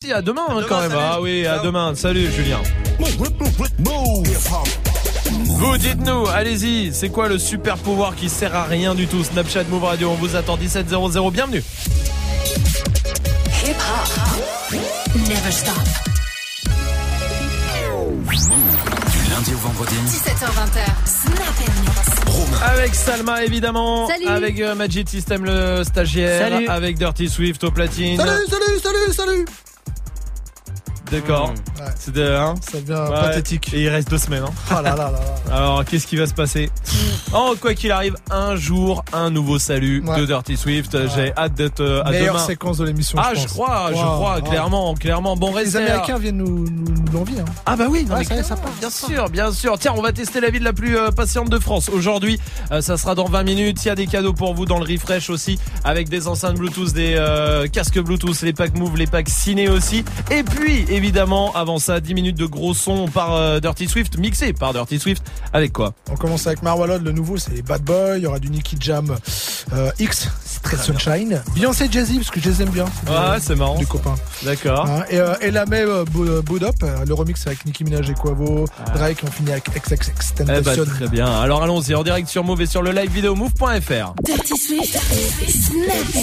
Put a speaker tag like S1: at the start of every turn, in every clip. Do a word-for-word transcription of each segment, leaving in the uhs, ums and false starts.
S1: merci, à demain, hein,
S2: demain
S1: quand même.
S2: salut.
S1: Ah oui, à
S2: Ciao.
S1: demain. Salut Julien. Vous dites-nous, allez-y, c'est quoi le super pouvoir qui sert à rien du tout? Snapchat Move Radio, on vous attend dix-sept zéro zéro, bienvenue.
S3: Hip hop, never stop.
S4: Du lundi au vendredi,
S3: dix-sept heures vingt, Snap.
S1: Avec Salma évidemment,
S5: Salut.
S1: avec euh, Magic System le stagiaire,
S5: Salut.
S1: avec Dirty Swift au platine.
S6: Salut, salut, salut, salut.
S1: D'accord.
S6: Ouais.
S1: C'est de, hein
S6: Ça devient
S1: Ouais.
S6: pathétique.
S1: Et il reste deux semaines. Hein.
S6: Ah là là là là.
S1: Alors, qu'est-ce qui va se passer? Oh, quoi qu'il arrive, un jour, un nouveau salut
S6: Ouais.
S1: de Dirty Swift. Ouais. J'ai hâte d'être euh, à
S6: Meilleure
S1: demain.
S6: séquence de l'émission.
S1: Ah,
S6: je,
S1: je
S6: pense.
S1: crois, je
S6: Wow,
S1: crois,
S6: wow.
S1: clairement, clairement. Bon,
S6: Les
S1: restez
S6: Américains
S1: là.
S6: viennent nous, nous, nous l'envier. Hein.
S1: Ah bah oui, non,
S6: Ouais,
S1: mais
S6: ça y est, ça
S1: clairement,
S6: part,
S1: bien
S6: ça
S1: sûr, bien sûr. Tiens, on va tester la vie de la plus euh, patiente de France. Aujourd'hui, euh, ça sera dans vingt minutes. Il y a des cadeaux pour vous dans le refresh aussi, avec des enceintes Bluetooth, des euh, casques Bluetooth, les packs Move, les packs Ciné aussi. Et puis, évidemment, avant ça, dix minutes de gros son par euh, Dirty Swift, mixé par Dirty Swift. Avec quoi?
S6: On commence avec Marwalod, le nouveau, c'est Bad Boy. Il y aura du Nicky Jam euh, X, c'est très Sunshine. Beyoncé, Jay-Z, parce que je les aime bien.
S1: Ah, c'est marrant.
S6: Les copains.
S1: D'accord.
S6: Hein, et euh, et la même euh, Bood Up, euh, le remix avec Nicki Minaj et Quavo,
S1: Ah.
S6: Drake, on finit avec X X X
S1: Eh bah,
S6: Tentacion.
S1: très bien. Alors allons-y en direct sur Move et sur le live vidéo move point f r.
S3: Dirty Swift, Snap.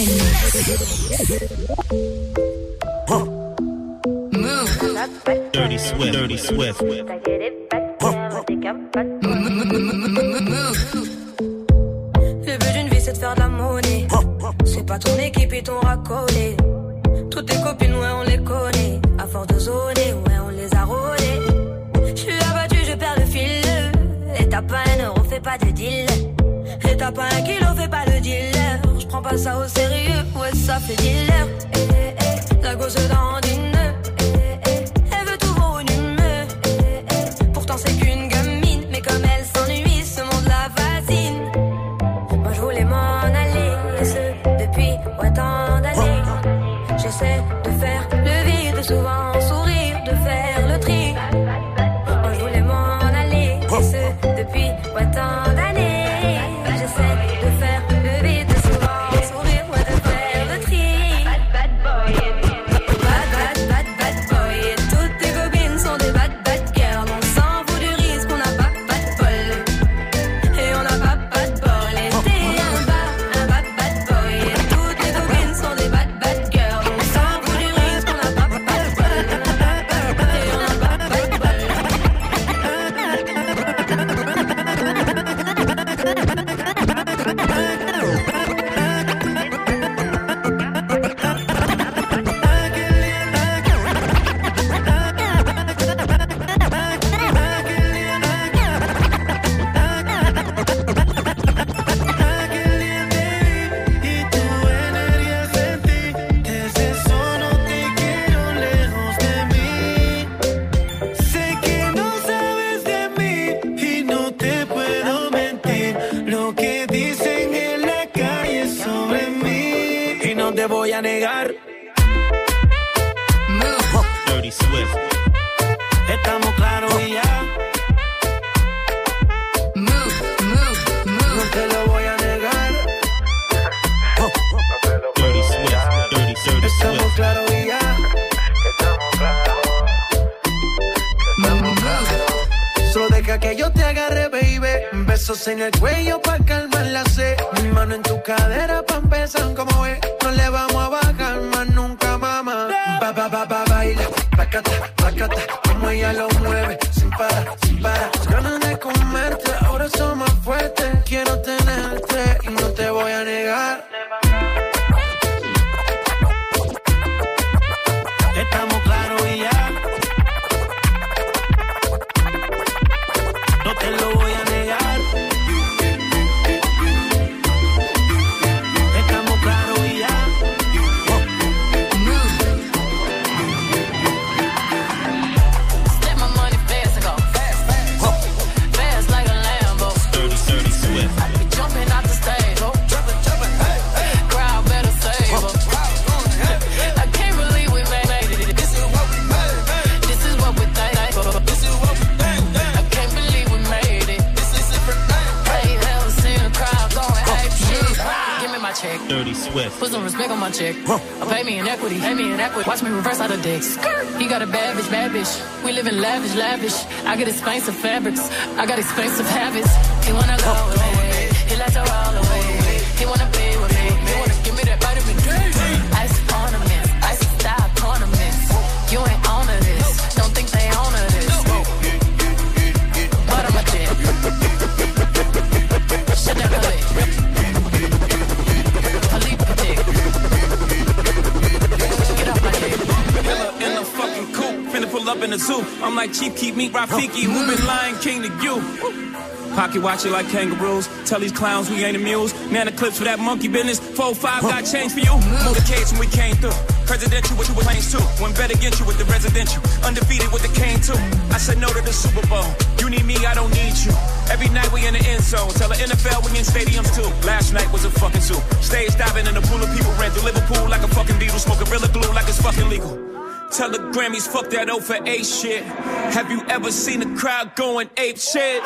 S3: Move.
S2: Dirty Swift, Dirty Swift.
S7: Le but d'une vie c'est de faire de la monnaie. C'est pas ton équipe et ton racolé. Toutes tes copines ouais on les connaît. À force de zoner ouais on les a rôlées. Je suis abattu je perds le fil. Et t'as pas un euro fais pas de deal. Et t'as pas un kilo fais pas le dealer. Je prends pas ça au sérieux ouais ça fait dealer. Eh, eh, eh, la gosse dans une eh, eh, eh, elle veut tout volumineux. Eh, eh, eh, pourtant c'est qu'une gamine. Mais comme elle s'ennuie ce monde la fascine. Moi je voulais m'en aller, et ce depuis ouais, tant d'années. J'essaie de faire le vide, souvent sourire, de faire le tri. Moi je voulais m'en aller, et ce depuis ouais, tant d'années. J'essaie de faire le vide, souvent sourire, ouais, de faire le tri. Bad bad boy, bad bad bad bad boy. Et toutes tes copines sont des bad bad girls. On s'en fout du risque, on n'a pas pas de bol. Et on n'a pas pas de bol. Et t'es un bad, un bad bad boy. Et toutes les copines sont des bad bad girls. On s'en fout du risque, on n'a pas pas de bol. Et on n'a pas pas de bol.
S8: Y tu energía sentí, desde eso no te quiero lejos de mí. Sé que no sabes de mí y no te puedo mentir. Lo que dicen en la calle sobre mí y no te voy a negar.
S2: Dirty Swift.
S8: Estamos claros y ya,
S3: Move, move,
S8: no
S3: move.
S8: te lo voy a negar.
S2: Dirty Swift. Dirty, dirty
S8: Estamos
S2: Swift.
S8: claros y ya. Solo deja que yo te agarre, baby. Besos en el cuello pa' calmar la sed. Mi mano en tu cadera pa' empezar como es. No le vamos a bajar más nunca, mamá. Ba, ba, ba, ba, baila. Placata, placata. Como ella lo mueve. Sin parar, sin parar. Ganas de comerte. Ahora son más fuertes. Quiero tenerte y no te voy a negar. Estamos claros y ya. No te lo voy a negar. Estamos claros y ya.
S3: Let my money fast and go fast, fast, fast like a Lambo.
S2: Dirty, dirty Swift.
S3: I be jumping out the stage, oh, jumping, jumping, hey, hey. Crowd
S2: Swift.
S3: Put some respect on my check. Huh. Pay me in equity, pay me in equity. Watch me reverse out of dicks. He got a bad bitch, bad bitch. We live in lavish, lavish. I get expensive fabrics. I got expensive habits. He wanna go with me. He likes to roll away. He wanna be with me. He wanna give me that vitamin D. Ice ornaments, ice style ornaments. You ain't on to this. Don't think they own to this. But I'm a jet. Shut down the lid. Philippe Dick. Get off my dick.
S5: Killer in the fucking coupe, finna pull up in the zoo. I'm like Chief, keep me Rafiki, who been Lion King to you? Pocket watch it like kangaroos. Tell these clowns we ain't amused. Man, the clips for that monkey business. four five got change for you. Move the cage when we came through. Presidential with you with planes too. One bet against you with the residential. Undefeated with the cane too. I said no to the Super Bowl. You need me, I don't need you. Every night we in the end zone. Tell the N F L we in stadiums too. Last night was a fucking zoo. Stage diving in a pool of people. Ran through Liverpool like a fucking beetle. Smoke Gorilla Glue like it's fucking legal. Tell the Grammys fuck that O for eight shit. Have you ever seen the crowd going ape shit?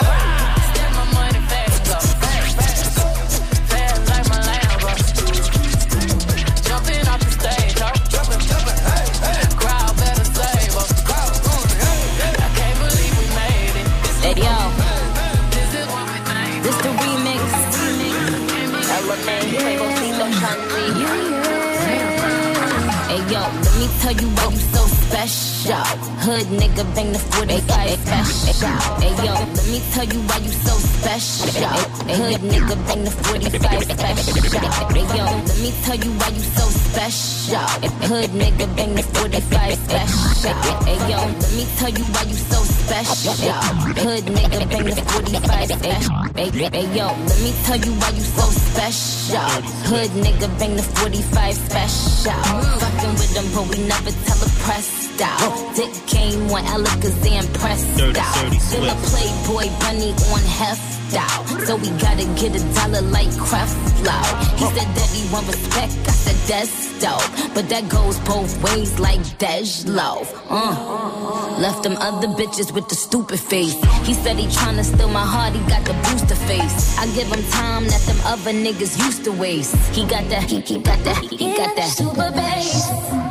S9: Hey yo, let me tell you why you so special. Hood nigga bang the forty-five special. Hey yo, let me tell you why you so special. Hood nigga bang the forty-five special. Hey yo, let me tell you why you so special. Hood nigga bang the forty-five special. Hey yo, let me tell you why you so special. Hood nigga bang the forty-five special. Hey yo, let me tell you why you so special. Hood nigga bang the forty-five special. Fucking with them, but we never tell a pressed out. Dick game on Alakazam pressed out. Still a Playboy bunny on heft out. So we gotta get a dollar like Creflo. He said that he want respect, I said that's dope. But that goes both ways like Dej-Lo. Uh. Left them other bitches with the stupid face. He said he tryna steal my heart, he got the booster face. I give him time that them other niggas used to waste. He got that, he, he got that, he, he got that super bass.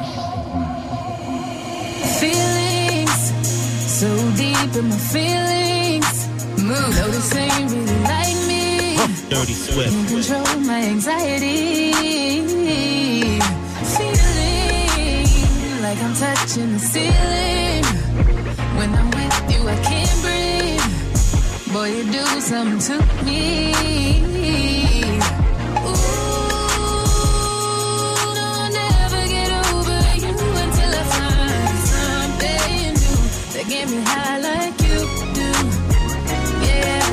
S10: Feelings, so deep in my feelings. Move, no, this ain't really like me.
S2: Dirty Swift.
S10: Can't control my anxiety. Feeling like I'm touching the ceiling. When I'm with you, I can't breathe. Boy, you do something to me. Ooh, no, I'll never get over you until I find something new that get me high like you do. Yeah.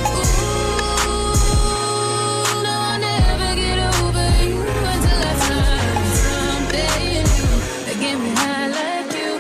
S10: Ooh, no, I'll never get over you until I find something new that get me high like you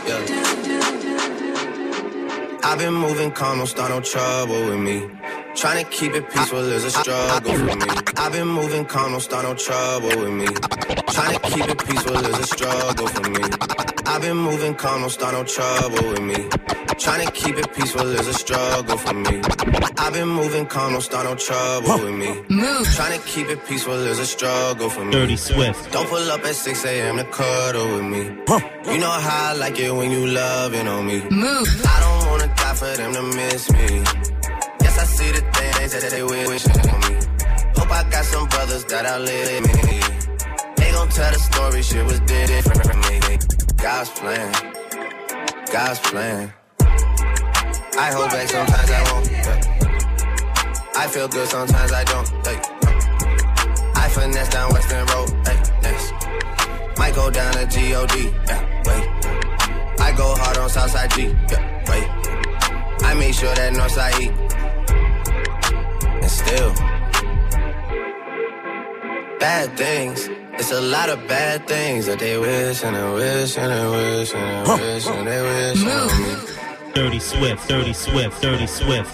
S10: do.
S8: I've been moving calm, don't start no trouble with me. Trying to keep it peaceful is a struggle for me. I've been moving calm, don't start no trouble with me. Trying to keep it peaceful is a struggle for me. I've been moving calm, don't start no trouble with me. Trying to keep it peaceful is a struggle for me. I've been moving calm, don't start no trouble with me.
S10: Move.
S8: Trying to keep it peaceful is a struggle for me.
S2: Dirty Swift.
S8: Don't pull up at six a.m. to cuddle with me. You know how I like it when you loving on me.
S10: Move.
S8: I don't wanna die for them to miss me. Yes, I see the things that they wishing on me. Hope I got some brothers that outlive me. They gon' tell the story, shit was different from me. God's plan, God's plan. I hold back, sometimes I won't. Yeah. I feel good, sometimes I don't. Hey. I finesse down Western Road. Hey. Yes. Might go down to G O D. Yeah. Wait. I go hard on Southside G. Yeah. Wait. I make sure that Northside eat. And still, bad things. It's a lot of bad things that they wish and they wish and they wish and they wish and they wish on me.
S2: Dirty Swift, Dirty Swift, Dirty Swift.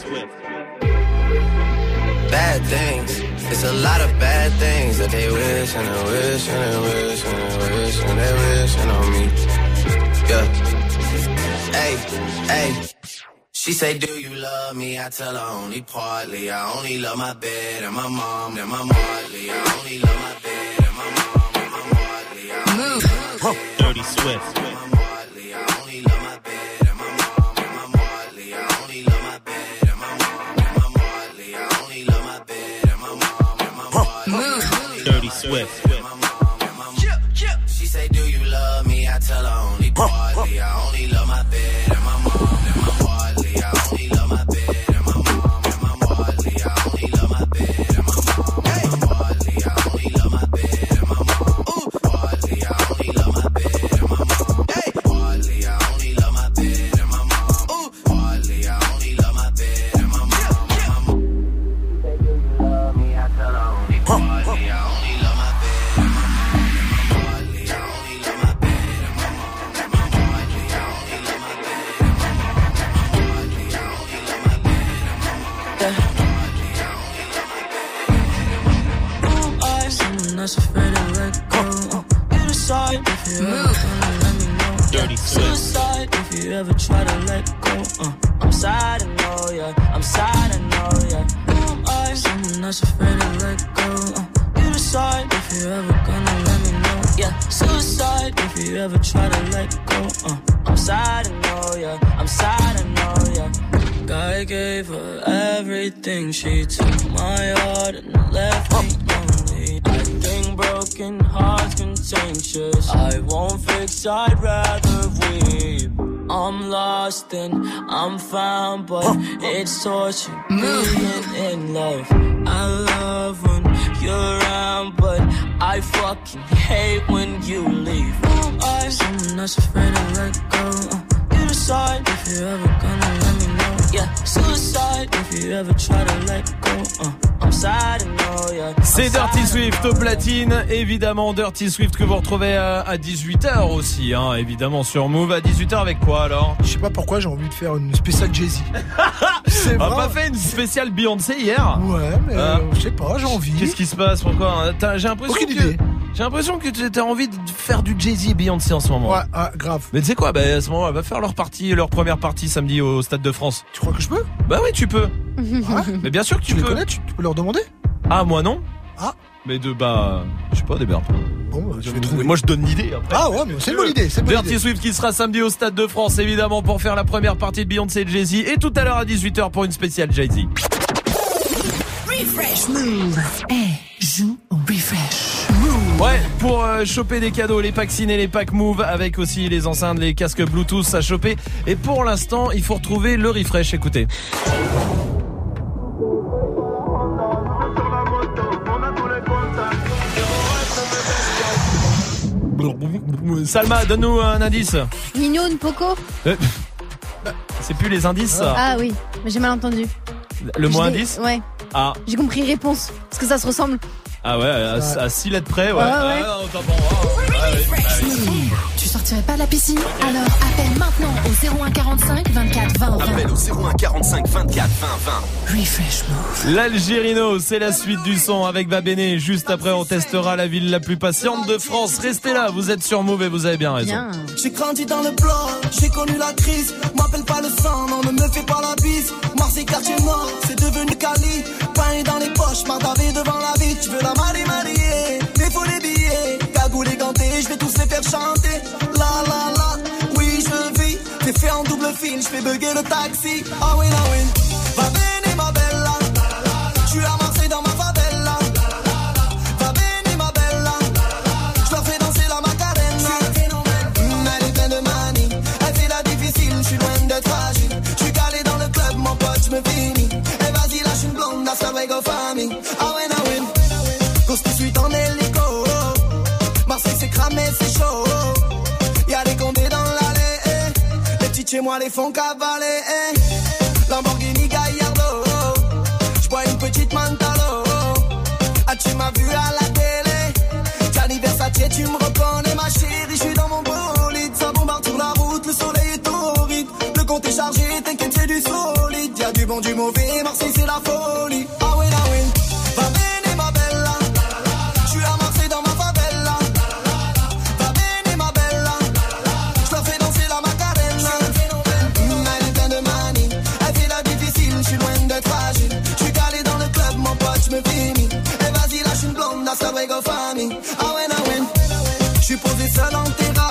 S8: Bad things. It's a lot of bad things that they wish and they wish and they wish and they wish and they wish on me. Yeah. Hey, hey. She say, do you love me? I tell her only partly. I only love my bed and my mom and my Marley. I only love my bed and my mom.
S2: Dirty Swift. Dirty Swift.
S8: She say, do you love me? I tell her only partly. I only love my bed and my mom and my partly. I only love my bed and my mom and my partly. I only love my bed and my mom and my partly. I only love my bed and my mom. Partly, I only love my bed and my mom. Partly, I only love my bed and my mom. Partly, I only love my bed and my mom. She say, do you love me? I tell her only partly. I only love my bed and my
S11: Not afraid to let go. Uh, you decide if you ever gonna let me know.
S2: Dirty
S11: Suicide if you ever try to let go. Uh, I'm sad, I know, yeah. I'm sad, I know, yeah. Who am I? Someone that's afraid to let go. Uh, you decide if you ever gonna let me know. Yeah, suicide if you ever try to let go. Uh, I'm sad, I know, yeah. I'm sad, I know, yeah. I gave her everything. She took my heart and left me lonely. I think broken hearts contagious. I won't fix, I'd rather weep. I'm lost and I'm found, but it's torture being in love. I love when you're around, but I fucking hate when you leave. I'm someone that's afraid to let go. Uh, you decide if you're ever gonna let me know. Yeah, suicide if you ever try to let go. Uh, I'm sad, I know, yeah.
S1: C'est Dirty Swift au platine, évidemment Dirty Swift que vous retrouvez à, à dix-huit heures aussi, hein, évidemment sur Move. À dix-huit heures avec quoi alors?
S6: Je sais pas pourquoi j'ai envie de faire une spéciale Jay-Z.
S1: On a pas fait une spéciale Beyoncé hier?
S6: Ouais, mais euh, je sais pas, j'ai envie.
S1: Qu'est-ce qui se passe? Pourquoi? J'ai l'impression
S6: Aucune
S1: que
S6: idée.
S1: J'ai l'impression que tu as envie de faire du Jay-Z et Beyoncé en ce moment.
S6: Ouais, ah, grave.
S1: Mais tu sais quoi? Bah à ce moment, elle va faire leur partie, leur première partie samedi au Stade de France.
S6: Tu crois que je peux?
S1: Bah oui, tu peux.
S6: Ah,
S1: mais bien sûr que tu,
S6: tu
S1: peux.
S6: les connais, tu, tu peux leur demander?
S1: Ah moi non.
S6: Ah.
S1: Mais de bah, je sais pas, des Bon,
S6: bah, je vais trouver.
S1: Moi je donne l'idée après.
S6: Ah ouais, mais c'est une bonne idée. C'est une bonne
S1: Dirty
S6: idée.
S1: Swift qui sera samedi au Stade de France évidemment pour faire la première partie de Beyoncé et Jay-Z, et tout à l'heure à dix-huit heures pour une spéciale Jay-Z.
S12: Refresh Move. Eh, joue au Refresh.
S1: Ouais, pour euh, choper des cadeaux, les packs ciné, les packs Move, avec aussi les enceintes, les casques Bluetooth à choper. Et pour l'instant, il faut retrouver le refresh, écoutez. Salma, donne-nous un indice.
S13: Mignon, Poco.
S1: Euh, c'est plus les indices, ça.
S13: Ah oui, mais j'ai mal entendu.
S1: Le mot
S13: Je
S1: indice?
S13: Ouais.
S1: Ah.
S13: J'ai compris réponse, parce que ça se ressemble.
S1: Ah ouais, à,
S13: Ouais.
S1: à six lettres près, ouais.
S13: Ouais, ouais.
S1: Ah, non, t'as bon, ah, ouais, ouais, ouais.
S12: Tu sortirais pas de la piscine? Alors appelle maintenant au zéro un quarante-cinq vingt-quatre vingt vingt.
S4: Appelle au zéro un quarante-cinq vingt-quatre vingt vingt.
S12: Refresh Move.
S1: L'Algérino, c'est la suite du son avec Babéné. Juste après, on testera la ville la plus patiente de France. Restez là, vous êtes sur Move et vous avez bien raison.
S13: Bien.
S14: J'ai grandi dans le bloc, j'ai connu la crise. M'appelle pas le sang, non, ne me fais pas la bise. Marseille, quartier nord, c'est devenu Cali. Pain dans les poches, mardavé devant la vie. Tu veux la marier, marier, mais faut les billets. Cagoule et ganté, je vais tous les faire chanter. La la la, oui, je vis. T'es fait en double fil, je fais bugger le taxi. Ah oui, ah oui. Va bene, ma bella. Je suis à Marseille dans ma favela. Va bene, ma bella. Je leur fais danser la Macarena. Mm, elle est pleine de manie. Elle fait la difficile, je suis loin d'être fragile. Je suis calé dans le club, mon pote, je me finis. Et vas-y, lâche une blonde, hasta luego, famille. Ah ouais, ah ouais. Cause tout de suite en hélico. Marseille, c'est cramé, c'est chaud. Y'a des condés dans l'allée. Eh. Les petits chez moi les font cavaler. Eh. Lamborghini Gallardo. J'bois une petite Mantalo. Ah, tu m'as vu à la télé. Gianni Versace, tu me reconnais, ma chérie. J'suis dans mon bolide. Ça bombarde sur la route, le soleil est torride. Le compte est chargé, t'inquiète, c'est du solide. Y'a du bon, du mauvais. Marseille, c'est la folie. Ah ouais, ah ouais. Va bene, ma bella. J'suis à Marseille dans ma favela. Va bene, ma bella. J'leur fais danser la Macarena. Mm, elle est pleine de manie. Elle fait la difficile, j'suis loin d'être fragile. J'suis calé dans le club, mon pote, j'me finis. Et vas-y, lâche une blonde, hasta luego, famille. Ah ouais, ah ouais. J'suis posé seul en terrasse.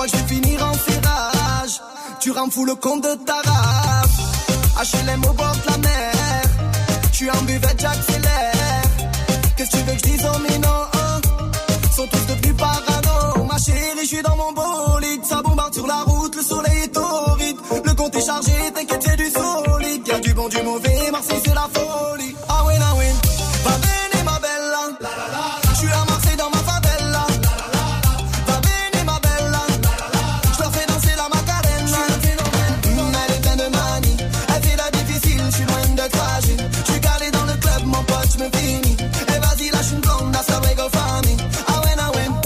S14: crois que je vais finir en serrage. Tu rends fou le compte de ta race. H L M au bord de la mer. Je suis en buvette, j'accélère. Qu'est-ce que tu veux que je dise aux minots? Sont tous devenus parano. Ma chérie, je suis dans mon bolide. Ça bombarde sur la route, le soleil est torride. Le compte est chargé, t'inquiète, c'est du solide. Y'a du bon, du mauvais, Marseille c'est la folie. Ah win, ah win. Va bene ma bella. Je suis à Marseille dans ma favela. Va bene ma bella. Je leur fais danser la Macarena. Elle est pleine de manie. Elle fait la difficile, je suis loin de fragile. Je suis calé dans le club, mon pote, je me finis. Et vas-y, lâche une blonde, that's the way go family. Ah win, ah win.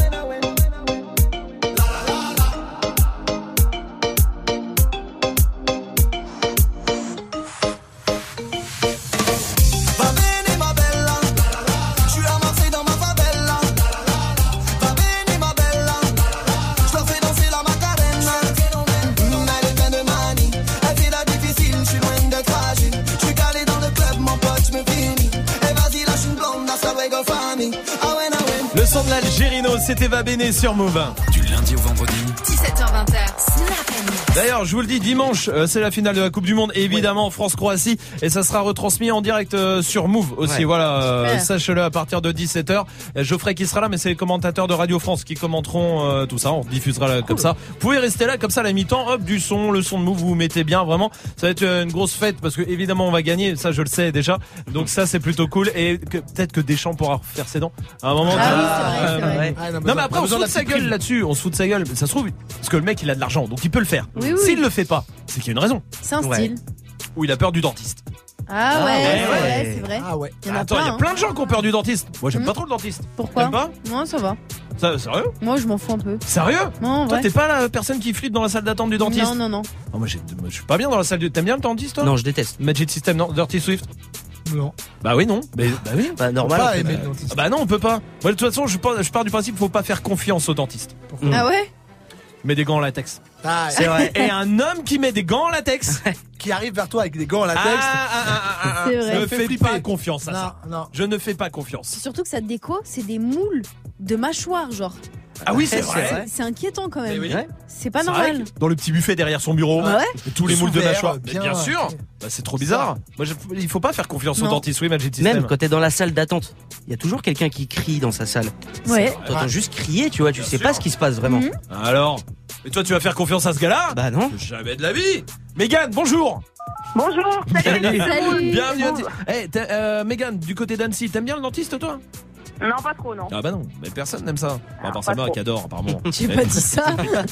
S1: Le son de l'Algérino, c'était Va Bene sur Move.
S4: Du lundi au vendredi.
S12: dix-sept heures vingt, Snap and Mix.
S1: D'ailleurs, je vous le dis, dimanche, euh, c'est la finale de la Coupe du Monde, évidemment, ouais. France-Croatie, et ça sera retransmis en direct euh, sur Move aussi. Ouais. Voilà, euh, sachez-le à partir de dix-sept heures. Geoffrey qui sera là, mais c'est les commentateurs de Radio France qui commenteront euh, tout ça. On diffusera là, cool. Comme ça. Vous pouvez rester là, comme ça, à la mi-temps, hop, du son, le son de Move, vous vous mettez bien, vraiment. Ça va être une grosse fête parce que évidemment, on va gagner. Ça, je le sais déjà. Donc ça, c'est plutôt cool. Et que, peut-être que Deschamps pourra faire ses dents à un moment.
S13: Ah, oui, c'est vrai, c'est vrai.
S1: Ouais. Ah, non, non, mais après, on se fout de sa gueule là-dessus. On se fout de sa gueule. Ça se trouve, parce que le mec, il a de l'argent, donc il peut le faire.
S13: Oui, oui.
S1: S'il le fait pas, c'est qu'il y a une raison.
S13: C'est un
S1: ouais.
S13: style.
S1: Ou il a peur du dentiste.
S13: Ah ouais, ouais,
S1: ouais,
S13: ouais, c'est vrai.
S6: Ah ouais.
S13: Il y en a
S1: Attends, il y a plein de gens qui ont peur du dentiste. Moi, j'aime mmh. pas trop le dentiste.
S13: Pourquoi?
S1: T'aimes pas?
S13: Moi, ça va.
S1: Ça, sérieux?
S13: Moi, je m'en fous un peu.
S1: Sérieux?
S13: Non,
S1: toi,
S13: ouais.
S1: t'es pas la personne qui flippe dans la salle d'attente du dentiste?
S13: Non, non, non.
S1: Oh, moi, j'ai, moi, je suis pas bien dans la salle du. T'aimes bien le dentiste, toi?
S15: Non, je déteste.
S1: Magic System, non? Dirty Swift?
S6: Non.
S1: Bah oui, non. Mais, bah oui.
S15: Bah normal.
S6: Pas
S15: on fait,
S6: aimer
S15: bah...
S6: le dentiste.
S1: Ah bah non, on peut pas. Moi, de toute façon, je pars, je pars du principe qu'il faut pas faire confiance au dentiste.
S6: Pourquoi?
S13: Ah ouais?
S1: Mets des gants en latex.
S6: Ah,
S15: c'est vrai.
S1: Et un homme qui met des gants en latex,
S6: qui arrive vers toi avec des gants en latex.
S1: Ah, ah, ah, ah, ah,
S13: c'est vrai.
S1: Je ne fais
S6: flipper.
S1: pas confiance à
S6: non,
S1: ça.
S6: Non.
S1: Je ne fais pas confiance.
S13: C'est surtout que sa déco, c'est des moules de mâchoires, genre.
S1: Ah oui, c'est,
S15: c'est
S1: vrai.
S15: vrai.
S13: C'est inquiétant quand même.
S1: Oui.
S13: C'est pas
S1: c'est
S13: normal.
S1: Dans le petit buffet derrière son bureau,
S13: ouais.
S1: tous les moules de
S6: Ouvert,
S1: mâchoire.
S6: bien,
S1: bien sûr. Bah, c'est trop bizarre. Moi, je, il faut pas faire confiance
S13: non.
S1: au dentiste. Oui, Magic System.
S15: Même quand t'es dans la salle d'attente, il y a toujours quelqu'un qui crie dans sa salle.
S13: Ouais.
S15: T'entends
S6: ouais.
S15: juste crier, tu vois, tu
S1: bien
S15: sais
S1: sûr.
S15: pas ce qui se passe vraiment.
S13: Mmh.
S1: Alors, et toi, tu vas faire confiance à ce gars-là?
S15: Bah non.
S1: Jamais de la vie. Mégane, bonjour.
S16: Bonjour.
S13: Salut. Salut.
S1: Bienvenue. Hey, euh, Mégane, du côté d'Annecy, t'aimes bien le dentiste, toi?
S16: Non, pas trop, non.
S1: Ah bah non, mais personne n'aime ça. À part
S16: pas
S1: sa mère
S16: trop.
S1: qui adore, apparemment.
S13: J'ai pas dit ça.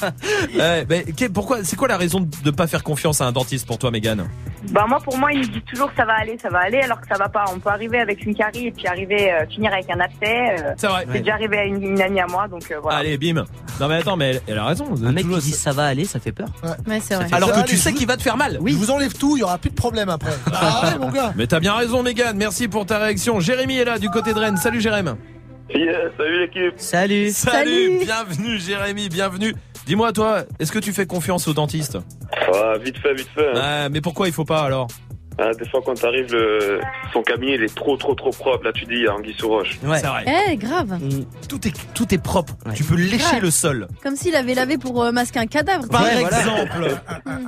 S1: euh, mais pourquoi? C'est quoi la raison de pas faire confiance à un dentiste pour toi, Mégane?
S16: Bah moi, pour moi, il me dit toujours que ça va aller, ça va aller, alors que ça va pas. On peut arriver avec une carie et puis arriver euh, finir avec un abcès. Euh,
S1: c'est vrai.
S16: C'est ouais. déjà arrivé à une, une amie à moi, donc euh, voilà.
S1: Allez, bim. Non mais attends, mais elle, elle a raison.
S15: Un mec qui dit ça va aller, ça fait peur.
S6: Ouais,
S13: ouais c'est vrai.
S1: Alors
S6: ça,
S1: que tu sais qu'il va te faire mal.
S6: Oui. Je vous enlève tout, il y aura plus de problème après. Ah ouais, mon gars.
S1: Mais t'as bien raison, Mégane. Merci pour ta réaction. Jérémy est là du côté de Rennes. Salut, Jérémy.
S17: Yeah, salut l'équipe.
S15: Salut.
S1: Salut. Bienvenue, Jérémy. Bienvenue. Dis-moi, toi, est-ce que tu fais confiance au dentiste?
S17: Ah, vite fait, vite fait. Hein.
S1: Ah, mais pourquoi il faut pas alors?
S17: Ah, des fois, quand t'arrives, le... son cabinet, il est trop, trop, trop propre. Là, tu dis, il y a anguille sous roche.
S1: Ouais, c'est vrai.
S13: Eh, grave.
S1: Mmh. Tout est, tout est propre. Ouais. Tu peux lécher grave. Le sol.
S13: Comme s'il avait lavé pour euh, masquer un cadavre.
S1: Par
S13: ouais,
S1: exemple. Voilà.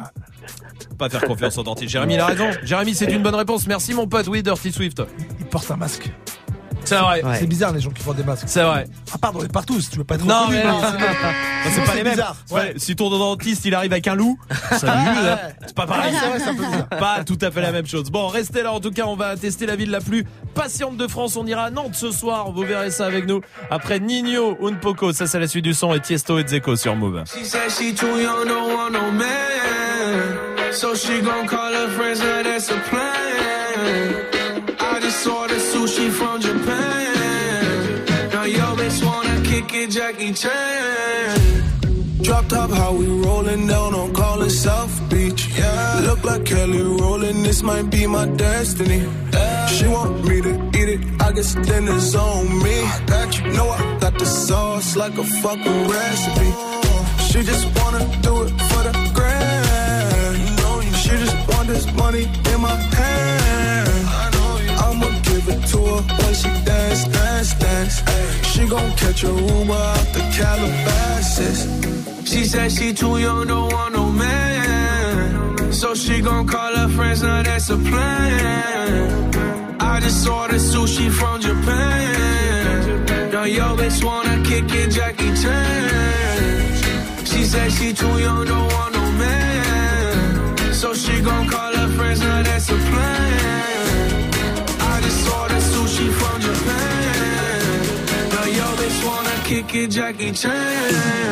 S1: Pas faire confiance au dentiste. Jérémy, il a raison. Jérémy, c'est une bonne réponse. Merci, mon pote. Oui, Dirty Swift.
S6: Il porte un masque.
S1: C'est vrai.
S6: Ouais. C'est bizarre les gens qui portent des masques.
S1: C'est vrai.
S6: Ah pardon, on est partout, si tu veux pas être
S1: non,
S6: reconnu,
S1: mais
S6: mais
S1: non,
S6: c'est,
S1: c'est, c'est pas les mêmes. Bizarre. Ouais. Si ton dentiste il arrive avec un loup, salut, là, c'est pas pareil.
S6: C'est vrai, c'est un peu bizarre.
S1: Pas tout à fait la même chose. Bon, restez là en tout cas, on va tester la ville la plus patiente de France. On ira à Nantes ce soir, vous verrez ça avec nous. Après Nino, Unpoco, ça c'est la suite du son, et Tiesto et Dzeko sur Move.
S18: She said she too young, don't want no man. So she gon' call her friends, now that's a plan. I just saw the sushi from Japan. Yo, bitch wanna kick it, Jackie Chan. Drop top, how we rollin' down on call it South Beach. Yeah, look like Kelly rollin', this might be my destiny. Yeah. She want me to eat it, I guess dinner's on me. I got you, know I got the sauce like a fucking recipe. She just wanna do it for the grand. You know you. She just want this money in my hand. I know you. I'ma give it to her when she dance, dance, dance. Ay. She gon' catch a Uber out the Calabasas. She said she too young, don't want no man. So she gon' call her friends, now that's a plan. I just ordered sushi from Japan. Now yo bitch wanna kick it, Jackie Chan. She said she too young, don't want no man. So she gon' call her friends, now that's a plan. I just ordered sushi from Japan. Now yo bitch wanna kick it, Jackie Chan.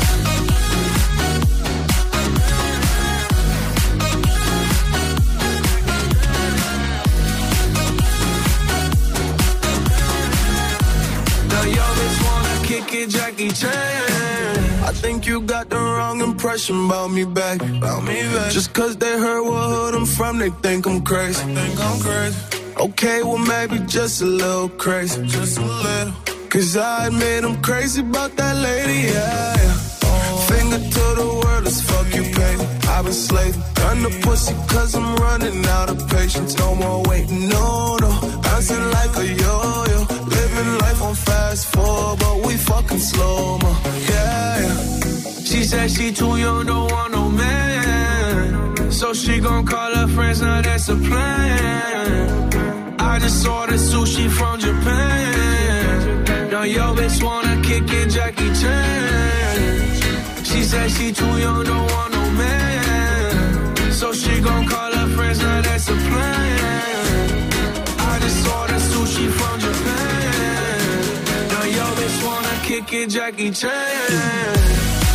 S18: Jackie Chan.
S19: I think you got the wrong impression about me, back. About me, back. Just cause they heard what hood I'm from, they think I'm crazy. They think I'm crazy. Okay, well maybe just a little crazy. Just a little. Cause I admit I'm crazy about that lady, yeah, yeah. Oh. Finger to the world as fuck you pay. I've been slaving. Done the pussy cause I'm running out of patience. No more waiting, no, no. Bouncing like a yo-yo. Living life on fast forward, but we fucking slow-mo, yeah, yeah.
S18: She said she too young, don't want no man. So she gon' call her friends, now that's a plan. I just ordered sushi from Japan. Now yo bitch wanna kick it, Jackie Chan. She said she too young, don't want no man. So she gon' call her friends, now that's a plan. I just ordered sushi from Japan. Now yo bitch wanna kick it, Jackie Chan.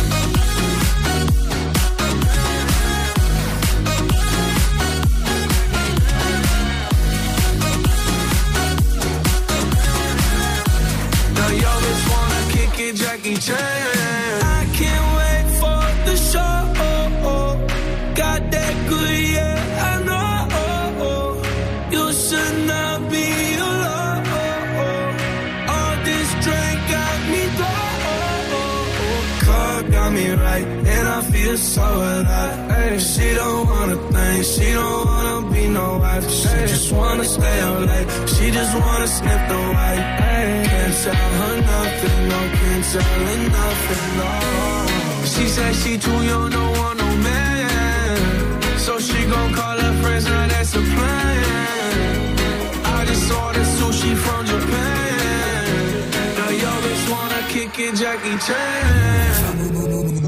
S18: Jackie Chan. I can't wait for the show. Got that good, yeah, I know. You should not be alone. All this drink got me low. Car got me right, and I feel so alive. Ay, she don't wanna think, she don't wanna be no wife. She ay, just wanna stay up late, she just wanna sniff the white. Ay, can't tell her nothing, no, can't tell her nothing, no. She said she too young, don't want no man. So she gon' call her friends, now that's a plan. I just ordered sushi from Japan. Now yo bitch wanna kick it, Jackie Chan.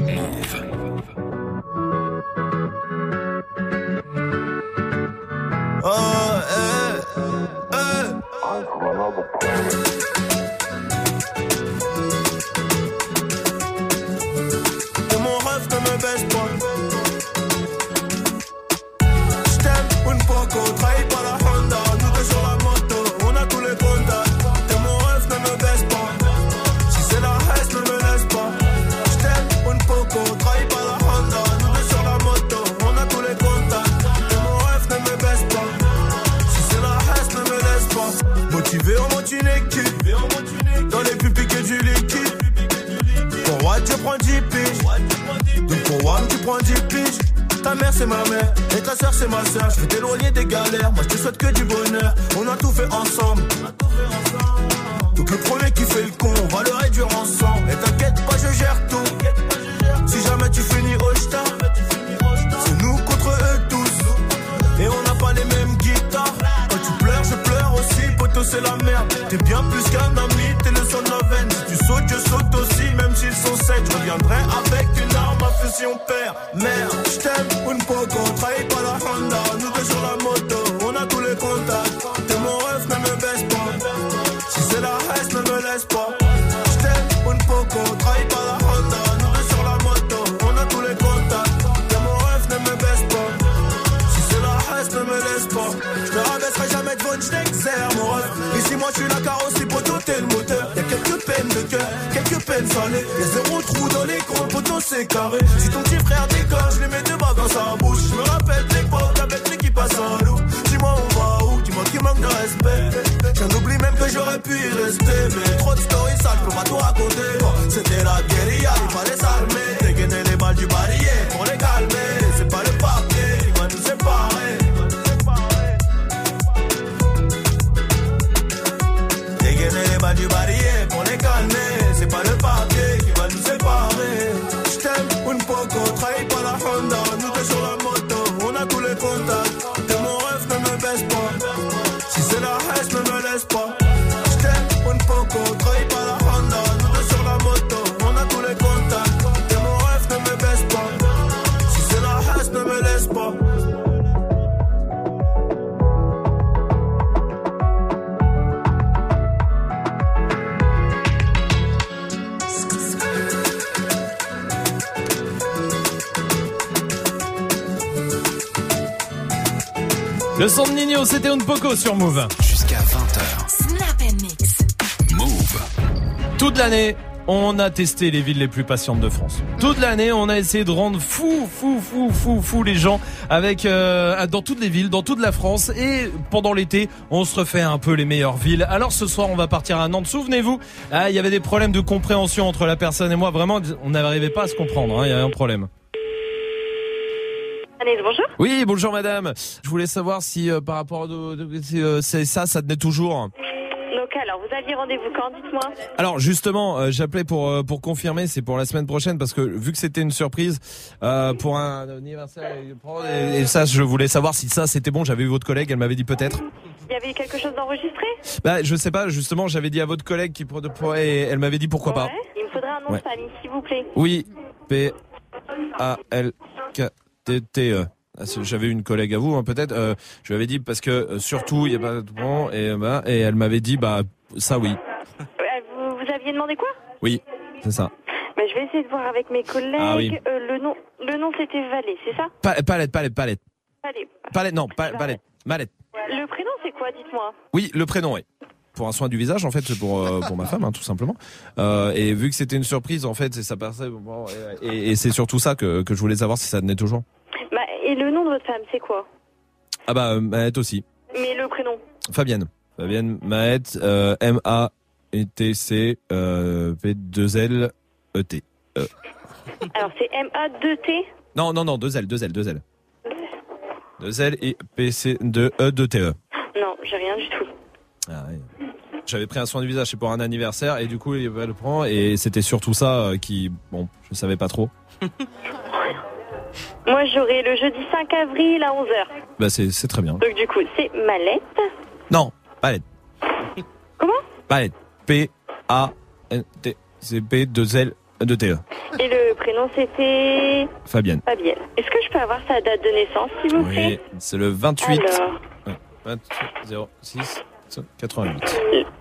S19: Oh, eh, eh. Et mon rêve ne me baisse pas. J't'aime une poco, trahi par la Honda. Nous deux sur la moto, on a tous les contacts. Et mon rêve ne me baisse pas. Si c'est la haine, ne me laisse pas. J't'aime une poco, trahi par la Honda. Nous deux sur la moto, on a tous les contacts. Et mon rêve ne me baisse pas. Motivé en monte une équipe. Dans les pupilles que du liquide. Pour Watt tu prends dix piges. Donc pour Wam tu prends dix piges. Ta mère c'est ma mère et ta soeur c'est ma soeur. Je veux t'éloigner des galères, moi je te souhaite que du bonheur. On a tout fait ensemble. Donc le premier qui fait le con, on va le réduire ensemble. Et t'inquiète pas, je gère tout. Si jamais tu finis au star, c'est nous contre eux tous. Et on n'a pas les mêmes guitares. Quand tu pleures, je pleure aussi, poto c'est la merde. T'es bien plus qu'un ami, t'es le son de la veine. Si tu sautes, je saute aussi, même s'ils sont sept. Je reviendrai avec une arme à feu si on perd. Merde, j't'aime, une poco, trahi par la Honda. Nous deux sur la moto, on a tous les contacts. T'es mon rêve, ne me baisse pas. Si c'est la haine, ne me laisse pas. J't'aime, une poco, trahi par la Honda. Nous deux sur la moto, on a tous les contacts. T'es mon rêve, ne me baisse pas. Si c'est la haine, ne me laisse pas. J'te rabaisserai jamais de votre j't'exerce, mon rêve. Ici, moi, j'suis la carrosserie, poteau, t'es le moteur. Y'a quelques peines de cœur, quelques peines salées. Y'a zéro trou dans l'écran, poteau, c'est carré. Si ton petit frère déconne, j'lui mets deux balles dans sa bouche. J'me rappelle l'époque avec l'équipe à Saint-Loup. Dis-moi, on va où? Dis-moi qui manque de respect. J'en oublie même que j'aurais pu y rester. Mais trop de stories sales, j'peux pas tout raconter. C'était la guérilla, il fallait s'armer. Dégainer les balles du barillet pour les calmer. C'est pas le papier qui va nous séparer. Les balles du barillet pour les calmer. C'est pas le papier qui va nous séparer. J't'aime,
S1: Le son de Nino, c'était un poco sur Move.
S4: Jusqu'à vingt heures.
S12: Snap and Mix.
S4: Move.
S1: Toute l'année, on a testé les villes les plus patientes de France. Toute l'année, on a essayé de rendre fou, fou, fou, fou, fou les gens avec euh, dans toutes les villes, dans toute la France. Et pendant l'été, on se refait un peu les meilleures villes. Alors ce soir, on va partir à Nantes. Souvenez-vous, ah, il y avait des problèmes de compréhension entre la personne et moi. Vraiment, on n'arrivait pas à se comprendre. Hein, il y avait un problème.
S16: Annette, bonjour.
S1: Oui, bonjour madame. Je voulais savoir si euh, par rapport à de, de, si, euh, c'est ça, ça tenait toujours.
S16: Donc alors, vous aviez rendez-vous quand, dites-moi?
S1: Alors justement, euh, j'appelais pour euh, pour confirmer, c'est pour la semaine prochaine parce que vu que c'était une surprise euh, pour un anniversaire et, et ça, je voulais savoir si ça c'était bon. J'avais eu votre collègue, elle m'avait dit peut-être.
S16: Il y avait quelque chose d'enregistré?
S1: Bah je sais pas, justement, j'avais dit à votre collègue qui pourrait et elle m'avait dit pourquoi
S16: ouais.
S1: pas.
S16: Il me faudrait un nom
S1: ouais.
S16: de famille, s'il vous plaît.
S1: Oui, P A L K T T E. J'avais une collègue à vous, hein, peut-être. Euh, je lui avais dit parce que euh, surtout il y a pas de bon et bah et elle m'avait dit bah ça oui.
S16: Euh, vous, vous aviez demandé quoi?
S1: Oui, c'est ça.
S16: Bah, je vais essayer de voir avec mes collègues.
S1: Ah, oui.
S16: euh, le nom, le nom c'était Valé, c'est ça?
S1: Pa- palette, palette, palette.
S16: Valé.
S1: Palette, non, pa- palette, Malette.
S16: Le prénom c'est quoi, dites-moi?
S1: Oui, le prénom, oui. Pour un soin du visage, en fait, c'est pour euh, pour ma femme, hein, tout simplement. Euh, et vu que c'était une surprise, en fait, c'est ça passait. Bon, et, et, et c'est surtout ça que que je voulais savoir si ça tenait toujours.
S16: Bah, et le nom de votre femme, c'est quoi?
S1: Ah bah, euh, Maët aussi.
S16: Mais le prénom?
S1: Fabienne. Fabienne Maët, euh, M A E T C euh, P deux L E T. Euh.
S16: Alors, c'est M A deux T?
S1: Non, non, non, deux L, deux L, deux L. deux L et P C deux E deux T E.
S16: Non, j'ai rien du tout.
S1: Ah ouais. J'avais pris un soin du visage, c'est pour un anniversaire, et du coup, il le prend, et c'était surtout ça euh, qui, bon, je savais pas trop.
S16: Moi, j'aurai le jeudi cinq avril à onze heures.
S1: Bah, c'est, c'est très bien.
S16: Donc, du coup, c'est Malette.
S1: Non, Palette.
S16: Comment?
S1: Palette. P A N T C P deux L deux T E.
S16: Et le prénom, c'était...
S1: Fabienne.
S16: Fabienne. Est-ce que je peux avoir sa date de naissance, s'il vous plaît?
S1: Oui, c'est le vingt-huit.
S16: Alors...
S1: Ouais, vingt-huit zéro six quatre-vingt-huit.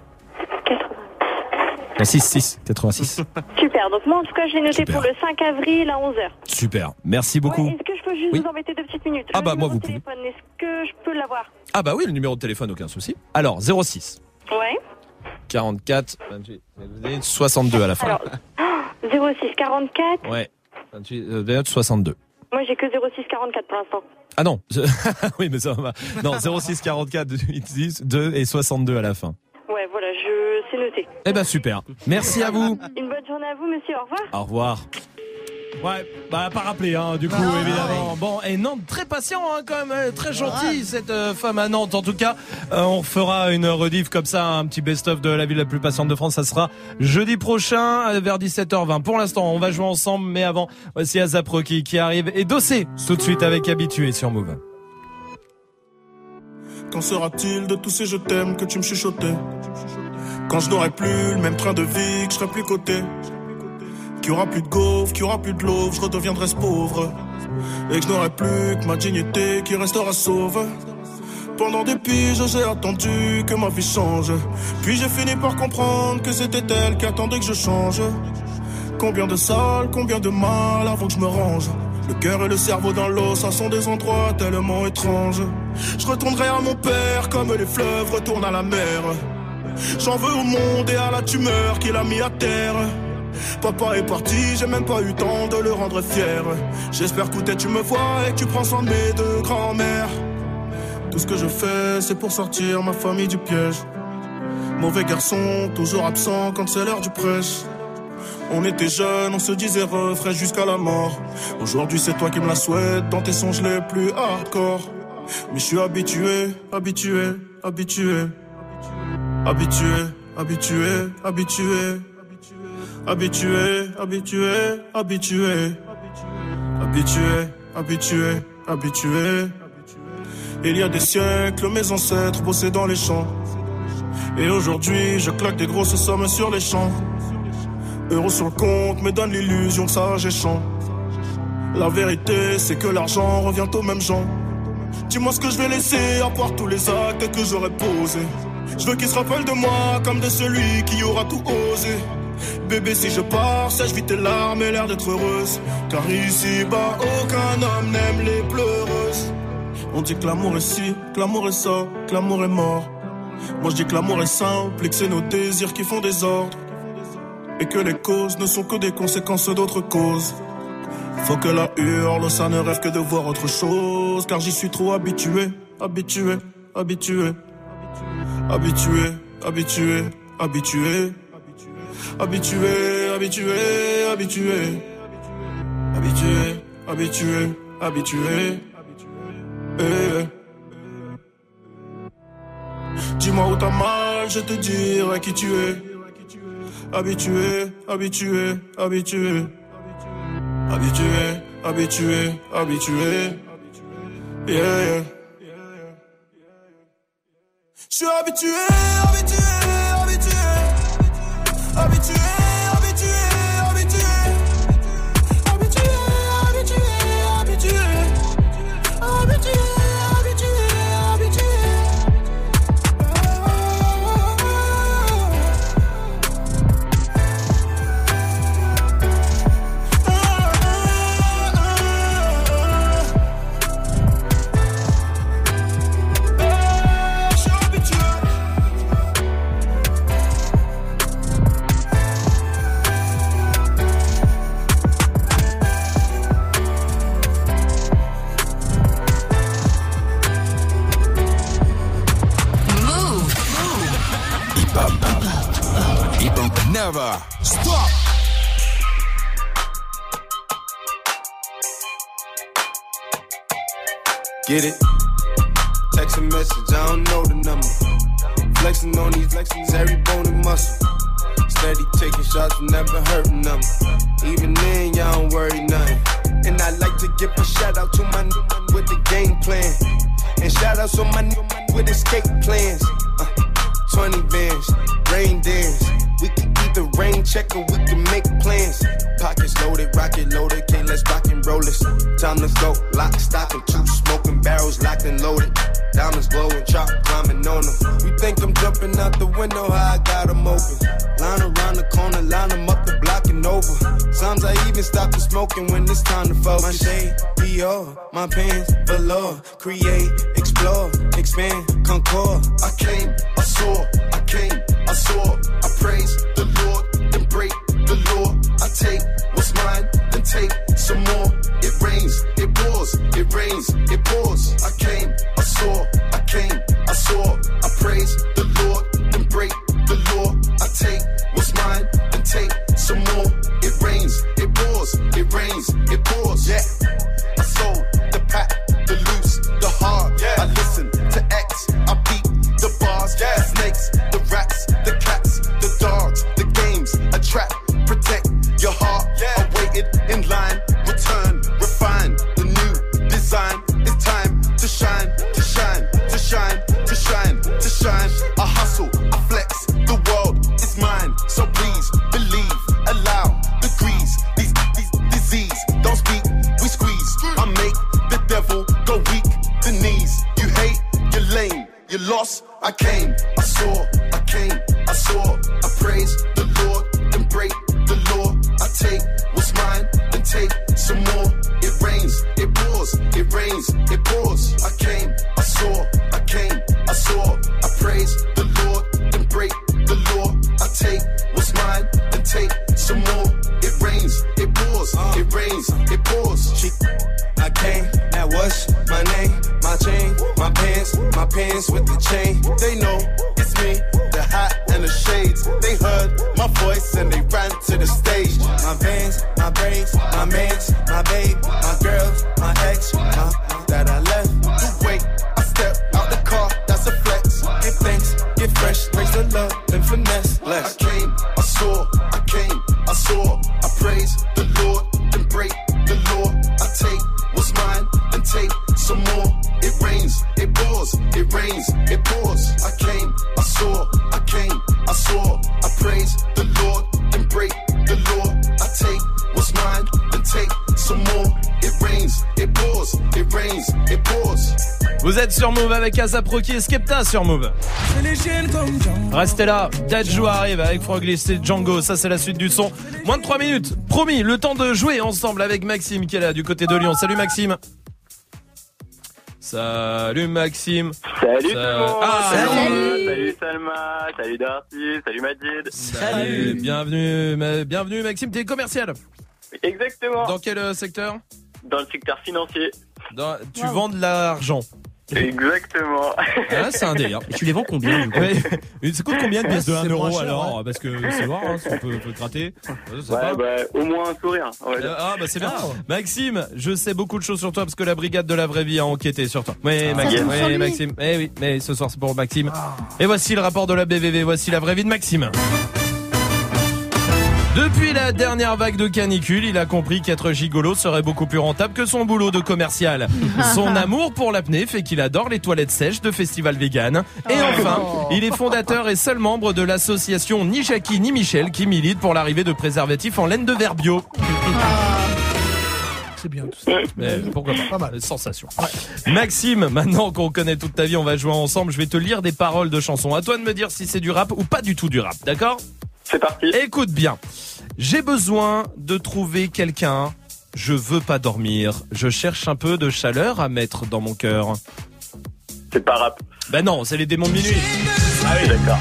S1: Non, six six quatre-vingt-six.
S16: Super, donc moi en tout cas je l'ai noté
S1: Super.
S16: pour le cinq avril à onze heures.
S1: Super, merci beaucoup.
S16: Ouais, est-ce que je peux juste
S1: Oui.
S16: vous embêter deux petites minutes?
S1: Ah
S16: Le
S1: bah,
S16: numéro
S1: moi, vous
S16: de téléphone, est-ce que je peux l'avoir?
S1: Ah bah oui, le numéro de téléphone, aucun souci. Alors, zéro six
S16: Ouais.
S1: quarante-quatre vingt-huit soixante-deux à la fin.
S16: Alors, zéro six quarante-quatre.
S1: Ouais, vingt-huit vingt-huit soixante-deux.
S16: Moi j'ai que zéro six quarante-quatre pour l'instant.
S1: Ah non, oui mais ça va. Non, zéro six quarante-quatre dix deux et soixante-deux à la fin.
S16: Ouais, voilà, je c'est noté.
S1: Eh ben super, merci à vous.
S16: Une bonne journée à vous, monsieur, au revoir.
S1: Au revoir. Ouais, bah pas rappelé hein, du coup
S6: Ah,
S1: évidemment.
S6: ouais.
S1: Bon, et Nantes très patient hein, quand même, euh, très gentil cette euh, femme à Nantes. En tout cas, euh, on fera une rediff comme ça, un petit best-of de la ville la plus patiente de France. Ça sera jeudi prochain euh, vers dix-sept heures vingt. Pour l'instant, on va jouer ensemble, mais avant, voici Azap Rocky qui arrive et Dossé tout de suite avec Habitué sur Move.
S19: Qu'en sera-t-il de tous ces je t'aime que tu me chuchotais? Quand je n'aurai plus le même train de vie, que je serai plus coté, qu'il y aura plus de gaufres, qu'il y aura plus de l'eau, je redeviendrai ce pauvre, et que je n'aurai plus que ma dignité qui restera sauve. Pendant des piges, j'ai attendu que ma vie change, puis j'ai fini par comprendre que c'était elle qui attendait que je change. Combien de salles, combien de mal avant que je me range. Le cœur et le cerveau dans l'eau, ça sont des endroits tellement étranges. Je retournerai à mon père comme les fleuves retournent à la mer. J'en veux au monde et à la tumeur qu'il a mis à terre. Papa est parti, j'ai même pas eu le temps de le rendre fier. J'espère que tu me vois et que tu prends soin de mes deux grands-mères. Tout ce que je fais, c'est pour sortir ma famille du piège. Mauvais garçon, toujours absent quand c'est l'heure du prêche. On était jeunes, on se disait refrain jusqu'à la mort. Aujourd'hui c'est toi qui me la souhaites dans tes songes les plus hardcore. Mais je suis habitué, habitué, habitué. Habitué, habitué, habitué. Habitué, habitué, habitué. Habitué, habitué, habitué. Il y a des siècles, mes ancêtres bossaient dans les champs. Et aujourd'hui, je claque des grosses sommes sur les champs. Euros sur le compte me donne l'illusion que ça j'ai champ. La vérité, c'est que l'argent revient aux mêmes gens. Dis-moi ce que je vais laisser à part tous les actes que j'aurais posés. Je veux qu'ils se rappellent de moi comme de celui qui aura tout osé. Bébé, si je pars, sèche vite tes larmes et l'air d'être heureuse. Car ici-bas, aucun homme n'aime les pleureuses. On dit que l'amour est ci, que l'amour est ça, que l'amour est mort. Moi je dis que l'amour est simple et que c'est nos désirs qui font des ordres. Et que les causes ne sont que des conséquences d'autres causes. Faut que la hurle, ça ne rêve que de voir autre chose. Car j'y suis trop habitué, habitué, habitué. Habitué, habitué, habitué. Habitué, habitué, habitué. Habitué, habitué, habitué. Eh. Dis-moi où t'as mal, je te dirai qui tu es. Habitué, habitué, habitué. Habitué, habitué, habitué. Yeah, yeah. Je suis habitué, habitué, habitué. Habitué, habitué, habitué. Habitué, habitué, habitué. Habitué, habitué, habitué.
S4: Never stop.
S20: Get it? Text a message, I don't know the number. Flexing on these flexings, every bone and muscle. Steady taking shots, never hurting them. Even then, y'all don't worry nothing. And I like to give a shout out to my new man with the game plan. And shout outs on my new man with escape plans. Uh, twenty bands, rain dance. We can either rain check or we can make plans. Pockets loaded, rocket loaded, can't let's rock and roll this. Time to go, lock, stock, and two smoking barrels locked and loaded. Diamonds glowing, chop climbing on them. You think I'm jumping out the window, how I got them open. Line around the corner, line them up the block and over. Sometimes I even stop the smoking when it's time to focus. My shade, Dior, my pants, velour. Create, explore, expand, concord. I came, I saw, I came, I saw. I praise the Lord, then break the law. I take what's mine, then take some more. It rains, it pours, it rains, it pours. I came, I saw, I came, I saw. I praise the Lord, then break the law. I take what's mine, then take some more. It rains, it pours, it rains, it pours. Yeah, I sold the pack, the loose, the hard. Yeah, I listen to X, I beat the bars. Yeah, the snakes, the rats, the cats, the dogs, the games, a trap, protect your heart. Yeah, I waited in line, return, refine the new design. It's time to shine, to shine, to shine, to shine, to shine. I hustle, I flex, the world is mine. So please believe, allow the grease, these, these disease. Don't speak, we squeeze. I make the devil go weak, the knees. You hate, you're lame, you lost. I came, I saw, I came, I saw. I praise the Lord, then break the law. I take what's mine, then take some more. It rains, it pours, it rains, it pours. I came, I saw, I came, I saw. I praise the Lord, then break the law. I take what's mine, then take some more. It rains, it pours, it rains, it pours. She, I came, that was my name, my chain, my pants, my pants with the chain. They know it's me, the hat and the shades. They heard my voice and they ran to the stage. My veins, my braids, my mans, my babe, my girls, my ex, my, that I left. You wait, I step out the car, that's a flex. Give thanks, get fresh, praise the love, then finesse. Less. I came, I saw, I came, I saw. I praise the Lord, then break the law. I take what's mine, then take some more. It rains, it pours, it rains, it pours. I came, I saw, I came, I saw. I praise the Lord, then break the law. I take what's mine, then take some more. It rains, it pours, it rains, it pours.
S1: Vous êtes sur Move avec Asap Rocky et Skepta sur Move. Restez là, Dadju arrive avec Froglis et Django, ça c'est la suite du son. Moins de trois minutes, promis, le temps de jouer ensemble avec Maxime qui est là du côté de Lyon. Salut Maxime. Salut Maxime.
S21: Salut
S1: Ça-
S21: tout le monde.
S1: Ah,
S21: salut. Salut Salma. Salut Darcy. Salut Majid.
S1: Salut. Bienvenue, ma- bienvenue Maxime. T'es commercial.
S21: Exactement.
S1: Dans quel euh, secteur?
S21: Dans le secteur financier.
S1: Dans- Tu vends de l'argent.
S21: Exactement.
S1: Ah, c'est un délire.
S15: Et tu les vends combien du coup?
S1: Ouais. Ça coûte combien de pièces de
S6: Ouais,
S1: un
S6: c'est
S1: euro
S6: moins cher,
S1: alors?
S6: ouais.
S1: Parce que c'est voir, hein, si on peut, on peut te gratter. Je sais
S21: Ouais,
S1: pas.
S21: bah, au moins un sourire. on va dire.
S1: Euh, Ah bah c'est bien. Maxime, je sais beaucoup de choses sur toi parce que la brigade de la vraie vie a enquêté sur toi. Oui, Maxime,
S13: tombe sur
S1: oui,
S13: lui.
S1: Maxime. Eh oui, mais ce soir c'est pour Maxime. Et voici le rapport de la B V V, voici la vraie vie de Maxime. Depuis la dernière vague de canicule, il a compris qu'être gigolo serait beaucoup plus rentable que son boulot de commercial. Son amour pour l'apnée fait qu'il adore les toilettes sèches de festival vegan. Et enfin, il est fondateur et seul membre de l'association Ni Jackie ni Michel qui milite pour l'arrivée de préservatifs en laine de verre bio.
S6: C'est bien tout ça.
S1: Mais pourquoi pas,
S6: Pas mal.
S1: Sensation. Maxime, maintenant qu'on connaît toute ta vie, on va jouer ensemble. Je vais te lire des paroles de chansons. À toi de me dire si c'est du rap ou pas du tout du rap, d'accord?
S21: C'est parti.
S1: Écoute bien. J'ai besoin de trouver quelqu'un. Je veux pas dormir. Je cherche un peu de chaleur à mettre dans mon cœur.
S21: C'est pas rap.
S1: Ben non, c'est les démons de minuit.
S21: Ah oui, d'accord.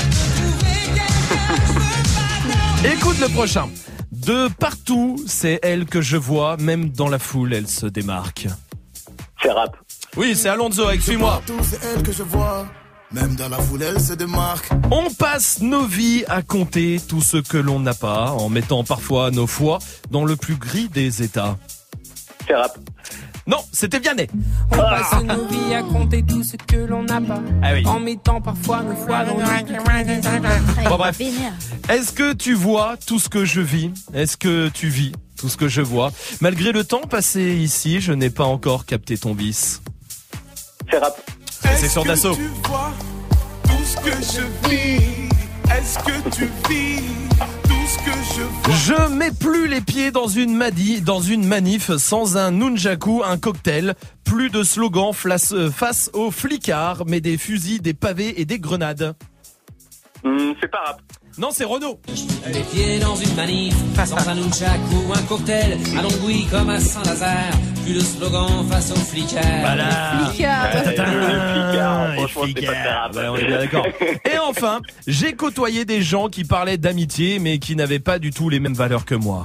S1: Écoute le prochain. De partout, c'est elle que je vois. Même dans la foule, elle se démarque.
S21: C'est rap.
S1: Oui, c'est Alonso avec Suis-moi.
S14: Partout, c'est elle que je vois. Même dans la foule, elle se démarque.
S1: On passe nos vies à compter tout ce que l'on n'a pas, en mettant parfois nos foi dans le plus gris des états.
S21: C'est rap.
S1: Non, c'était Vianney.
S22: On passe nos vies à compter tout ce que l'on n'a pas.
S1: Ah oui.
S22: En mettant parfois nos foi dans le
S1: Bon bref. Est-ce que tu vois tout ce que je vis? Est-ce que tu vis tout ce que je vois? Malgré le temps passé ici, je n'ai pas encore capté ton vice.
S21: C'est rap.
S1: C'est sur Dassault.
S18: Tu vois tout ce que je vis. Est-ce que tu vis tout ce que je vois?
S1: Je mets plus les pieds dans une madi, dans une manif sans un nunjaku, un cocktail. Plus de slogans face, euh, face aux flicards, mais des fusils, des pavés et des grenades.
S21: Hmm, c'est pas rap.
S1: Non, c'est Renaud.
S22: Les pieds dans une manif, sans un nunchak ou un cocktail, à Longwy comme à Saint-Lazare, plus de slogan face aux flicards.
S1: Voilà.
S13: Flicard.
S21: Ouais, le flicard,
S1: les
S21: franchement, c'est pas très
S1: flicards.
S21: rap.
S1: Ouais, on est bien d'accord. Et enfin, j'ai côtoyé des gens qui parlaient d'amitié, mais qui n'avaient pas du tout les mêmes valeurs que moi.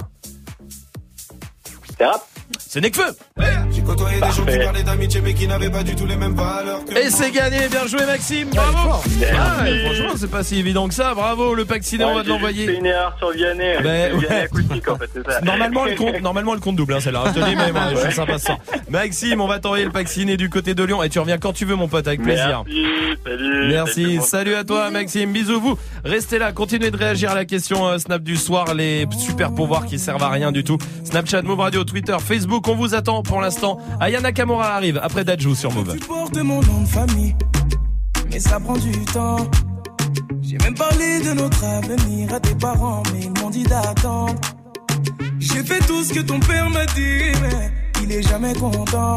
S21: C'est rap.
S1: C'est Nekfeu.
S19: J'ai côtoyé des gens qui
S21: Parfait.
S19: parlaient d'amitié mais qui n'avaient pas du tout les mêmes valeurs que
S1: Et c'est gagné, bien joué Maxime, bravo. Ah, et franchement, c'est pas si évident que ça, bravo. Le pack ciné, on va te
S21: C'est
S1: l'envoyer.
S21: une erreur sur Vianney.
S1: Ben,
S21: C'est Vianney
S1: ouais.
S21: acoustique en fait, c'est ça.
S1: Normalement le compte, normalement le compte double, hein, celle-là. Je te dis même, hein, je suis sympa ça. Maxime, on va t'envoyer le pack ciné du côté de Lyon et tu reviens quand tu veux, mon pote, avec plaisir.
S21: Merci, salut.
S1: Merci, salut à toi Maxime, bisous vous. Restez là, continuez de réagir à la question euh, Snap du soir, les super pouvoirs qui servent à rien du tout. Snapchat, Move Radio, Twitter, Facebook, on vous attend pour l'instant. Aya Nakamura arrive après Dajou sur Move.
S14: Tu portes mon nom de famille, mais ça prend du temps. J'ai même parlé de notre avenir à tes parents, mais ils m'ont dit d'attendre. J'ai fait tout ce que ton père m'a dit, mais il est jamais content.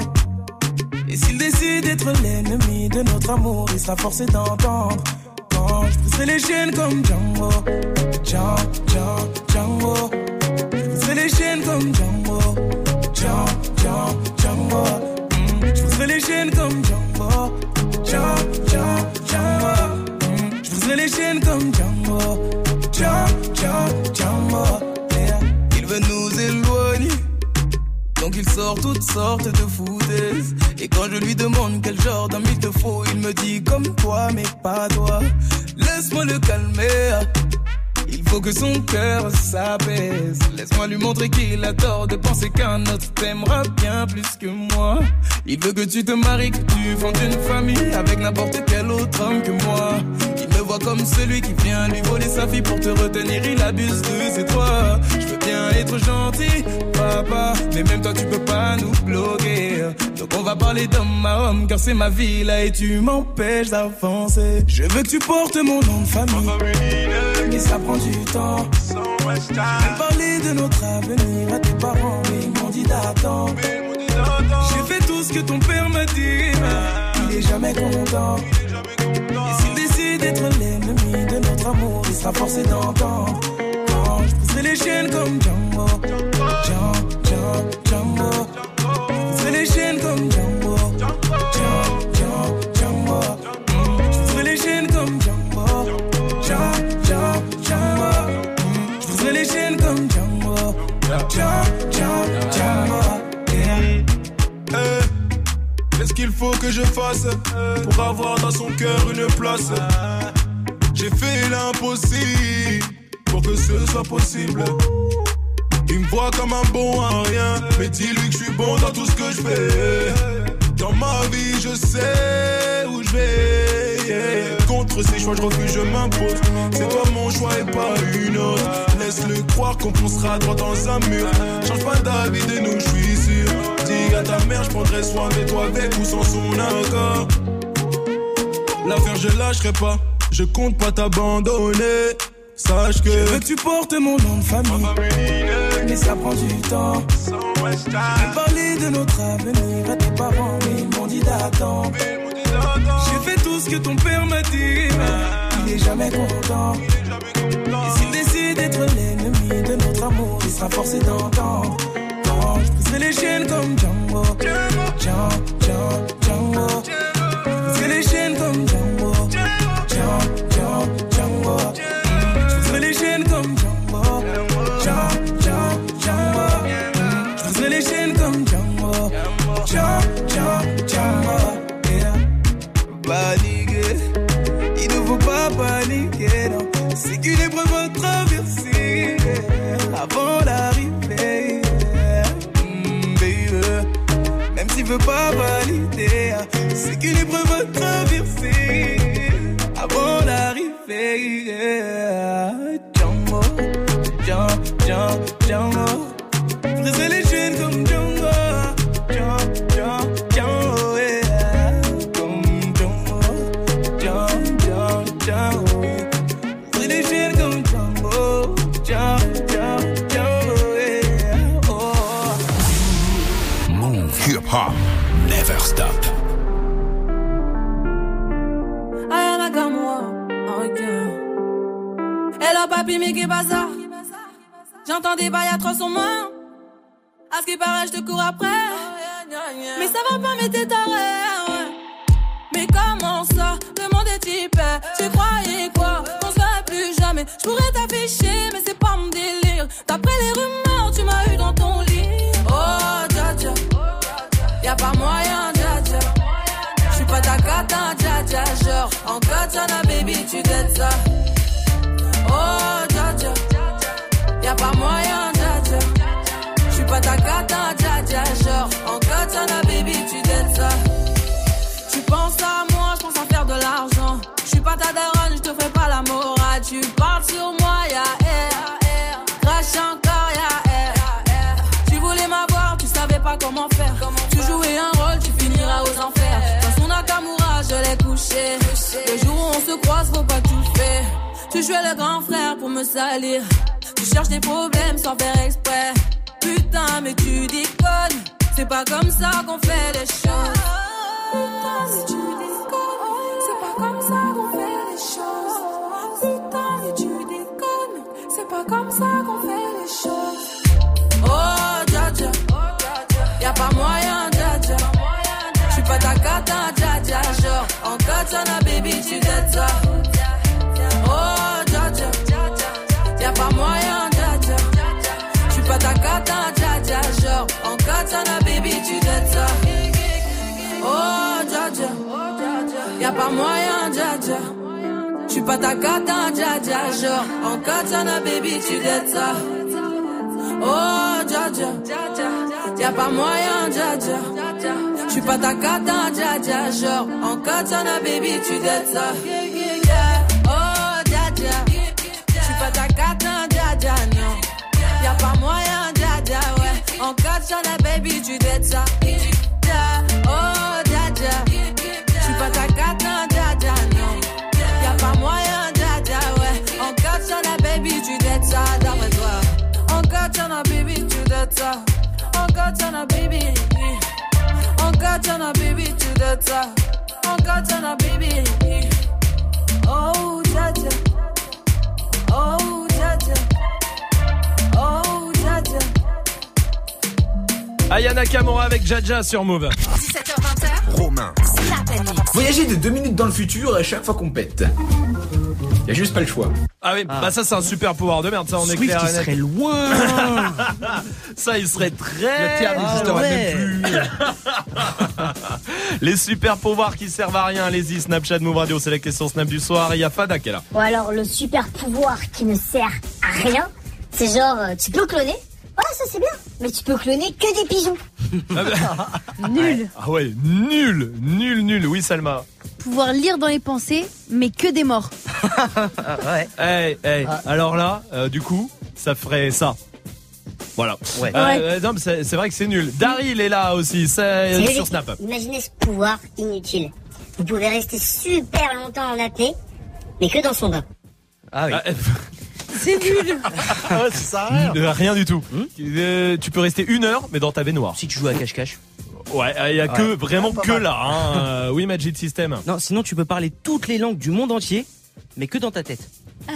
S14: Et s'il décide d'être l'ennemi de notre amour, il sera forcé d'entendre. Quand je pousserai les chaînes comme Django, Django, Django, Django. Je pousserai les chaînes comme Django, Django, Django, Django. Mm. Je pousserai les chaînes comme Django, Django, Django, Django. Mm. Je pousserai les chaînes comme Django, Django, Django, Django. Yeah. Il veut nous éloigner, donc il sort toutes sortes de foutaises. Et quand je lui demande quel genre d'homme il te faut, il me dit comme toi mais pas toi. Laisse-moi le calmer, il faut que son cœur s'apaise. Laisse-moi lui montrer qu'il a tort de penser qu'un autre t'aimera bien plus que moi. Il veut que tu te maries, que tu fondes une famille avec n'importe quel autre homme que moi. Il me voit comme celui qui vient lui voler sa fille pour te retenir, il abuse de ses droits. Je veux bien être gentil, papa, mais même toi tu peux pas nous bloquer. Donc on va parler d'homme à homme, car c'est ma vie là et tu m'empêches d'avancer. Je veux que tu portes mon nom de famille, mais ça prend du temps. J'ai même parlé de notre avenir à tes parents, mais ils m'ont dit d'attendre. J'ai fait tout ce que ton père m'a dit, mais il est jamais content. Et s'il décide d'être l'ennemi de notre amour, il sera forcé d'entendre. Quand je pousserai les chaînes comme Django, Django, Django, Django. Je pousserai les chaînes comme Django, Django,
S19: faut que je fasse pour avoir dans son cœur une place? J'ai fait l'impossible pour que ce soit possible. Il me voit comme un bon à rien, mais dis-lui que je suis bon dans tout ce que je fais. Dans ma vie, je sais où je vais. Yeah. Contre ces choix, je refuse, je m'impose. C'est toi mon choix et pas une autre. Laisse-le croire qu'on foncera droit dans un mur. Change pas d'avis de nous, je suis sûr. Dis à ta mère, je prendrai soin de toi avec ou sans son accord. L'affaire, je lâcherai pas. Je compte pas t'abandonner. Sache que
S18: je veux que tu portes mon nom de famille, mais ça prend du temps. J'ai parlé de notre avenir à tes parents, mais ils m'ont dit d'attendre. J'ai fait tout ce que ton père m'a dit, mais il est jamais content. Et s'il décide d'être l'ennemi de notre amour, il sera forcé d'entendre. Je briserai les chaînes comme Django, Django, Django, Django. Je briserai les chaînes comme Django, Django, Django, Django. Les chaînes comme Django, Django, Django, Django. Je briserai les chaînes comme Django, Django, Django, Django. Yeah. Paniquer, il ne faut pas paniquer, non. C'est qu'une épreuve à traverser, yeah. Avant l'arrivée, yeah. mm, baby. Même s'il veut pas valider, c'est qu'une épreuve à traverser avant l'arrivée, yeah. Django, Django, Django, Django. Briser les chaînes comme Django, Django, Django, yeah. Comme Django, Django, Django, Django. Briser les chaînes comme Django, Django, Django, Django, yeah. Oh.
S4: Move hip hop, never stop.
S10: Ayana Gamwa, ok. Hello papi, mais qu'est bazar? J'entends des bails à trois sur moi. À ce qui paraît, je te cours après. Mais ça va pas, mais t'es taré. Mais comment ça? Le monde est type. Tu croyais quoi? On se verrait plus jamais. Je pourrais t'afficher, mais c'est pas mon délire. D'après les rumeurs, tu m'as eu dans ton lit. Oh, dja dja. Y'a pas moyen, dja dja. J'suis pas ta cata, dja dja. Genre, en katana, baby, tu dettes ça. Oh, dja dja. Y'a pas moyen, dja dja. J'suis pas ta cata, dja dja. Genre, en katana, baby, tu dettes ça. Tu penses à moi, j'pense à faire de l'argent. J'suis pas ta daronne, j'te fais pas la morale. Tu parles sur moi, y'a air. Crache encore, y'a air. Tu voulais m'avoir, tu savais pas comment faire. Tu jouais un rôle, tu finiras aux enfers. Dans son Nakamura, je l'ai couché. Le jour où on se croise, faut pas tout faire. Tu jouais le grand frère pour me salir. Tu cherches des problèmes sans faire exprès. Putain, mais tu déconnes. C'est pas comme ça qu'on fait les choses. Putain, mais tu déconnes. C'est pas comme ça qu'on fait les choses. Putain, mais tu déconnes. C'est pas comme ça qu'on fait les choses. Oh, dja dja. Y'a pas moyen, dja dja. J'suis pas ta cata, dja dja. Genre, en katana, baby, tu dettes ça. Oh, dja dja. Y'a pas moyen, dja dja. J'suis pas ta cata, dja dja. Genre, en katana, baby, tu dettes ça. Oh, dja dja. Y'a pas moyen, dja dja. J'suis pas ta cata, dja dja. Genre, en katana, baby, tu dettes ça. Oh, dja dja. Y'a pas moyen, dja dja. J'suis pas ta cata, dja dja. Genre, en katana, baby, tu dettes ça. Oh, dja dja. J'suis pas ta cata, dja dja, non. Y'a pas moyen, dja dja, ouais. En katana, baby, tu dettes ça. Oh, dja dja. J'suis pas ta cata, dja dja, non. Y'a pas moyen, dja dja, ouais. En katana, baby, tu dettes ça, d'après toi. En katana, baby, tu dettes ça. En katana, baby. En katana, baby, tu dettes ça. En katana, baby. Oh, dja dja. Oh, dja dja. Oh, dja dja.
S1: Aya Nakamura avec Jaja sur Move.
S12: dix-sept heures vingt.
S3: Romain.
S12: Snap and Mix.
S3: Voyager de deux minutes dans le futur à chaque fois qu'on pète. Y a juste pas le choix.
S1: Ah oui, ah. bah ça c'est un super pouvoir de merde, ça on est
S15: Swift,
S1: clair.
S15: il serait loin.
S1: Ça il serait très.
S6: La Terre n'existerait
S15: ah ouais.
S6: même plus.
S1: Les super pouvoirs qui servent à rien, allez-y, Snapchat Move Radio, c'est la question Snap du soir. Il y a Fada qui est là.
S7: Ou alors le super pouvoir qui ne sert à rien, c'est genre euh, tu peux cloner. Ouais, ça c'est bien, mais tu peux cloner que des pigeons.
S13: Nul.
S1: Ah ouais, nul, nul, nul. Oui, Salma.
S13: Pouvoir lire dans les pensées, mais que des morts.
S15: Ouais.
S1: Hey, hey. Ah. Alors là, euh, du coup, ça ferait ça. Voilà.
S15: Ouais.
S1: Euh,
S13: ouais.
S1: euh, non, mais c'est, c'est vrai que c'est nul. Daryl est là aussi, c'est, c'est sur Snap.
S7: Imaginez ce pouvoir inutile. Vous pouvez rester super longtemps en apnée, mais que dans son bain.
S15: Ah oui.
S1: Ah,
S13: C'est nul.
S6: Ah ouais, ça sert à rien.
S1: Rien du tout.
S15: Hmm
S1: euh, tu peux rester une heure, mais dans ta baignoire.
S15: Si tu joues à cache-cache.
S1: Ouais, il y a que
S15: Ouais.
S1: vraiment
S6: Pas
S1: que
S6: mal.
S1: là. Hein. Oui, Magic System.
S15: Non, sinon tu peux parler toutes les langues du monde entier, mais que dans ta tête.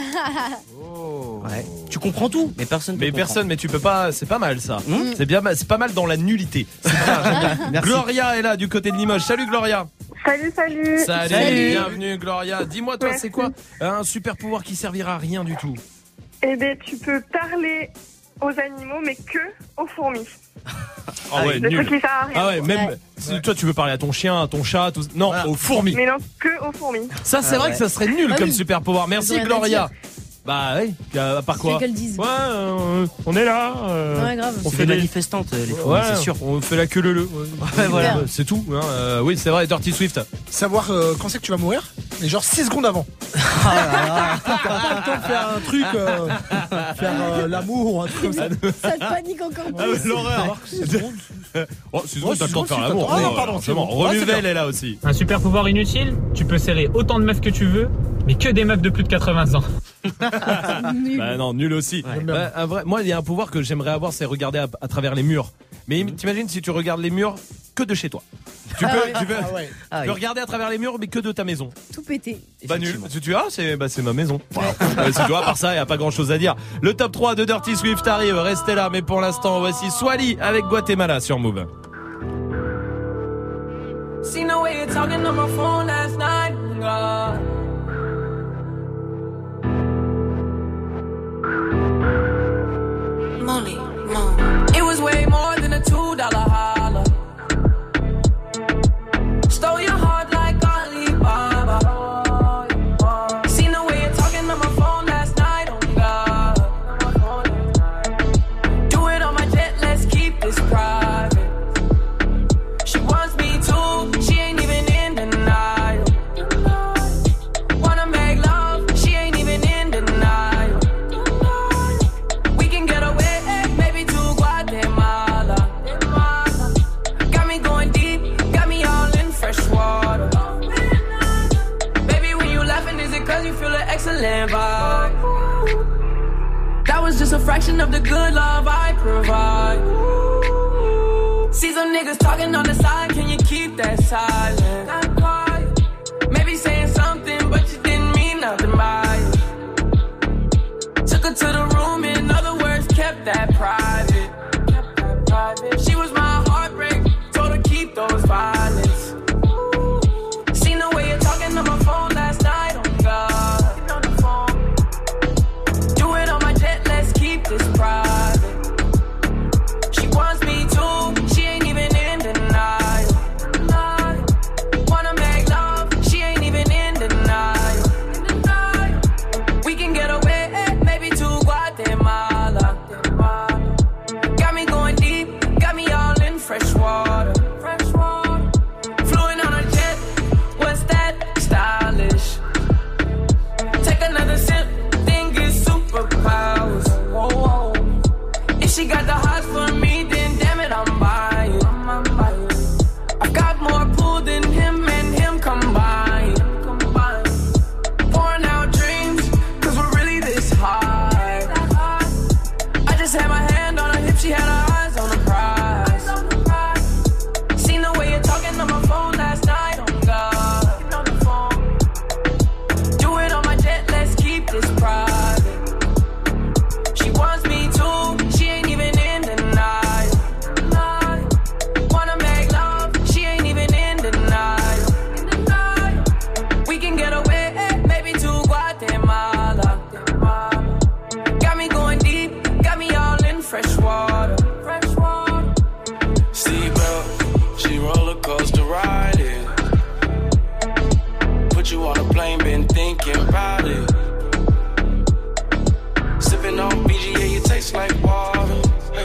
S1: Oh.
S15: Ouais. Tu comprends tout, mais personne.
S1: Mais
S15: comprend.
S1: personne, mais tu peux pas. C'est pas mal ça.
S15: Mmh.
S1: C'est bien, c'est pas mal dans la nullité. C'est bien, Gloria est là du côté de Limoges. Salut Gloria.
S16: Salut, salut.
S1: Salut,
S13: Salut.
S1: bienvenue Gloria. Dis-moi toi,
S16: Merci.
S1: c'est quoi un super pouvoir qui servira à rien du tout?
S16: Eh bien, tu peux parler aux animaux, mais que aux fourmis.
S1: Ah ouais,
S16: Le
S1: nul.
S16: truc qui sert à rien.
S1: Ah ouais, même
S13: Ouais.
S1: si toi tu veux parler à ton chien, à ton chat, tout... non,
S6: Voilà.
S1: aux fourmis.
S16: Mais non, que aux fourmis.
S1: Ça c'est
S15: Ah
S1: vrai
S15: ouais.
S1: que ça serait nul
S13: Ah
S1: comme
S13: oui.
S1: super pouvoir. Merci
S13: Ils ont rien à
S1: Gloria.
S13: dire.
S1: Bah oui, à part quoi?
S13: C'est qu'elles disent.
S1: Ouais, euh, on est là. euh,
S13: Ouais, grave.
S1: On
S15: C'est
S1: fait
S15: des
S1: des
S15: manifestantes, les fourmis,
S1: Ouais,
S15: c'est sûr.
S1: on fait la queue le le.
S15: Ouais, voilà.
S1: Euh, C'est tout. Hein. Euh, oui, c'est vrai. Dirty Swift.
S6: Savoir euh, quand c'est que tu vas mourir, mais genre six secondes avant.
S15: Ah là là.
S6: T'as pas le temps de faire un truc, euh, faire euh, l'amour ou un truc comme ça.
S13: Ça te panique encore
S1: Ah, mais
S13: plus.
S1: l'horreur.
S6: six secondes.
S1: Oh, c'est
S6: Ouais,
S1: bon, t'as le temps de
S6: six
S1: faire
S6: secondes,
S1: l'amour.
S6: t'as le temps.
S1: Oh,
S6: Ah, pardon, c'est
S1: bon.
S6: bon. Ouais, c'est
S1: Renuvelle
S6: bien.
S1: est là aussi.
S23: Un super pouvoir inutile, tu peux serrer autant de meufs que tu veux, mais que des meufs de plus de quatre-vingts ans.
S13: Nul.
S1: Bah non, nul aussi.
S6: Ouais.
S1: Bah, un vrai, moi, il y a un pouvoir que j'aimerais avoir, c'est regarder à, à travers les murs. Mais t'imagines si tu regardes les murs que de chez toi. Tu peux,
S13: Ah ouais.
S1: tu peux,
S6: Ah ouais.
S15: Ah
S1: tu
S15: oui.
S1: peux regarder à travers les murs, mais que de ta maison.
S13: Tout pété.
S1: Bah nul.
S15: Effectivement.
S1: Tu, tu ah, c'est bah c'est ma maison. Voilà. Euh, c'est toi, à part ça, il y a pas grand chose à dire. Le top trois de Dirty Swift arrive. Restez là, mais pour l'instant, voici Swally avec Guatemala sur Move.
S10: Seen the way you're talking on my phone last night. God. Molly, Mo. It was way more than a two dollar holler. Stole your heart like Alibaba. Seen the way you're talking on my phone last night. Oh God. Do it on my jet. Let's keep this private. She wants me too, she ain't even in denial. Wanna make love, she ain't even in denial. We can get away, maybe to Guatemala. Got me going deep, got me all in fresh water. Baby, when you laughing, is it cause you feel an excellent vibe? That was just a fraction of the good love I provide. See some niggas talking on the side, can you keep that silent? Not quiet. Maybe saying something, but you didn't mean nothing by it. Took her to the room, in other words, kept that private. Kept that private. She was my heartbreak, told her keep those violets. Seen the way you're talking on my phone last night, oh God. Getting on the phone. Do it on my jet, let's keep this private. She wants me too, she ain't even in denial. Denial. Wanna make love, she ain't even in denial. Denial. We can get away, maybe to Guatemala. Got me going deep, got me all in fresh water. Fresh water. Fluent on a jet, what's that? Stylish. Take another sip, think it's superpowers. Whoa, whoa. If she got the hots for me, then damn it, I'm buying. I'm buying. I've got more pool than him and him combined. Combined. Pouring out dreams, cause we're really this high. I just had my hand on her hip, she had her eyes on the prize.
S18: taste like water.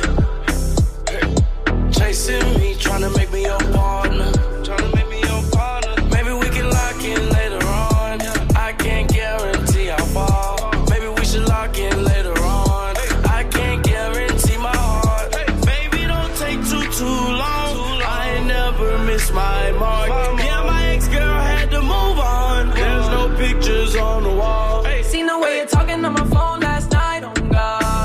S18: Chasing me, trying to make me your partner. Trying to make me your partner. Maybe we can lock in later on. I can't guarantee how far. Maybe we should lock in later on. I can't guarantee my heart. Baby, don't take too, too long. I ain't never miss my mark. Yeah, my ex-girl had to move on. There's no pictures on the wall.
S10: See no way you're talking on my phone last night, oh God.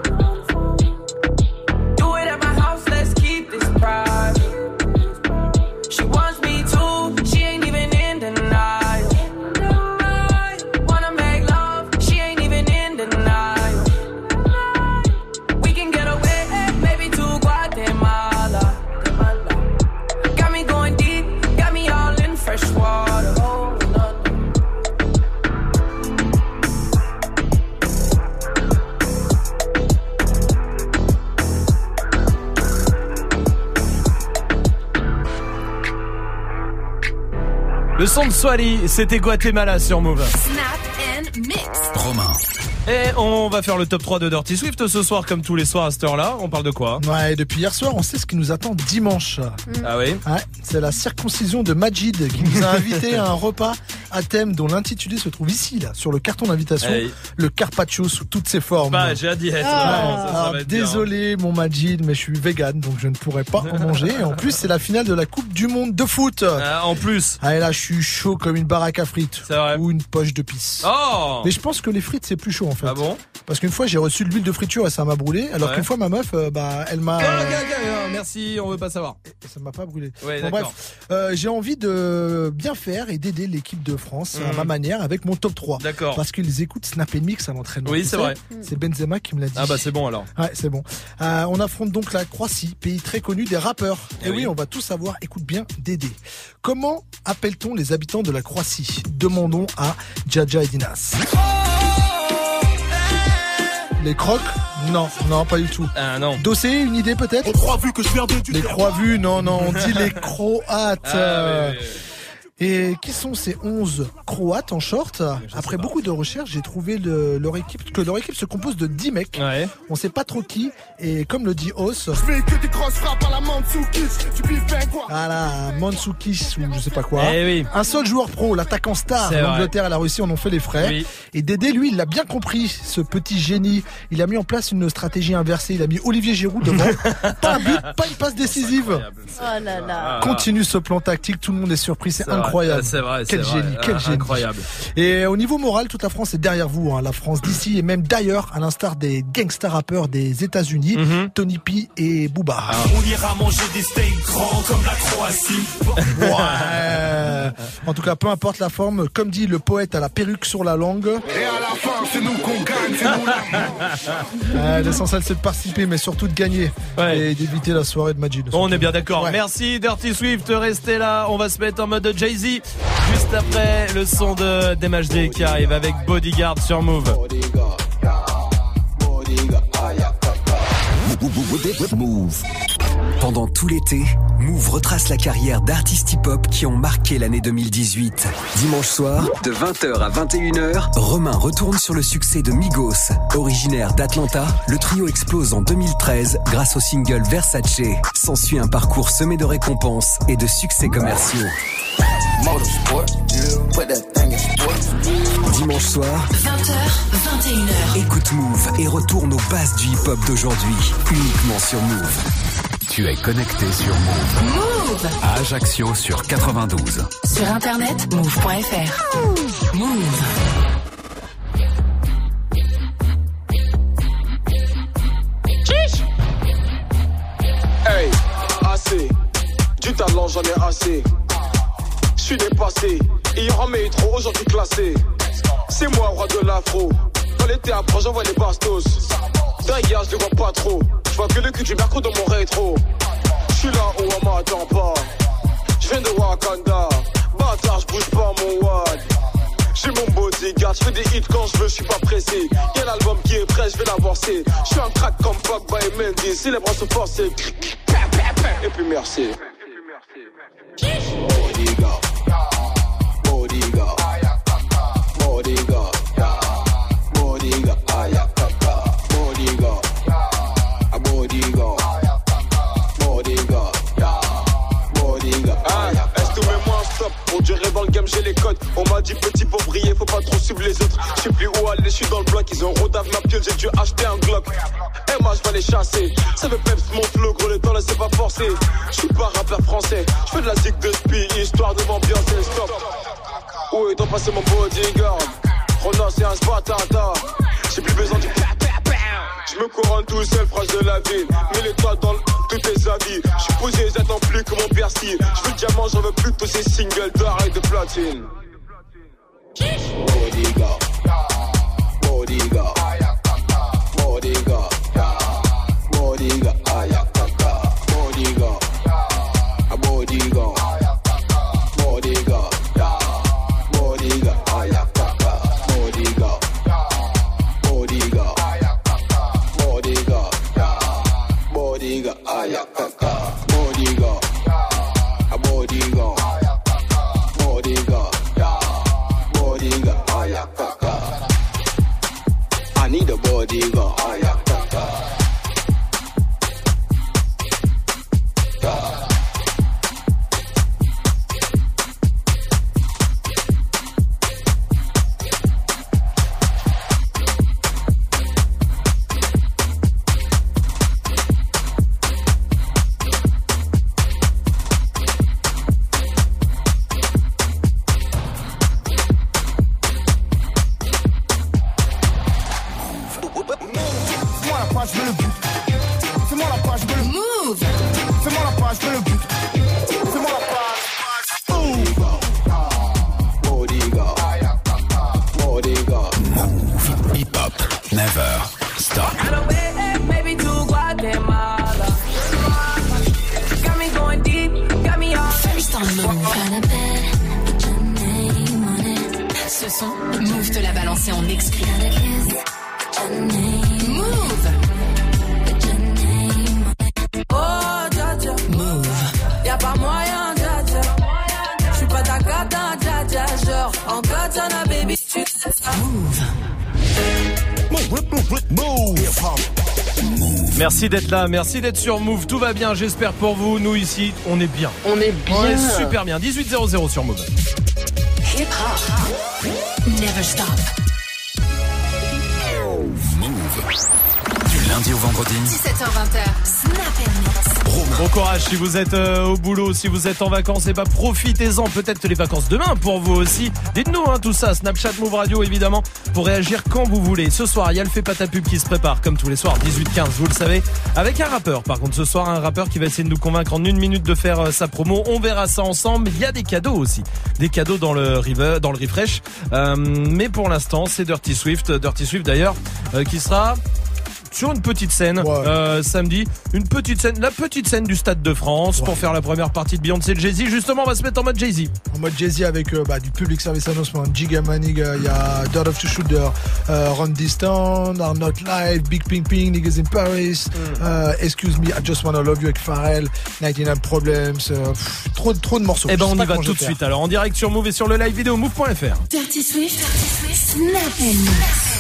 S10: Do it at my house, let's keep this private. She wants me too, she ain't even in denial. Wanna make love, she ain't even in denial. We can get away, maybe to Guatemala. Got me going deep, got me all in fresh water. Oh, no.
S1: Le son de Swally, c'était Guatemala sur Move.
S12: Snap and Mix.
S4: Romain.
S1: Et on va faire le top trois de Dirty Swift ce soir, comme tous les soirs à cette heure-là. On parle de quoi?
S6: Ouais, depuis hier soir, on sait ce qui nous attend dimanche.
S1: Ah oui?
S6: Ouais, c'est la circoncision de Majid qui nous a invités à un repas à thème dont l'intitulé se trouve ici, là, sur le carton d'invitation.
S1: Hey.
S6: Le carpaccio sous toutes ses formes.
S1: Bah, j'ai hâte d'y être.
S6: Ah,
S1: ça, ça va être
S6: désolé, mon Majid, mais je suis vegan, donc je ne pourrais pas en manger. Et en plus, c'est la finale de la Coupe du Monde de foot.
S1: Ah, en plus.
S6: Ah, et là, je suis chaud comme une baraque à frites.
S1: C'est vrai.
S6: Ou une poche de pisse.
S1: Oh!
S6: Mais je pense que les frites, c'est plus chaud, en fait.
S1: Ah bon?
S6: Parce qu'une fois, j'ai reçu de l'huile de friture et ça m'a brûlé. Alors
S1: Ouais.
S6: qu'une fois, ma meuf, euh, bah, elle m'a...
S1: Ok, ok, ok, merci, on veut pas savoir.
S6: Et ça m'a pas brûlé.
S1: Ouais,
S6: Bon,
S1: d'accord.
S6: bref, euh, j'ai envie de bien faire et d'aider l'équipe de France à
S1: Mhm.
S6: ma manière avec mon top trois.
S1: D'accord.
S6: Parce qu'ils écoutent Snap and Mix à l'entraînement.
S1: Oui,
S6: Tu
S1: c'est
S6: sais,
S1: vrai.
S6: C'est Benzema qui me l'a dit.
S1: Ah bah c'est bon alors.
S6: Ouais, c'est bon. Euh, on affronte donc la Croatie, pays très connu des rappeurs.
S1: Eh
S6: Et oui,
S1: oui.
S6: on va tout savoir. Écoute bien, Dédé. Comment appelle-t-on les habitants de la Croatie? Demandons à Jaja et Dinas. Les crocs? Non, non, pas du tout.
S1: Ah non.
S6: Dossé, une idée peut-être?
S19: On croit vu que je viens de
S6: Les croix vues, non, non, on dit les Croates.
S1: Ah, oui, oui, oui.
S6: Et qui sont ces onze Croates en short? Après beaucoup de recherches, j'ai trouvé le- leur équipe, que leur équipe se compose de dix mecs.
S1: Ouais.
S6: On sait pas trop qui. Et comme le dit Os,
S19: Je fais que des grosses frappes à la Mandzoukis. Tu piffes bien quoi?
S6: voilà, Mandzoukis ou je sais pas quoi.
S1: Eh oui.
S6: Un seul joueur pro, l'attaquant star.
S1: C'est vrai.
S6: L'Angleterre et la Russie en ont fait les frais.
S1: Oui.
S6: Et Dédé, lui, il l'a bien compris, ce petit génie. Il a mis en place une stratégie inversée. Il a mis Olivier Giroud devant. Pas un but, pas une passe décisive.
S13: Oh là là.
S6: Continue ce plan tactique, tout le monde est surpris, c'est
S1: C'est vrai.
S6: incroyable.
S1: Ah, c'est vrai,
S6: Quel
S1: c'est vrai.
S6: génie, quel
S1: Ah,
S6: génie.
S1: incroyable.
S6: Et au niveau moral, toute la France est derrière vous, hein. La France d'ici et même d'ailleurs, à l'instar des gangsta rappeurs des États-Unis,
S1: Mhm.
S6: Tony P et Booba.
S1: Ah.
S19: On ira manger des steaks grands comme la Croatie.
S6: Ouais. En tout cas, peu importe la forme, comme dit le poète à la perruque sur la langue.
S19: Et à la fin, c'est nous qu'on gagne, c'est nous la
S6: Euh, l'essentiel c'est de participer, mais surtout de gagner
S1: Ouais.
S6: et d'éviter la soirée de Majid.
S1: On est bien d'accord.
S6: Ouais.
S1: Merci Dirty Swift, restez là. On va se mettre en mode Jay-Z. Juste après le son de D M H D qui arrive avec Bodyguard sur Move.
S4: Move. Pendant tout l'été, Move retrace la carrière d'artistes hip-hop qui ont marqué l'année deux mille dix-huit. Dimanche soir, de vingt heures à vingt et une heures, Romain retourne sur le succès de Migos. Originaire d'Atlanta, le trio explose en deux mille treize grâce au single Versace. S'ensuit un parcours semé de récompenses et de succès commerciaux. Dimanche soir,
S12: vingt heures, vingt et une heures.
S4: écoute Move et retourne aux bases du hip-hop d'aujourd'hui, uniquement sur Move. Tu es connecté sur Move.
S12: Move.
S4: À Ajaccio sur quatre-vingt-douze.
S12: Sur internet, move point f r. Move.
S20: Hey, assez. Du talent, j'en ai assez. Je suis dépassé. Hier en métro, aujourd'hui classé. C'est moi, roi de l'afro. Dans l'été après, j'envoie les bastos. D'ailleurs, je les vois pas trop. Je vois que le cul du merco dans mon rétro. Je suis là où on m'attend pas. Je viens de Wakanda. Bâtard, je bouge pas mon wad. J'ai mon bodyguard, je fais des hits quand je veux, je suis pas pressé. Y'a l'album qui est prêt, je vais l'avancer. Je suis un crack comme Pogba et Mendy. Si les bras se forcent, c'est et puis merci. Bodyguard, bodyguard, bodyguard, bodyguard, bodyguard,
S19: game, j'ai les codes. On m'a dit petit pour briller, faut pas trop suivre les autres. Je sais plus où aller, je suis dans le bloc. Ils ont rodave ma piole, j'ai dû acheter un Glock. Et moi je vais les chasser. Ça veut peps mon flow, gros les temps laissez pas forcer. Je suis pas rappeur français, je fais de la zig de spi, histoire de m'ambiancer, stop. Où est donc passé mon bodyguard? Rona c'est un spatata. J'ai plus besoin du pa pa pa. Je me couronne tout seul, phrase de la ville. Mets les toits dans le... tous tes avis. Je suis posé, j'attends plus que mon Bercy. Je veux le diamant, j'en veux plus de tous ces singles d'or et de platine. Bodyguard, bodyguard, bodyguard, bodyguard, ayakaka, bodyguard, bodyguard, bodyguard, bodyguard, ayakaka, bodyguard, bodyguard, bodyguard, bodyguard, ayakaka, bodyguard, bodyguard, bodyguard, bodyguard, ayakaka. I need a bodyguard, ayakaka.
S12: Move te l'a balancé en exclu. Move.
S10: Oh, dja dja. Move. Y'a pas moyen, dja dja. J'suis pas ta cata, dja dja. Genre, en katana, baby, tu sais ça.
S12: Move.
S1: Merci d'être là, merci d'être sur Move, tout va bien, j'espère pour vous, nous ici, on est bien.
S15: On est bien.
S1: On est super bien, dix-huit zéro zéro sur Move.
S12: Hip hop. Never stop.
S4: Move. Du lundi au vendredi.
S12: dix-sept heures vingt. Snap and Mix.
S1: Bon courage si vous êtes euh, au boulot, si vous êtes en vacances, et bah profitez-en, peut-être les vacances demain pour vous aussi. Dites-nous hein, tout ça, Snapchat Move Radio évidemment, pour réagir quand vous voulez. Ce soir, il y a le Fait pas ta pub qui se prépare, comme tous les soirs, dix-huit quinze, vous le savez, avec un rappeur. Par contre, ce soir, un rappeur qui va essayer de nous convaincre en une minute de faire euh, sa promo. On verra ça ensemble. Il y a des cadeaux aussi, des cadeaux dans le river, dans le refresh. Euh, mais pour l'instant, c'est Dirty Swift, Dirty Swift d'ailleurs, euh, qui sera sur une petite scène ouais. euh, samedi, une petite scène, la petite scène du Stade de France ouais. pour faire la première partie de Beyoncé et de Jay-Z. Justement, on va se mettre en mode Jay-Z.
S6: En mode Jay-Z avec euh, bah, du public service announcement, Giga Maniga, il y a Dirt of the Shooter, euh, Randy Stone, Are Not Live, Big Ping Ping, Niggas in Paris, mm. euh, Excuse Me, I Just Wanna Love You avec Pharrell, quatre-vingt-dix-neuf Problems, euh, pff, trop, trop de morceaux.
S1: Et ben on y va tout de faire. Suite alors, en direct sur Move et sur le live vidéo move point f r.
S12: Dirty Swift, Dirty Swift, Snap and Mix.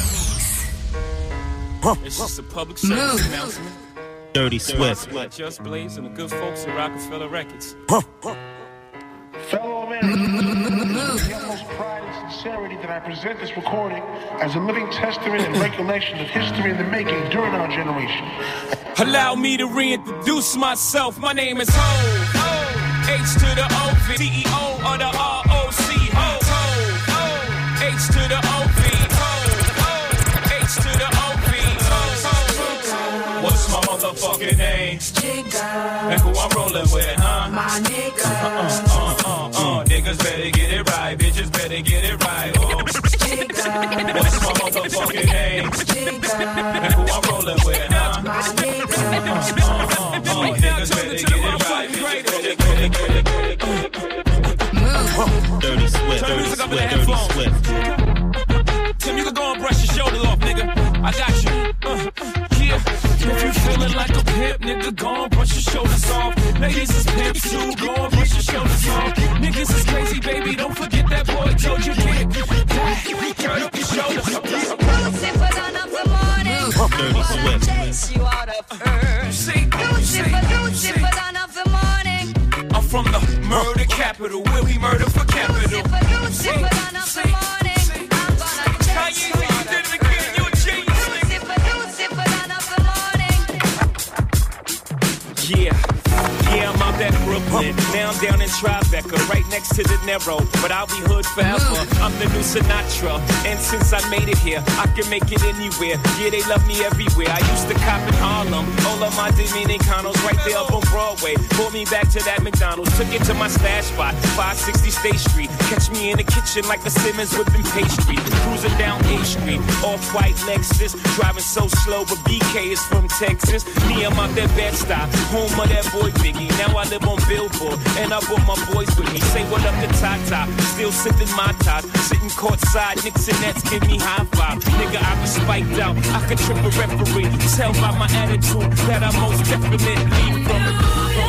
S2: It's just a public service announcement. Dirty Swift. Just Blaze and the good folks at Rockefeller Records.
S5: Fellow Americans, the utmost pride and sincerity that I present this recording as a living testament and recollection of history in the making during our generation.
S2: Allow me to reintroduce myself. My name is Ho. H to the O V. C E O of the R O C. Ho. H to the O V. H to the O V. What's my motherfucking name? And who I'm rolling with, huh?
S10: My nigga.
S2: Uh, uh, uh, uh. Niggas better get it right. Bitches better get it right. Oh. What's my motherfucking name? And who I'm rolling with, huh?
S10: My nigga.
S2: Uh, uh, uh. Niggas better get it right. Bitches better get it, get it, get it, get it. Move. Dirty Swift, Dirty Swift, Dirty Swift. Tim, you can go and brush your shoulders off, nigga. I got you. Uh, yeah. If you feeling like a pimp, nigga, go and brush your shoulders off. Ladies is pimps too, go and brush your shoulders off. Niggas is crazy, baby, don't forget that boy told you can't. Turn up your shoulders.
S10: Lucifer, down of the morning. I'm gonna chase you out of earth. Lucifer, Lucifer, down of the morning.
S2: I'm from the Murder capital, where we murder for capital. See, see, see. Kanye, you did it again, you a genius, nigga. Yeah. Yeah, I'm out at Brooklyn. Now I'm down in Tribeca, right next to the Narrow. But I'll be hood forever. I'm the new Sinatra. And since I made it here, I can make it anywhere. Yeah, they love me everywhere. I used to cop in Harlem. All of my Dominicanos right there up on Broadway. Pulled me back to that McDonald's. Took it to my stash spot, five sixty State Street. Catch me in the kitchen like the Simmons whipping pastry. Cruising down A Street, off-white Lexus. Driving so slow, but B K is from Texas. Me, I'm out that Bed-Stuy, home of that boy Biggie. Now I live on Billboard, and I brought my boys with me. Say what up to Tata, still sipping my top. Sitting courtside, Knicks and Nets give me high five. Nigga, I was spiked out, I could trip a referee. Tell by my attitude that I most definitely from it.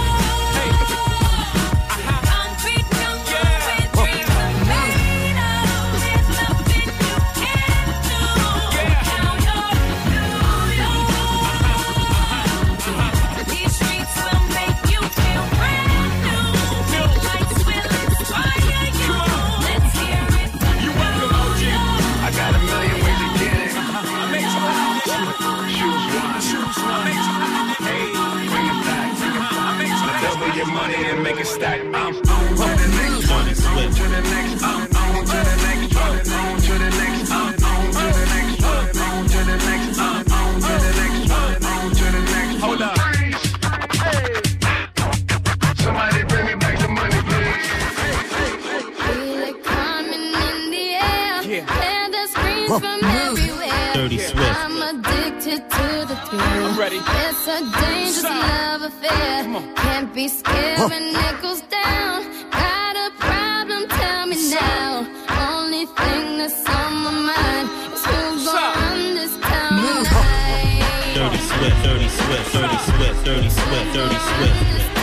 S2: Money and make it stack. I'm on to the next one. On to the next one. On to the next one. On to the next one. On to the next one. On to the next one. On to the next one. On to the next one. Hold up. Hey. Somebody bring me back the money, please. Feel it coming in the air. Hear the screams from everywhere.
S22: Dirty Swift.
S2: I'm addicted to the thrill. I'm ready. It's a dangerous love affair. Can't be scared when it goes down. Got a problem, tell me now. Only thing that's on my mind is who's gonna run this town tonight.
S22: Dirty Swift, Dirty Swift, Dirty Swift, Dirty Swift, Dirty Swift.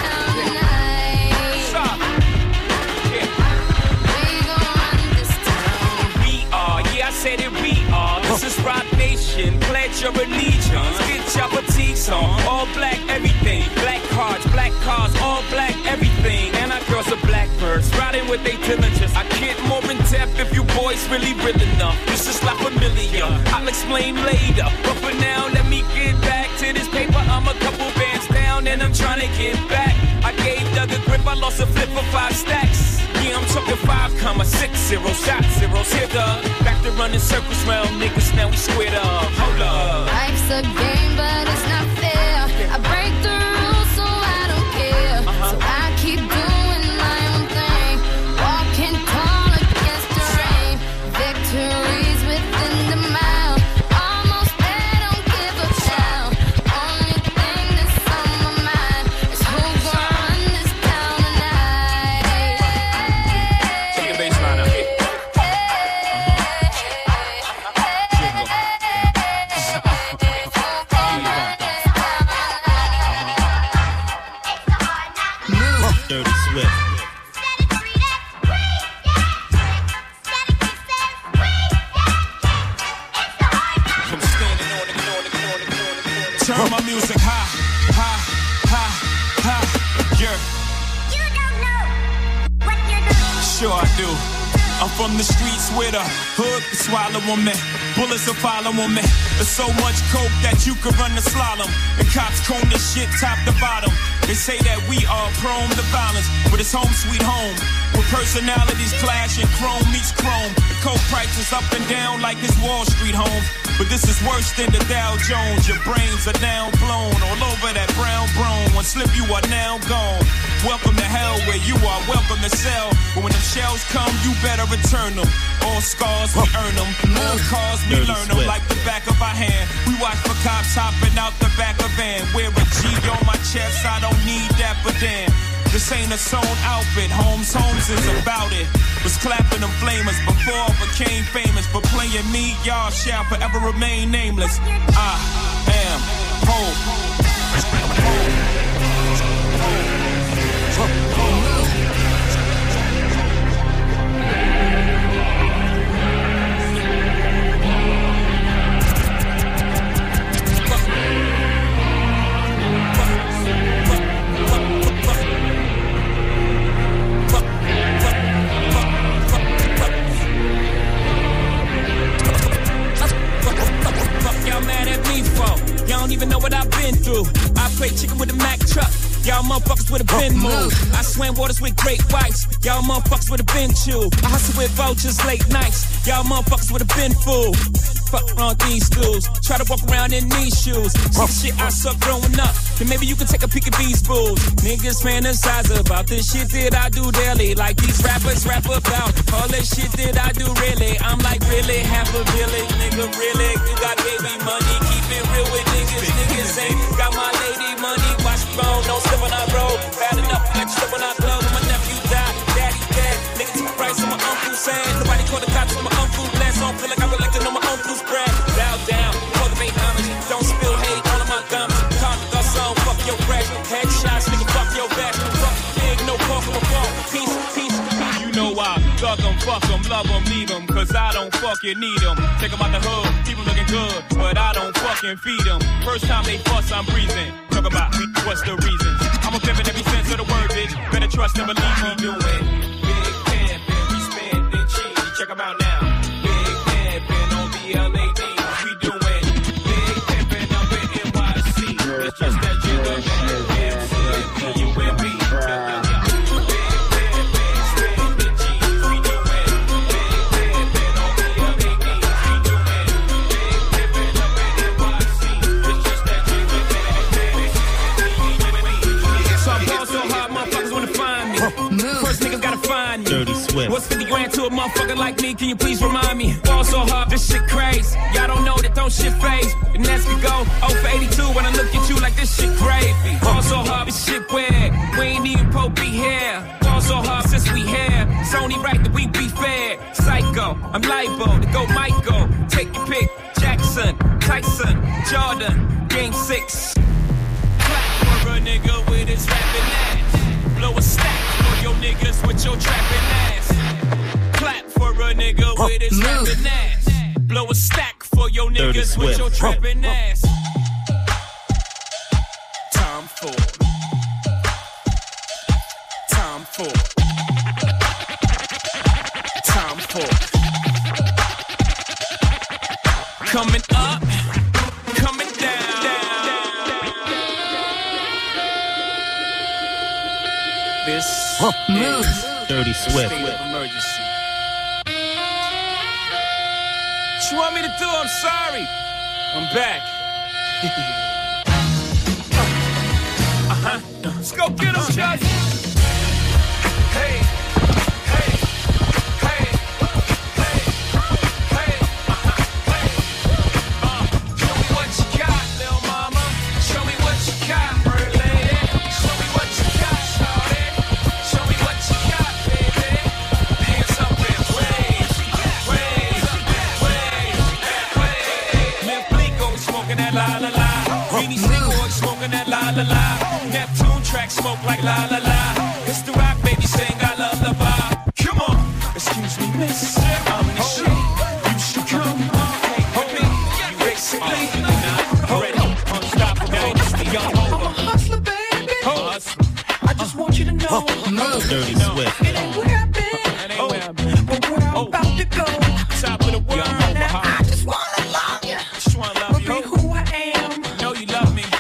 S2: We are, yeah, I said it, we are. This is Rock Nation, pledge your allegiance. Get your boutiques on, all black everything. Black cards, black cars, all black everything. And our girls are blackbirds, riding with their diligence. I get more in depth if you boys really real enough. This is not familiar, I'll explain later. But for now, let me get back to this paper. I'm a couple bands down and I'm trying to get back. I gave Doug a grip, I lost a flip for five stacks. Yeah, I'm talking five comma six zero, shot zeros. Here, Doug, back to running circles round niggas, now we squared up. Hold up. Life's a game, but it's not fair. I break the rules, so I don't care. Uh-huh. So I keep doing my own thing. Walking tall against the rain. Victories within the mile. Almost there, don't give up now. Only thing that's on my mind is who's gonna run this town tonight. Take the bass line up.
S22: Dirty Swift.
S2: Turn my music high, high, high, high, yeah. You don't know what you're doing. Sure I do. I'm from the streets where the hood can swallow on me. Bullets will follow on me. There's so much coke that you could run the slalom. And cops comb this shit top to bottom. They say that we are prone to violence, but it's home sweet home. With personalities clashing, chrome meets chrome. The coke prices up and down like it's Wall Street home. But this is worse than the Dow Jones. Your brains are now blown all over that brown brone. One slip, you are now gone. Welcome to hell where you are welcome to sell. But when them shells come, you better return them. All scars, we earn them. All cars, we learn them like the back of our hand. We watch for cops hopping out the back of van. Wear a G on my chest, I don't need that, but damn. This ain't a sewn outfit, Holmes, Holmes is about it. Was clapping them flamers before I became famous. But playing me, y'all shall forever remain nameless. I am home. motherfuckers would have been moved. I swam waters with great whites. Y'all motherfuckers would have been chewed. I hustle with vultures late nights. Y'all motherfuckers would have been fooled. Fuck around these schools. Try to walk around in these shoes. See the shit I suck growing up. Then maybe you can take a peek at these fools. Niggas fantasize about this shit that I do daily. Like these rappers rap about all this shit that I do really. I'm like really half a village, nigga, really. You got baby money, keep it real with niggas. Niggas ain't got my lady money. Watch the phone, don't slip when I roll. Bad enough, extra when I blow. When my nephew died, daddy dead. Niggas took a price on my uncle sad. Nobody called the cops on my uncle blast. I don't feel like I'm elected on my uncle's bread. Bow down, for the main homage. Don't spill hate all of my gums. Talk to the song, fuck your crash. Headshots, nigga, fuck your back. Fuck big, no call from a phone. Peace, peace, peace. You know I thug them, fuck them, love them, leave them. Cause I don't fucking need them. Take them out the hood, people looking good. But I don't fucking feed them. First time they fuss, I'm breathing. Talk about me, what's the reason? I'm a pimp in every sense of the word, bitch. Better trust and believe me doing. Big pimpin', we spendin' cheese. Check them out now. Big pimpin' on B L A D. We doing. Big pimpin' up in N Y C. It's just that jigger, M C, you and me. Dirty Swift. What's fifty grand to a motherfucker like me? Can you please remind me? Fall so hard, this shit crazy. Y'all don't know that don't shit phase. And as we go, oh for eighty-two when I look at you like this shit gravy. Fall so hard, this shit weird. We ain't even Pope be here. Fall so hard since we here. It's only right that we be fair. Psycho, I'm liable to go Michael. Take your pick. Jackson, Tyson, Jordan, Game six. Clap for a nigga with his rapping ass. Blow a stack for your niggas with your trapping ass. Clap for a nigga with his rapping ass. Blow a stack for your niggas with your trapping ass. Time for. Time for. Time for. Coming up, coming down. This huh. is
S1: Dirty Swift.
S2: State of emergency. What you want me to do? I'm sorry. I'm back. uh-huh. Let's go get him, Chuck. Hey. La la la, Neptune track smoke like la la la. It's the rock baby sing I love the bar. Come on, excuse me miss, I'm the shit. You should come, hey homie, you basically already unstoppable. I'm a hustler baby, I just want you to know.
S1: Dirty Swift.
S2: It ain't where I've been, oh, but where I'm about to go. Top of the world, I just wanna love you. Just wanna love you. Be who I am. Know you love me.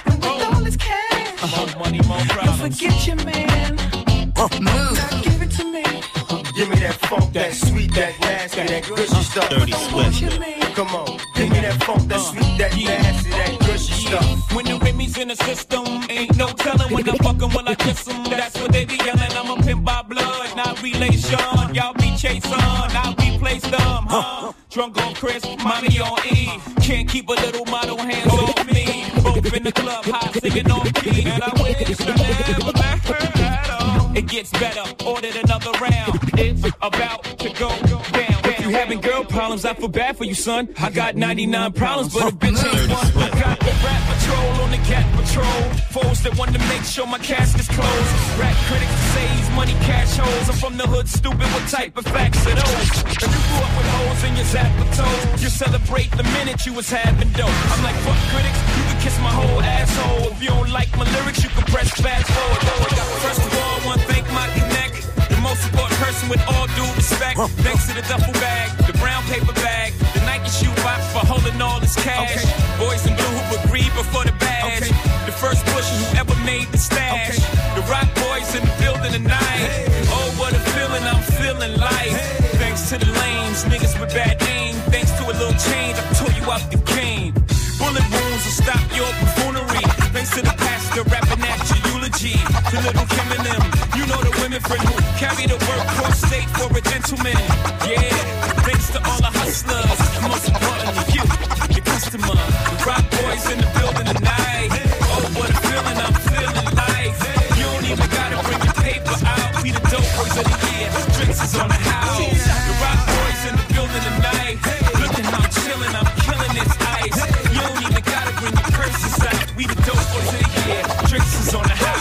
S2: Don't forget your man. Uh, now give it to me.
S20: Give me that funk, that sweet, that nasty, that gushy stuff.
S1: Dirty Swift.
S20: Come on, give me that funk, that sweet, that nasty, that gushy stuff.
S2: When the Remy's in the system, ain't no telling when I'm fucking when I kiss them. That's what they be yelling. I'm a pimp by blood, not relation. Y'all be chasing, I'll be placed them, huh? Drunk on Chris, mommy on E. Can't keep a little model hands off me. Both in the club, hot singing on key. And I wish I never met her at all. It gets better, ordered another round. It's about to go down. If you having girl problems, I feel bad for you, son. I got ninety-nine problems, but a bitch ain't one. I got the rap patrol on the cat patrol. Foes that want to make sure my casket's closed. Rap critics say he's money cash holes. I'm from the hood, stupid, what type of facts are those? If you grew up with holes in your zapper toes, you celebrate the minute you was having dope. I'm like, fuck critics, you can kiss my whole asshole. If you don't like my lyrics, you can press fast forward. First of all, one thank my connect. The most important person with all due respect. Thanks to the duffel bag, the brown paper bag, the Nike shoe box for holding all this cash. Okay. Boys in blue who agreed before the badge. Okay. The first pusher who ever made the stash. Okay. The to the lanes, niggas with bad aim. Thanks to a little change, I tore you out the game. Bullet wounds will stop your buffoonery. Thanks to the pastor rapping at your eulogy. To little Kim and them, you know the women friend who carry the word cross state for a gentleman. Yeah, thanks to all the hustlers, and most importantly you, your customer. The rock boys in the building tonight. Oh, what a feeling I'm feeling like. You don't even gotta bring your paper out. We the dope boys of the year. Drinks is on the house. The rock boys in the building tonight. Look at how I'm chilling, I'm killing this ice. You don't even gotta bring your purses out. We the dope boys of the year. Drinks is on the house.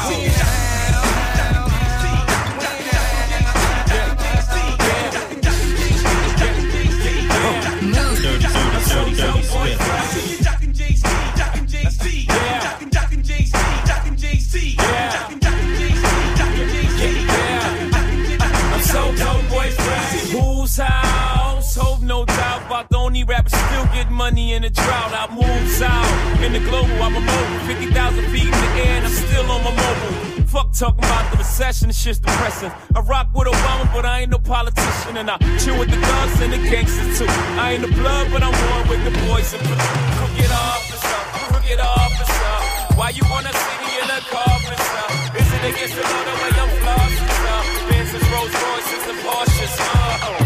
S2: The only rapper still get money in a drought. I moves out in the global, I'm a mobile. fifty thousand feet in the air and I'm still on my mobile. Fuck talking about the recession, this shit's depressing. I rock with Obama, but I ain't no politician. And I chill with the thugs and the gangsters too. I ain't the blood, but I'm one with the boys and crooked officer, crooked officer. Why you wanna see me in a car, officer? Is it against the law the way I'm flossing, sir? Benz's, Rolls Royces, and Porsches, uh.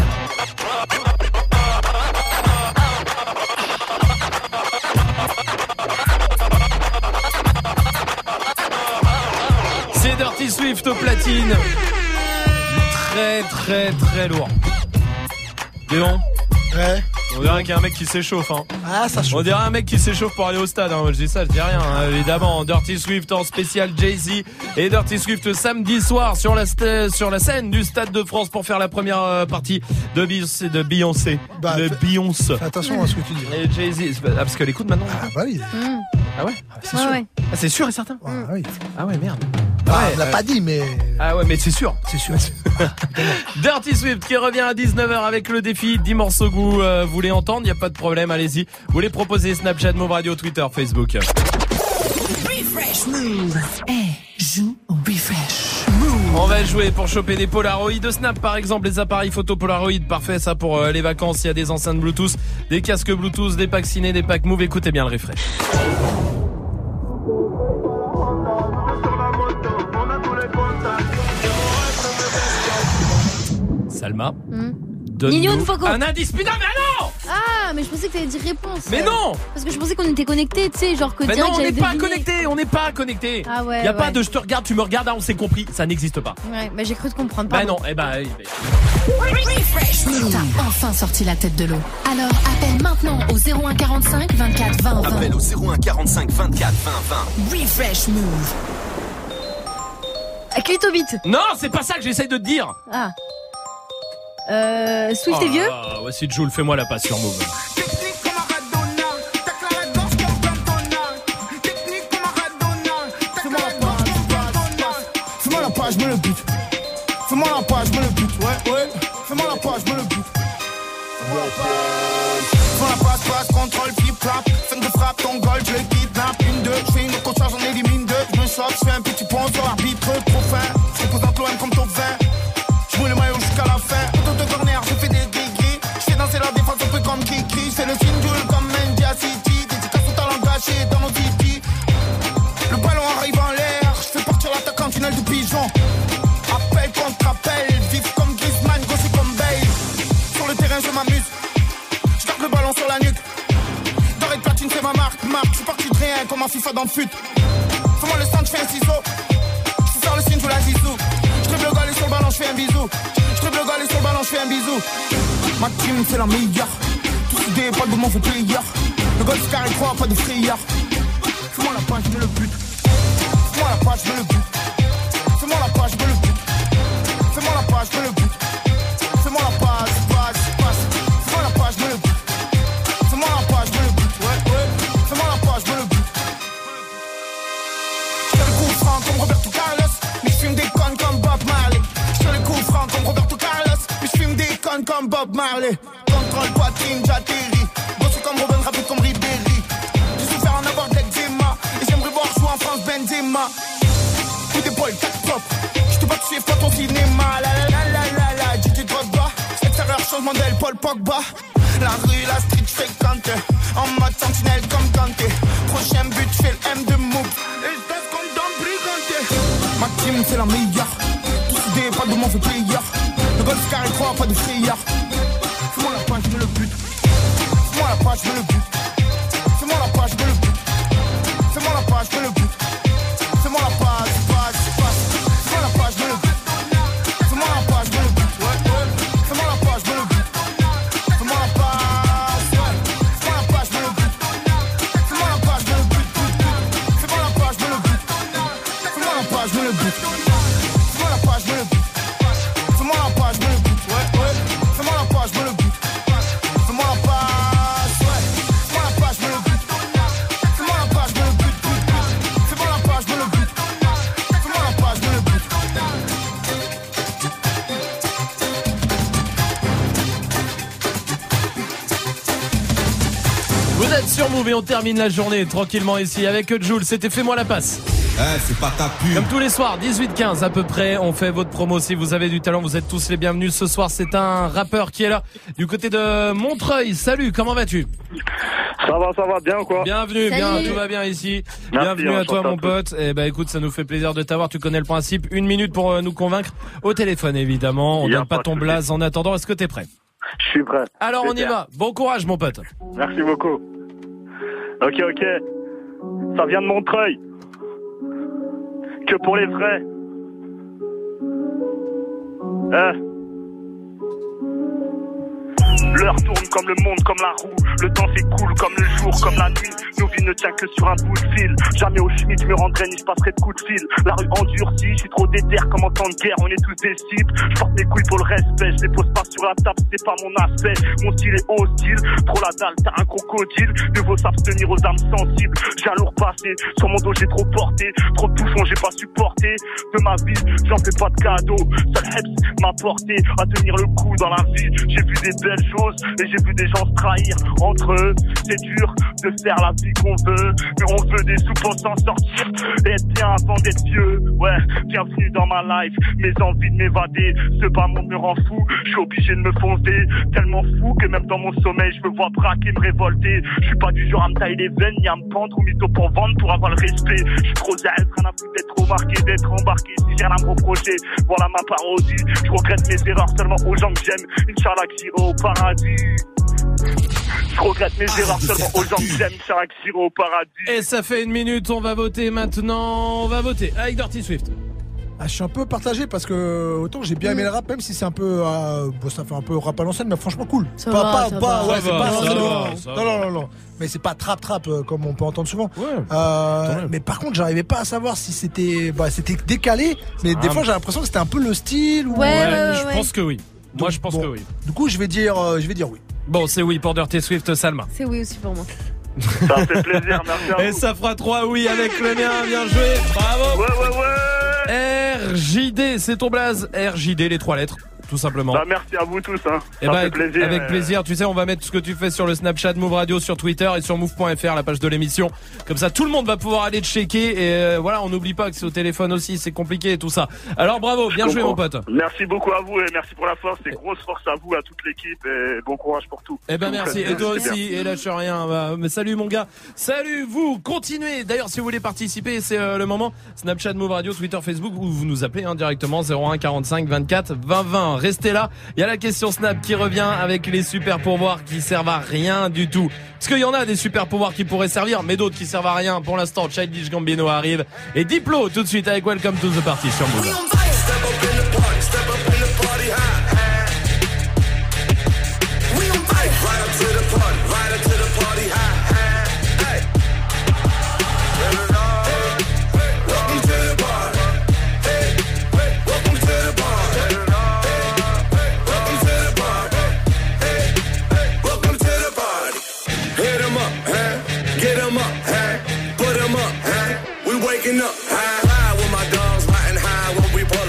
S1: Dirty Swift au platine. Très très très lourd. Léon.
S6: Ouais.
S1: On dirait qu'il y a un mec qui s'échauffe hein.
S6: Ah ça chauffe.
S1: On dirait un mec qui s'échauffe pour aller au stade hein. Je dis ça, je dis rien hein. Évidemment. Dirty Swift en spécial Jay-Z et Dirty Swift samedi soir sur la, st- sur la scène du Stade de France pour faire la première euh, partie de Beyoncé. De Beyoncé.
S6: Bah,
S1: de Beyoncé.
S6: Fais attention à ce que tu dis.
S1: Et Jay-Z. Ah parce qu'elle écoute maintenant.
S6: Ah bah oui.
S13: Mmh.
S1: Ah ouais
S6: ah, c'est
S13: ouais,
S6: sûr.
S13: Ouais.
S1: Ah c'est sûr et certain.
S6: Ah oui.
S1: Ah ouais merde.
S6: Ah,
S1: ouais,
S6: on l'a
S1: euh...
S6: pas dit mais.
S1: Ah ouais mais c'est sûr.
S6: C'est sûr.
S1: Dirty Swift qui revient à dix-neuf heures avec le défi dix morceaux goût. Euh, vous voulez entendre, il n'y a pas de problème, allez-y. Vous les proposez Snapchat, Move Radio, Twitter, Facebook.
S12: Refresh Move. Hey, joue au Refresh Move.
S1: On va jouer pour choper des Polaroid de Snap par exemple, les appareils photo Polaroid, parfait ça pour euh, les vacances. Il y a des enceintes Bluetooth, des casques Bluetooth, des packs ciné, des packs Move. Écoutez bien le refresh. Salma.
S13: Mmh.
S1: Donne-nous
S13: de Foco.
S1: Un indice. Putain, mais non!
S13: Ah, mais je pensais que t'allais dire réponse.
S1: Mais non!
S13: Parce que je pensais qu'on était connectés, tu sais, genre que
S1: mais
S13: direct
S1: non, on
S13: j'allais
S1: n'est pas
S13: deviner.
S1: connectés, on n'est pas connectés.
S13: Ah ouais.
S1: Y a
S13: ouais.
S1: pas de je te regarde, tu me regardes, ah, on s'est compris, ça n'existe pas.
S13: Ouais, bah j'ai cru te comprendre.
S1: Bah
S13: Pardon.
S1: non, eh bah. Eh
S12: Refresh Move. T'as enfin sorti la tête de l'eau. Alors appelle maintenant au zéro un quarante-cinq vingt-quatre vingt vingt.
S4: Appelle au zéro un quarante-cinq vingt-quatre vingt vingt.
S12: Refresh Move.
S13: À clé au beat.
S1: Non, c'est pas ça que j'essaye de te dire.
S13: Ah. Euh, Swift
S1: oh
S13: et vieux.
S1: Ah, voici Jules, fais-moi la passe sur Move.
S19: Fais-moi la page, me le but. Fais-moi la page, me le but. Ouais, ouais. Fais-moi la page, me le but. Fais-moi la page. Fais-moi la passe, passe, contrôle, flip, flap. Fin de frappe, ton goal, je le kidnappe. Une, deux, je fais une concharge, j'en élimine deux. Je me chope, je fais un petit pont sur l'arbitre, trop fin. Je représente l'O M comme top vingt. Je mets le maillot jusqu'à la fin. Auto de corner, je fais des gris-gris. Je fais danser la défense un peu comme Kiki. Je fais le single comme Mendia City. Dédicace au talent gâché dans nos city. Le ballon arrive en l'air. Je fais partir l'attaquant, tunnel de pigeon. Appel contre appel. Vif comme Griezmann, gauche comme Bale. Sur le terrain, je m'amuse. Je garde le ballon sur la nuque. Doré de platine, c'est ma marque. Marque, je suis parti de rien comme un FIFA dans le fut. Fais-moi le stand, je fais un ciseau. Je sors le signe, je la zizou. Je triple le galet sur le ballon, je fais un bisou. Je triple le galet sur le ballon, je fais un bisou. Ma team, c'est la meilleure. Tous soudés, pas de mauvais player. Le golf carré trois, pas de frayeur. Fais-moi la page, je me le but. Fais-moi la page, je me le but. Fais-moi la page, je me le but. Fais-moi la page, je me le but. Fais-moi la page, page, passe. Fais-moi la page, je me le but. Fais-moi la page, je me le but. Ouais, ouais. Fais-moi la page, je me le but. Je fais le coup franc comme Roberto Carlos. Mais je fume des connes comme Bob Marley. Je fais le coup franc comme Roberto Carlos. Mais je fume des connes comme Bob Marley. Contrôle poitrine, j'atterris. Bossé comme Robin, rapide comme Ribéry. J'ai souffert en avoir de l'eczéma. Et j'aimerais voir jouer en France Benzema. Coup d'épaule, tac, top. Je te bats, tu sais pas ton cinéma. La la la la la la, D J Drogba. Extérieur, change modèle Paul Pogba. La rue, la street, j'fais Kanté. En mode sentinelle comme Kanté. Prochain but, j'fais le M de Mouk. Et j'teste comme dans Briganté. Ma team, c'est la meilleure. Tous soudés, pas de mauvais player. Le golf carré trois, pas de frayeur. Fais-moi la page, j'mets le but. Fais-moi la page, j'mets le but. Fais-moi la page, j'mets le but. Fais-moi la page, j'mets le but. Fais-moi la page, page, page. Fais-moi la page, j'mets le but. Fais-moi la page, j'mets le but. Fais-moi la page, j'mets le but. Fais-moi la page, ouais. Fais-moi la page, j'mets le but. Fais-moi la page, j'mets le but. Fais-moi la page, j'mets le but. Fais-moi la page, j'mets le but. Fais-moi la page, j'mets le but. Fais-moi la page, j'mets le but. Ouais, ouais. Fais-moi la page, j'mets le but. Fais-moi la page, ouais. Fais-moi la page, j'mets le but. Fais-moi la page, j'mets le but. Fais-moi la page, j'mets le but. Fais-moi la page, j'mets le but.
S1: Vous êtes sur Move et on termine la journée tranquillement ici avec Jules. C'était Fais-moi la passe.
S8: Eh, c'est pas ta pub.
S1: Comme tous les soirs, dix-huit quinze à peu près, on fait votre promo. Si vous avez du talent, vous êtes tous les bienvenus. Ce soir, c'est un rappeur qui est là du côté de Montreuil. Salut, comment vas-tu?
S21: Ça va, ça va, bien ou quoi?
S1: Bienvenue,
S21: Salut.
S1: bien, tout va bien ici.
S21: Merci,
S1: Bienvenue à toi,
S21: enchanté
S1: mon
S21: à tous.
S1: pote. Eh ben, écoute, ça nous fait plaisir de t'avoir. Tu connais le principe. Une minute pour euh, nous convaincre au téléphone, évidemment. On
S21: Y a
S1: donne pas
S21: pas de
S1: ton
S21: souci.
S1: blaze en attendant. Est-ce que t'es prêt?
S21: Je suis prêt.
S1: Alors,
S21: C'est
S1: on y
S21: bien.
S1: va. Bon courage, mon pote.
S21: Merci beaucoup. Ok, ok. Ça vient de Montreuil. Que pour les vrais. Eh. L'heure tourne comme le monde, comme la roue. Le temps s'écoule comme le jour, comme la nuit. Nos vies ne tiennent que sur un bout de fil. Jamais au schmitt, je me rendrai ni je passerai de coups de fil. La rue endurcie, je suis trop déter comme en temps de guerre. On est tous des cibles. Je porte mes couilles pour le respect. Je les pose pas sur la table, c'est pas mon aspect. Mon style est hostile. Trop la dalle, t'as un crocodile. Mieux vaut s'abstenir aux âmes sensibles. J'ai un lourd passé. Sur mon dos, j'ai trop porté. Trop de bouffons, j'ai pas supporté. De ma vie, j'en fais pas de cadeaux. Seul Heps m'a porté à tenir le coup dans la vie. J'ai vu des belles choses et j'ai vu des gens se trahir entre eux. C'est dur de faire la vie qu'on veut, mais on veut des sous pour s'en sortir et être bien avant d'être vieux. Ouais, bienvenue dans ma life. Mes envies de m'évader, ce bas monde me rend fou. Je suis obligé de me foncer, tellement fou que même dans mon sommeil je me vois braquer, me révolter. Je suis pas du genre à me tailler les veines, ni à me pendre ou mytho pour vendre pour avoir le respect. Je suis trop zèle, rien à foutre d'être remarqué, d'être embarqué. Si j'ai rien à me reprocher, voilà ma parodie. Je regrette mes erreurs seulement aux gens que j'aime. Inch'Allah que j'irai au paradis. Je regrette mes erreurs seulement aux gens que j'aime. Inch'Allah que j'irai au paradis.
S1: Et ça fait une minute, on va voter maintenant. On va voter avec Dirty Swift.
S6: Ah, je suis un peu partagé parce que autant j'ai bien aimé le rap, même si c'est un peu, euh, bon, ça fait un peu rap à l'ancienne, mais franchement cool.
S13: Ça
S6: pas,
S13: va,
S6: pas,
S13: ça
S6: pas,
S13: va.
S6: ouais,
S1: Ça
S6: c'est
S1: va,
S6: pas,
S1: ça
S6: non,
S1: va,
S6: non,
S1: ça
S6: non,
S1: va.
S6: non, non, non, mais c'est pas trap trap euh, comme on peut entendre souvent.
S1: Ouais.
S6: Euh, mais par contre, j'arrivais pas à savoir si c'était, bah, c'était décalé, mais des
S1: Ah.
S6: fois j'ai l'impression que c'était un peu le style. Ou...
S13: Ouais, ouais, ouais,
S1: je
S13: ouais.
S1: pense que oui. Moi,
S6: Donc,
S1: je pense
S6: bon,
S1: que oui.
S6: Du coup, je vais dire, euh, je vais dire oui.
S1: Bon, c'est oui pour Dirty Swift, Salma.
S13: C'est oui aussi pour moi.
S21: Ça me fait plaisir, merci à
S1: Et
S21: vous.
S1: ça fera trois oui avec le mien. Bien joué. Bravo.
S21: Ouais, ouais, ouais.
S1: R J D, c'est ton blaze. R J D, les trois lettres. Tout simplement.
S21: Bah, merci à vous tous, hein.
S1: Eh
S21: Ça
S1: bah,
S21: fait plaisir.
S1: avec
S21: euh,
S1: plaisir. Tu sais, on va mettre ce que tu fais sur le Snapchat Move Radio, sur Twitter et sur move point f r, la page de l'émission. Comme ça, tout le monde va pouvoir aller checker. Et euh, voilà, on n'oublie pas que c'est au téléphone aussi, c'est compliqué et tout ça. Alors bravo, bien
S21: je
S1: joué mon
S21: comprends.
S1: pote.
S21: Merci beaucoup à vous et merci pour la force. Et grosse force à vous, à toute l'équipe. Et bon courage pour tout.
S1: Eh ben
S21: Vous
S1: merci,
S21: faites
S1: et
S21: bien,
S1: toi
S21: c'est
S1: aussi,
S21: bien.
S1: et lâche rien. Bah, mais salut mon gars, salut vous, continuez. D'ailleurs, si vous voulez participer, c'est euh, le moment. Snapchat Move Radio, Twitter, Facebook, ou vous nous appelez hein, directement zéro un quarante-cinq vingt-quatre vingt vingt. Restez là. Il y a la question Snap qui revient avec les super pourvoirs qui servent à rien du tout. Parce qu'il y en a des super pouvoirs qui pourraient servir, mais d'autres qui servent à rien. Pour l'instant, Childish Gambino arrive et Diplo tout de suite avec Welcome to the Party sur Move.
S2: Waking up high, high with my dogs, riding high when we party.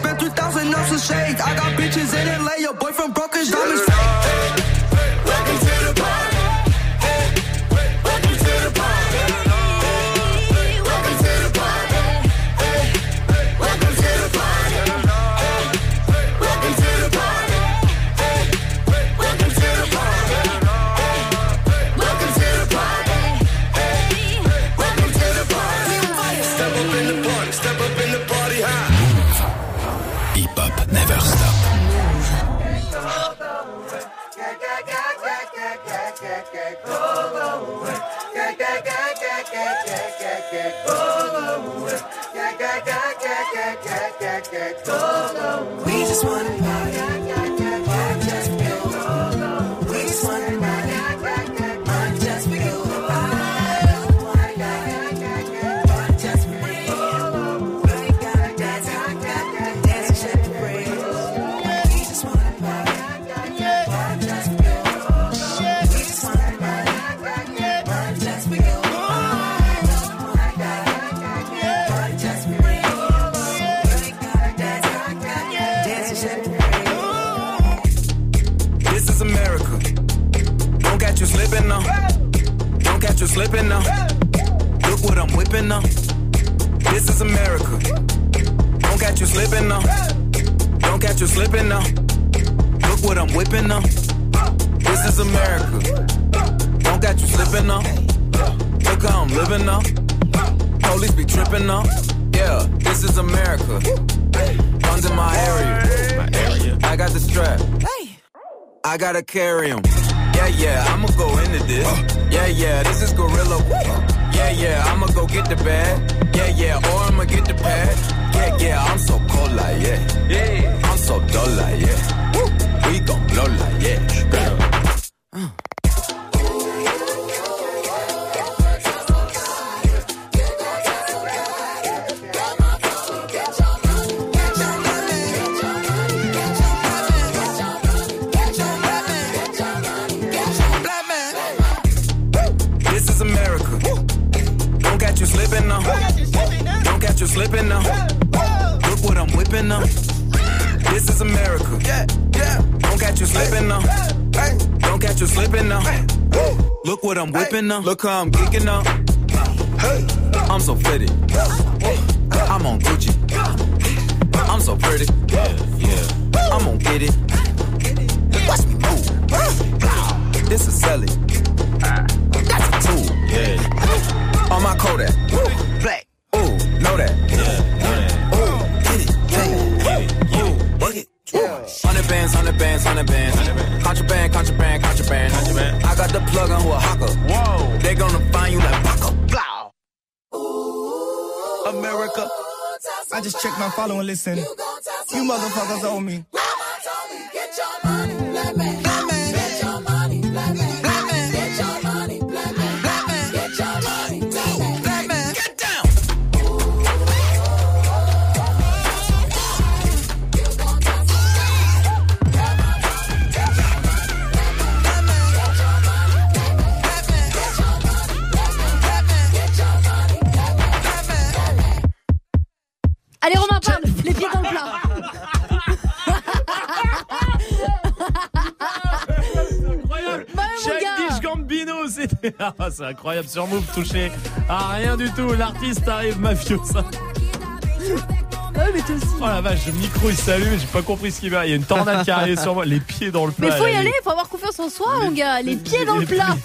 S14: spent three thousand on some shades. I got bitches in L A, your boyfriend broke his diamonds fake. Welcome to the party. Welcome to the party. Welcome to the party. Welcome to the party. Welcome to the party. Welcome to the party. Welcome to the party. Welcome to the party. Step up in the party. Step up in the party high.
S4: Hip Hop Never Stop.
S14: We just wanna party. Just for you. We just wanna party. Just for you. Just for you. We gotta dance, dance and shake the brain. We just wanna party. Just for you. We just wanna party. Just for you. Just for you.
S19: This is America. Don't catch you slipping now. Don't catch you slipping now. Look what I'm whipping now. This is America. Don't catch you slipping now. Don't catch you slipping now. Look what I'm whipping now. This is America. Don't catch you slipping now. Look how I'm living now. Police be tripping now. Yeah, this is America. Guns in my area. My area. I got the strap. I gotta carry 'em. Yeah, yeah, I'ma go into this. Yeah, yeah, this is gorilla. Yeah, yeah, I'ma go get the bag. Yeah, yeah, or I'ma get the pad. Yeah, yeah, I'm so cold like yeah. Yeah, I'm so dull like yeah. We gon' blow like yeah. Uh. Slipping now. Don't catch you slipping now. Look what I'm whipping now. This is America. Yeah, yeah. Don't catch you slipping now. Don't catch you slipping now. Look what I'm whipping now. Look how I'm geeking now. I'm so pretty. I'm on Gucci. I'm so pretty. Yeah, yeah. I'm gonna get it. Watch me move. This is selling. That's a tool. Yeah. On my Kodak, black, ooh, know that, yeah, ooh, get it, get it, ooh, work it, hundred bands, hundred bands, hundred bands, contraband, contraband, contraband, contraband. I got the plug on who a hawker, whoa, they gonna find you like Paco, blah. America, I just checked my follow and listen. You motherfuckers owe me. Mama told me get your money, black man, black man, get your money, black man, black man, get your money, black man, black man, get your money.
S13: Allez Romain, parle, les pieds dans le plat.
S1: C'est incroyable. Childish Gambino, c'était ah, c'est incroyable sur Move, touché à rien du tout. L'artiste arrive mafiosa.
S13: Ouais, mais toi aussi.
S1: Oh la vache, le micro il s'allume, j'ai pas compris ce qu'il va. Il y a une tornade qui arrive sur moi, les pieds dans le plat.
S13: Mais faut y
S1: là,
S13: aller,
S1: les...
S13: faut avoir confiance en soi, les... mon gars. Les pieds dans le plat.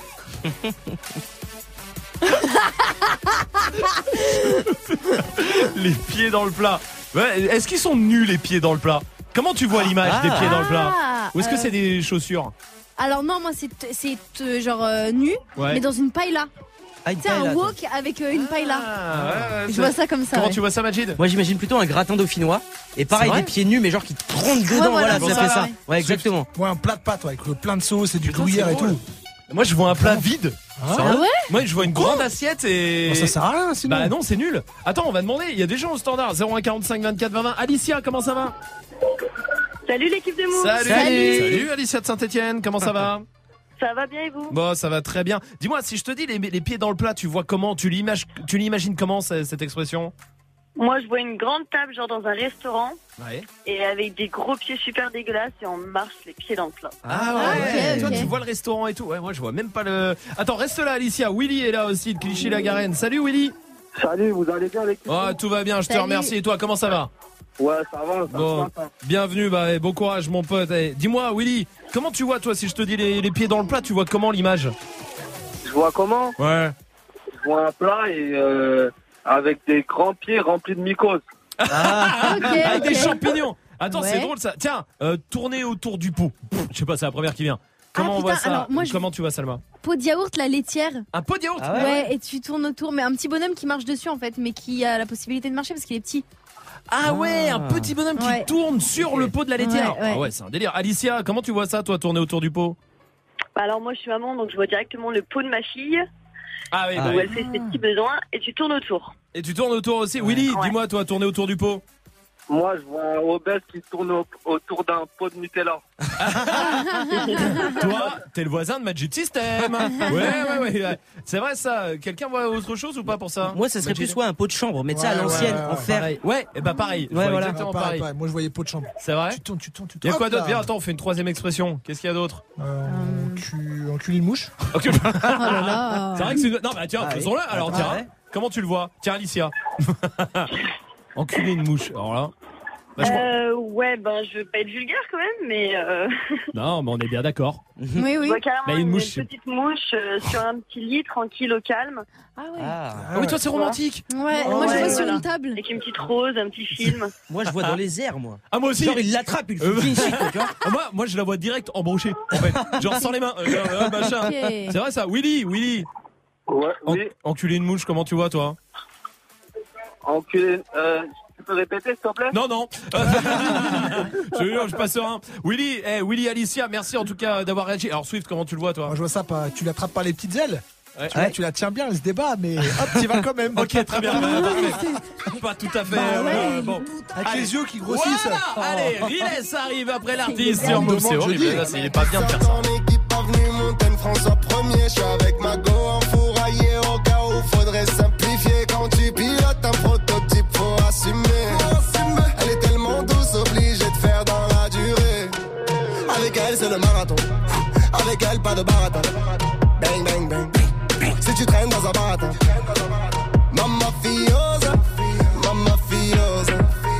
S1: Les pieds dans le plat. Ouais, est-ce qu'ils sont nus les pieds dans le plat? Comment tu vois l'image ah, des pieds dans le plat? Ou est-ce que euh... c'est des chaussures?
S13: Alors non, moi c'est c'est euh, genre euh, nu, ouais. Mais dans une paella. Ah, tu sais, un wok avec euh, une paella. Ah, ouais, ouais, je vois ça comme ça.
S1: Comment
S13: ouais.
S1: tu vois ça, Majid?
S15: Moi j'imagine plutôt un gratin dauphinois. Et pareil, des pieds nus, mais genre qui trempent dedans. Ouais, voilà, voilà ça fait ça. Ouais, ouais exactement.
S6: Ouais, un plat de pâtes ouais, avec plein de sauce et du gruyère et tout.
S1: Moi je vois un plat vide.
S13: Ah, ah ouais?
S1: Moi je vois une grande assiette et.
S6: Oh, ça sert à rien sinon.
S1: Bah non, c'est nul. Attends, on va demander. Il y a des gens au standard. zéro un quarante-cinq vingt-quatre vingt vingt. Alicia, comment ça va?
S16: Salut l'équipe de Move.
S1: Salut. Salut. Salut Alicia de Saint-Etienne, comment ça va?
S16: Ça va bien et vous?
S1: Bon, ça va très bien. Dis-moi, si je te dis les, les pieds dans le plat, tu vois comment? Tu l'imagines, tu l'imagines comment cette expression?
S16: Moi, je vois une grande table, genre dans un restaurant,
S1: Ouais.
S16: et avec des gros pieds super dégueulasses, et on marche les pieds dans le plat.
S1: Ah ouais,
S13: Ah, ok,
S1: toi
S13: ok.
S1: tu vois le restaurant et tout. Ouais, moi je vois même pas le. Attends, reste là, Alicia. Willy est là aussi de Clichy-la-Garenne. Salut Willy.
S21: Salut, vous allez bien avec
S1: Oh, tout va bien, je te
S13: Salut.
S1: remercie. Et toi, comment ça va?
S21: Ouais, ça va, ça
S1: Bon,
S21: va. Ça.
S1: bienvenue, bah, bon courage mon pote. Eh, dis-moi Willy, comment tu vois toi si je te dis les, les pieds dans le plat, tu vois comment l'image?
S21: Je vois comment?
S1: Ouais.
S21: Je vois un plat et euh, avec des grands pieds remplis de mycoses.
S1: Ah,
S13: Ok,
S1: avec
S13: ok.
S1: des champignons. Attends,
S13: Ouais.
S1: c'est drôle ça. Tiens, euh, tourner autour du pot. Pff, Je sais pas, c'est la première qui vient. Comment
S13: Ah,
S1: on voit
S13: putain,
S1: ça?
S13: alors, moi, je-
S1: Comment tu vois Salma?
S13: Pot de yaourt, la laitière.
S1: Un pot de yaourt?
S15: Ah
S13: Ouais, et tu tournes autour, mais un petit bonhomme qui marche dessus en fait, mais qui a la possibilité de marcher parce qu'il est petit.
S1: Ah ouais, un petit bonhomme qui
S13: Ouais.
S1: tourne sur le pot de la laitière.
S13: Ouais, ouais.
S1: Ah ouais, c'est un délire. Alicia, comment tu vois ça, toi, tourner autour du pot?
S16: Bah, alors, moi, je suis maman, donc je vois directement le pot de ma fille,
S1: Ah oui,
S15: Ah
S1: bah
S16: où
S1: oui.
S16: elle fait ses petits besoins, et tu tournes autour.
S1: Et tu tournes autour aussi. Willy,
S16: Ouais.
S1: dis-moi, toi, tourner autour du pot.
S21: Moi, je vois un obèse qui tourne au- autour d'un pot de Nutella.
S1: Toi, t'es le voisin de Magic System. Ouais, ouais, ouais, ouais. C'est vrai ça. Quelqu'un voit autre chose ou pas pour ça?
S15: Moi, ça serait
S1: Magic
S15: plus ouais, un pot de chambre, mais tu sais, à
S6: Ouais,
S15: l'ancienne,
S6: ouais, ouais,
S15: en fer.
S1: Pareil. Ouais, et bah pareil. Je
S15: Ouais,
S1: vois
S15: voilà.
S1: exactement
S6: Ah, pareil,
S1: pareil.
S6: pareil. Moi, je voyais pot de chambre.
S1: C'est vrai?
S6: Tu tournes, tu tournes, tu
S1: Il y
S6: tournes.
S1: a quoi
S6: Hop
S1: d'autre?
S6: là.
S1: Viens, attends, on fait une troisième expression. Qu'est-ce qu'il y a d'autre?
S6: Euh, tu encules une mouche.
S1: Ok.
S13: Oh là là.
S1: C'est vrai que c'est une... Non, bah tiens,
S15: Ah oui.
S1: faisons-le. Alors,
S15: Ah
S1: tiens.
S15: ouais.
S1: Comment tu le vois? Tiens, Alicia. Enculer une mouche. Alors là. Bah, je crois-
S16: Euh, ouais, ben, je veux pas être vulgaire quand même, mais euh,
S1: Non, mais on est bien d'accord.
S13: Oui,
S16: je
S13: oui.
S16: vois carrément
S1: Là, une
S16: une,
S1: mouche, c'est-
S16: petite mouche euh, sur un petit lit, tranquille, au calme,
S13: Ah ouais.
S15: Ah.
S1: Ah oui, toi, c'est romantique.
S13: Ouais,
S16: Oh,
S13: moi je
S16: ouais,
S13: vois sur
S16: voilà.
S13: une table.
S16: avec une petite rose, un petit film.
S15: Moi, je vois dans les airs, moi.
S1: Ah, moi aussi.
S15: Genre, il l'attrape, il
S1: Euh,
S15: le fait ici, quoi, tu vois.
S1: Ah, moi, moi, je la vois direct embrochée, en fait. Genre sans les mains. Euh, euh, machin.
S13: Ok.
S1: C'est vrai ça. Willy, Willy.
S21: Ouais,
S1: En-
S21: oui.
S1: enculer une mouche, comment tu vois, toi?
S21: Enculé. Euh, tu peux répéter, s'il te plaît?
S1: Non, non. Je te jure, je passe serein. Willy, eh, Willy, Alicia, merci en tout cas d'avoir réagi. Alors, Swift, comment tu le vois, toi?
S6: Moi, je vois ça, pas, tu l'attrapes par les petites ailes.
S1: Ouais.
S6: Tu, la, tu la tiens bien, elle se débat, mais hop, tu vas quand même.
S1: Ok, très bien. Bah, parfait. Pas tout à fait.
S6: Bah
S1: euh,
S6: ouais.
S1: bon.
S6: Avec
S1: Allez.
S6: les yeux qui grossissent.
S1: Voilà.
S6: Oh.
S1: Allez, Riles arrive après l'artiste
S6: On
S1: sur
S6: me
S1: Move.
S6: demande,
S1: C'est
S6: je
S1: horrible.
S6: dis.
S1: Là, c'est- il est pas bien de faire ça.
S14: Ton équipe pas venue Montaigne François premier. Je suis avec ma go en fourraillé au cas où faudrait simplifier. Quand tu pilotes un prototype, faut assumer. Elle est tellement douce, obligée de faire dans la durée. Avec elle, c'est le marathon. Avec elle, pas de baratin. Bang, bang, bang. Si tu traînes dans un baratin. Mamma fiosa, mamma fiosa.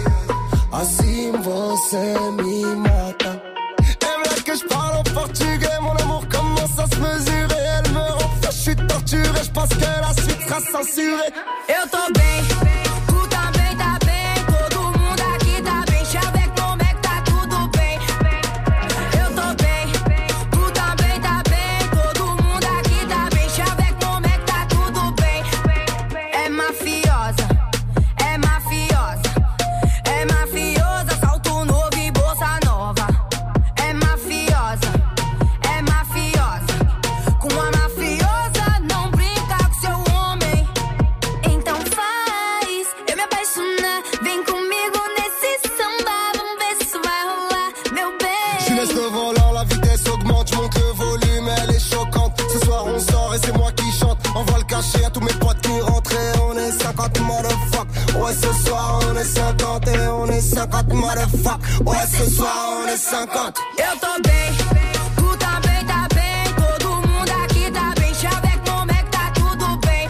S14: Assim você me mata. Elle veut que je parle en portugais, mon amour commence à se mesurer. Elle me rend fou, je suis torturé, je pense que la suite sera censurée.
S10: Eu tô bem, tu também tá bem. Todo mundo aqui tá bem. Chaveco, como é que tá tudo bem? Eu tô bem, tu também tá bem. Todo mundo aqui tá bem. Chaveco, como é que tá tudo bem? É mafiosa, é mafiosa, é mafiosa. Salto novo e bolsa nova. É mafiosa, é mafiosa. Com a mafiosa não brinca com seu homem. Então faz eu me apaixonar. Vem comigo nesse samba. Vamos ver se isso vai rolar, meu
S14: Je laisse
S10: bem.
S14: le volant, la vitesse augmente, je monte le volume, elle est choquante. Ce soir on sort et c'est moi qui chante. Envoie le cachet à tous mes potes qui rentrent et on est cinquante motherfuck. Ouais, ce soir on est cinquante et on est cinquante motherfuck. Ouais, ce soir on est cinquante.
S10: Eu tô bem, tu também tá bem. Todo mundo aqui tá bem. Chaveco, como é que tá tudo bem?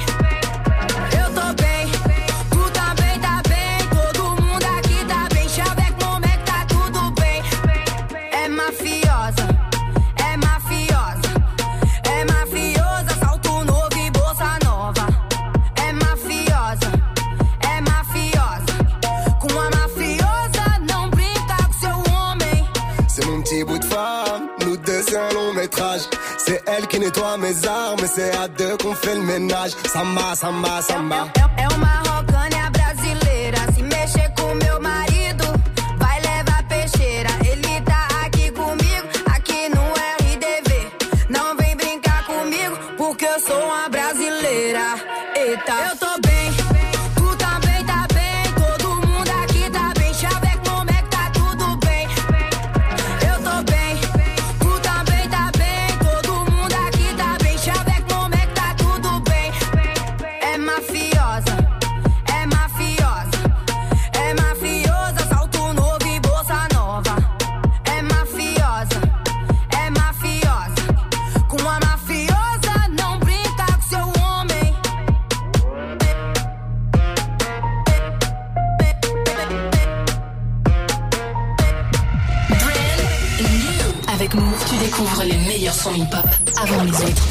S10: Eu tô bem, tu também tá bem. Todo mundo aqui tá bem. Chaveco, como é que tá tudo bem? É mafiosa, é mafiosa, é mafiosa. Salto novo e bolsa nova. É mafiosa, é mafiosa. Com a mafiosa não brinca com seu homem.
S14: C'est mon petit bout de femme, nous deux c'est un long métrage. C'est elle qui nettoie mes armes et c'est à deux qu'on fait le ménage. Samba, samba, samba.
S10: É uma rocânia brasileira. Se mexer com meu marido, vai levar peixeira. Ele tá aqui comigo, aqui no R D V. Não vem brincar comigo, porque eu sou uma brasileira. Eita, eu tô bem, tu também tá bem. Todo mundo aqui tá bem. Chaveco, como é que tá tudo bem? Eu tô bem, tu também tá bem. Todo mundo aqui tá bem. Chaveco, como é que tá tudo bem? É mafiosa, é mafiosa,
S12: Avec Move, tu découvres les meilleurs sons hip-hop avant les autres.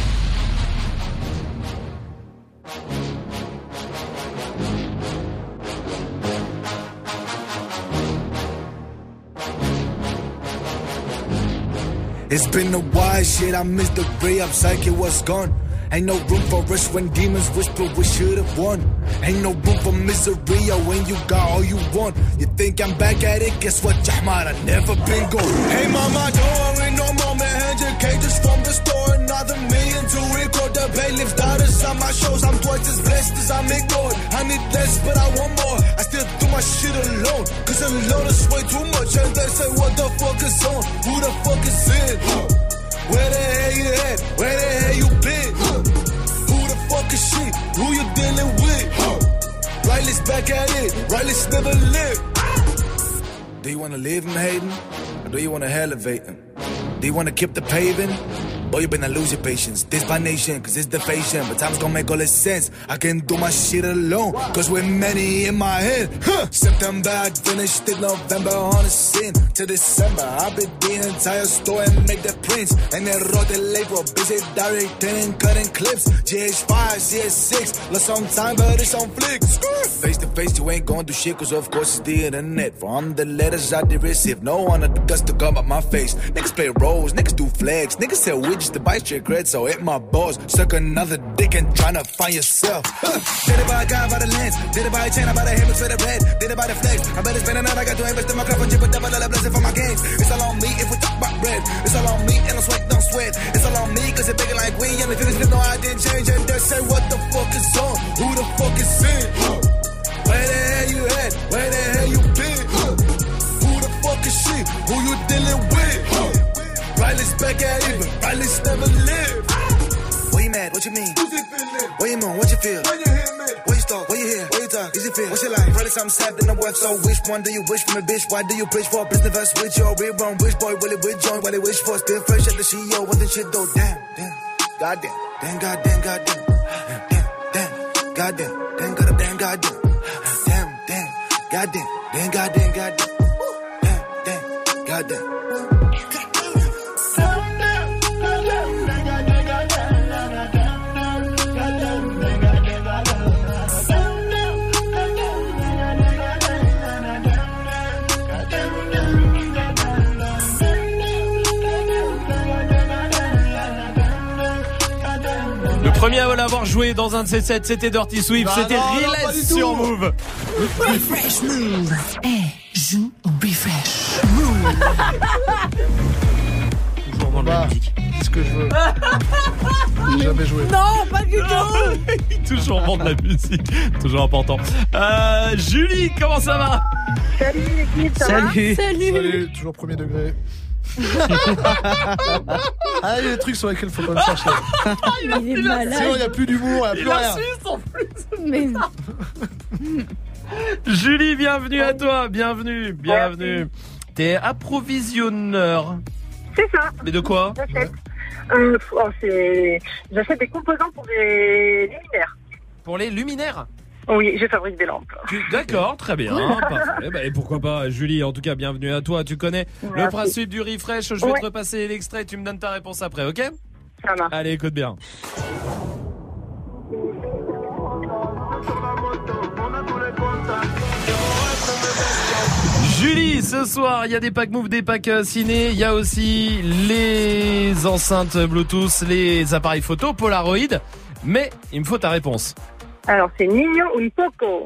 S8: It's been a while, shit, I missed the ray up, psychic was gone. Ain't no room for us when demons whisper we should've won. Ain't no room for misery when you got all you want. You think I'm back at it? Guess what, Jahmar, I never been gone. Hey mama, don't worry no more, man. one hundred K just from the store. Another million to record the bailiff's daughters on my shows. I'm twice as blessed as I'm ignored. I need less, but I want more. I still do my shit alone, cause alone is way too much. And they say, what the fuck is on? Who the fuck is in? Where the hell you at? Where the hell you been? Who the fuck is she? Who you dealing with? Riley's back at it. Riley's never lived. Do you wanna leave him hating? Or do you wanna elevate him? Do you wanna keep the paving? Boy, you better lose your patience. This by nation, cause it's the fashion. But time's gonna make all this sense. I can do my shit alone, cause we're many in my head. Huh. September, I finished it. November on the scene. To December, I beat the entire store and make the prints. And then wrote the label, busy directing and cutting clips. G H five, C S six, lost some time, but it's on flicks. Face to face, you ain't gonna do shit, cause of course it's the internet. From the letters I did receive, no one had the guts to come up my face. Niggas play roles, niggas do flags, niggas sell widgets to buy straight cred, so hit my balls. Suck another dick and tryna find yourself. Huh. Did it by a guy, by the lens. Did it by a chain, I buy the hammer for the red. Did it by the flex. I better spend another, I got to invest in my cup and chip a double dollar blessing for my games. It's all on me if we talk about bread. It's all on me and I sweat, don't sweat. It's all on me cause it's bigger like we. And the feelings no, I didn't change. And they say, what the fuck is on? Who the fuck is in? Huh. Where the hell you at? Where the hell you been? Huh. Who the fuck is she? Who you dealing with? Huh. Riley's back at it, but Riley's never lived. What you mad? What you mean? What you moan? What you feel? When you hear me? What you stalk? What you hear? What you talk? Is it feel? What's your life? Riley's something sad in the web, so which one do you wish from a bitch? Why do you preach for a business verse with your real wrong? Which boy will it with join? What they wish for? Still fresh at the C E O, what the shit though? Damn, damn, goddamn, damn, goddamn, goddamn, damn, damn, goddamn, damn, goddamn, damn, goddamn, damn, damn, goddamn, damn, goddamn, goddamn, damn, damn, goddamn.
S1: Premier à l'avoir joué dans un de ces sets, c'était Dirty Swift, bah c'était Relais sur Move.
S12: Refresh Move. Eh, hey, joue au Refresh Move.
S1: Toujours dans la musique.
S6: C'est ce que je veux. J'ai jamais joué.
S13: Non, pas du tout.
S1: Toujours vendre la musique, toujours important. Euh, Julie, comment ça va?
S16: Salut l'équipe, ça
S1: Salut.
S16: va?
S13: Salut.
S6: Salut, toujours premier degré. Ah, il y a des trucs sur lesquels faut pas me chercher.
S13: Il est malade.
S6: Sinon, il n'y a plus d'humour, il n'y a plus rien.
S1: En plus.
S13: Mais...
S1: Julie, bienvenue à toi, bienvenue, bienvenue. T'es approvisionneur.
S16: C'est ça.
S1: Mais de quoi?
S16: J'achète. Euh, oh, c'est... J'achète des composants pour des luminaires.
S1: Pour les luminaires?
S16: Oui, je fabrique des lampes.
S1: Tu... D'accord, très bien, parfait. Bah, et pourquoi pas, Julie, en tout cas, bienvenue à toi. Tu connais Merci. Le principe du refresh. Je vais ouais. te repasser l'extrait, tu me donnes ta réponse après, ok?
S16: Ça marche.
S1: Allez, écoute bien. Julie, ce soir, il y a des packs Move, des packs ciné. Il y a aussi les enceintes Bluetooth, les appareils photo, Polaroid. Mais il me faut ta réponse.
S16: Alors, c'est Niño un poco.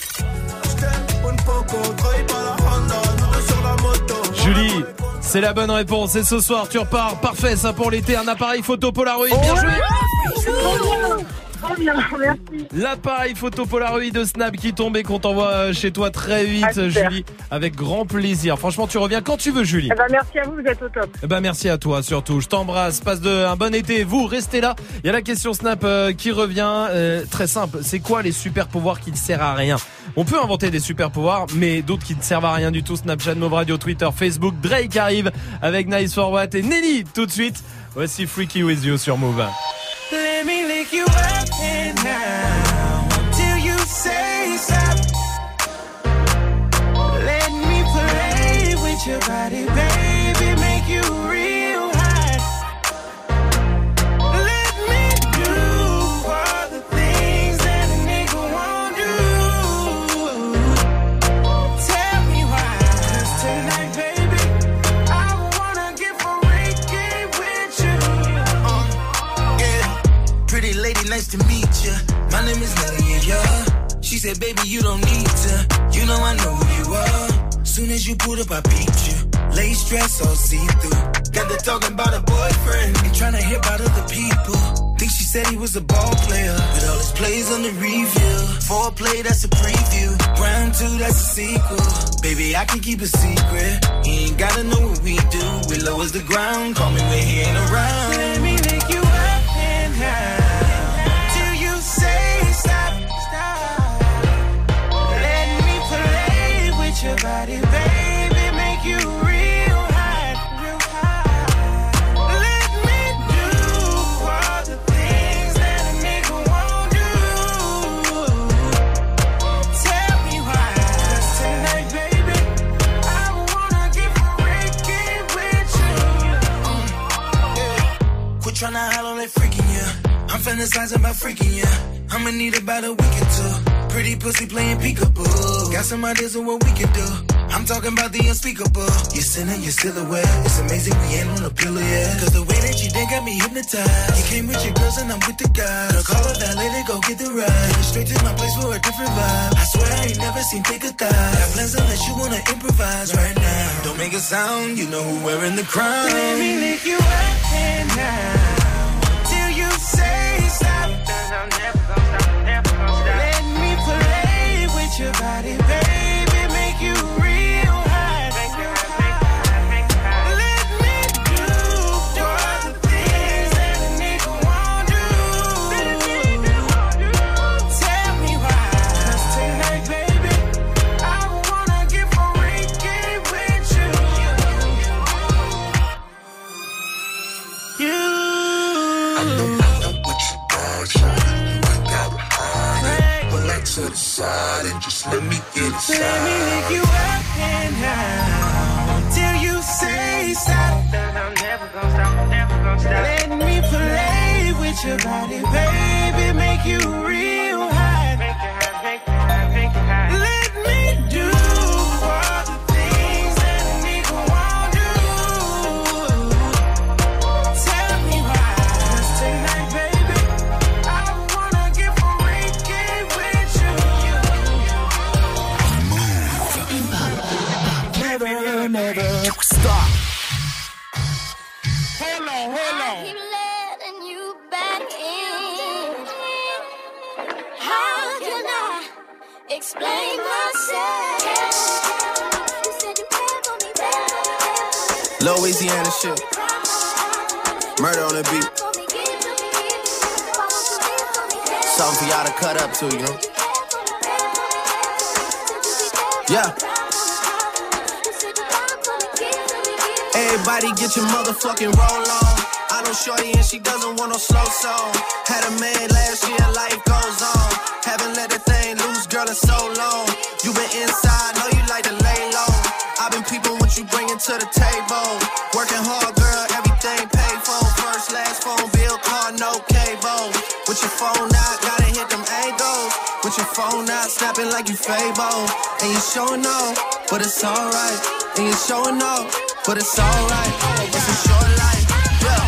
S1: Julie, c'est la bonne réponse. Et ce soir, tu repars. Parfait, ça pour l'été. Un appareil photo Polaroid. Bien joué.
S16: Très bien, merci.
S1: L'appareil photo Polaroid de Snap qui tombe et qu'on t'envoie chez toi très vite, ah, Julie. Avec grand plaisir. Franchement, tu reviens quand tu veux, Julie.
S16: Eh ben, merci à vous, vous êtes au top.
S1: Eh ben, merci à toi surtout. Je t'embrasse. Passe de un bon été. Vous, restez là. Il y a la question Snap euh, qui revient. Euh, très simple. C'est quoi les super pouvoirs qui ne servent à rien? On peut inventer des super pouvoirs, mais d'autres qui ne servent à rien du tout. Snapchat, Move Radio, Twitter, Facebook. Drake arrive avec Nice for What et Nelly tout de suite. Voici Freaky With You sur Move.
S2: Let me lick you up and down till you say stop. Let me play with your body, baby, make you real.
S14: said, baby, you don't need to. You know I know who you are. Soon as you pulled up, I beat you. Lace dress all see-through. Got to talking about a boyfriend and trying to hit about other people. Think she said he was a ball player, with all his plays on the review. Foreplay, that's a preview. Round two, that's a sequel. Baby, I can keep a secret. He ain't gotta know what we do. We lowers the ground, call me when he ain't around. Let me make you up and down till you say stop, stop. Let me play with your body, baby, make you real hot, real hot. Let me do all the things that a nigga won't do. Tell me why. 'Cause tonight, baby, I wanna get freaky with you. Uh, yeah. Quit tryna holler like freaking you. I'm fantasizing about freaking you. I'ma need about a week or two. Pretty pussy playing peekaboo. Got some ideas of what we can do. I'm talking about the unspeakable. You're sinning, you're still aware. It's amazing we ain't on a pillow yet. Cause the way that you did got me hypnotized. You came with your girls and I'm with the guys. Girl, call a valet to go get the ride. Take it straight to my place for a different vibe. I swear I ain't never seen thicker thighs. Got plans unless you wanna improvise right now. Don't make a sound, you know who wearing the crown. Let me lick you up and down till you say stop. I'm never gonna stop, never gonna stop. Let me play with your body, baby, make you real hot. Make you hot, make you hot. Let me do all the things that a nigga won't do. Tell me why. 'Cause tonight, baby, I wanna get freaky with you. You. I know, I know what you got, shawty. You ain't gotta hide it. Pull that to the side and just let me get inside. Let me lick you up and down till you say stop. I'm never gonna stop, never gonna stop. Let me play with your body, baby, make you real hot. Make you hot, make you hot, make you hot. Let me do all the things that a nigga won't do. Tell me why. 'Cause tonight, baby, I wanna get freaky with you. Never, never stop.
S2: Hold on, hold on.
S7: I keep letting you back in. How can I explain myself? You said you cared for me better.
S20: Louisiana shit. Murder on the beat. Something for y'all to cut up to, you know? Yeah. Everybody get your motherfucking roll on. I know shorty and she doesn't want no slow song. Had a man last year, life goes on. Haven't let the thing loose, girl, in so long. You been inside, know you like to lay low. I've been peeping what you bringing to the table. Working hard, girl, everything paid for. First, last phone bill, car, no cable. With your phone out, gotta hit them angles. With your phone out, snapping like you Fable. And you showing off, but it's alright. And you showing off, but it's alright. It's a short life, yeah.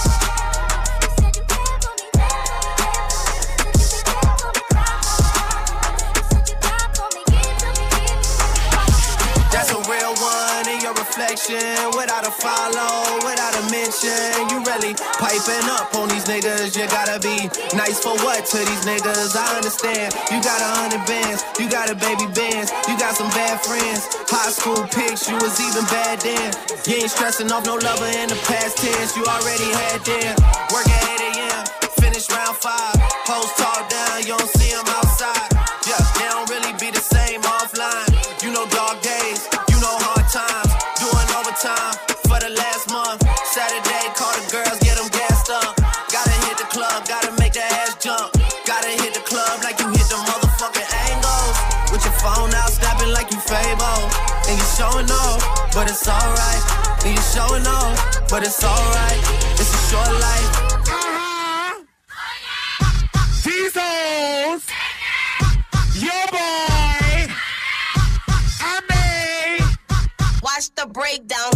S20: That's a real one in your reflection. Without a follow, without a mention. You really piping up on these niggas. You gotta be nice for what to these niggas? I understand. You got a hundred bands, you got a baby bands, you got some bad friends. High school pics, you was even bad then. You ain't stressing off no lover in the past tense. You already had them. Work at eight a.m., finish round five. Hoes talk down, you don't see them outside. Yeah, they don't really be the same offline. You know dog days, you know hard times. Doing overtime for the last month. Saturday, call the girls, get them gassed up. Gotta hit the club, gotta make the ass jump. Gotta hit the club like you hit the motherfucking angles. With your phone out, snapping like you Fable. And you showing off, but it's alright. And you showing off, but it's alright. It's a short life.
S2: Jesus! Your boy! I made!
S9: Watch the breakdown.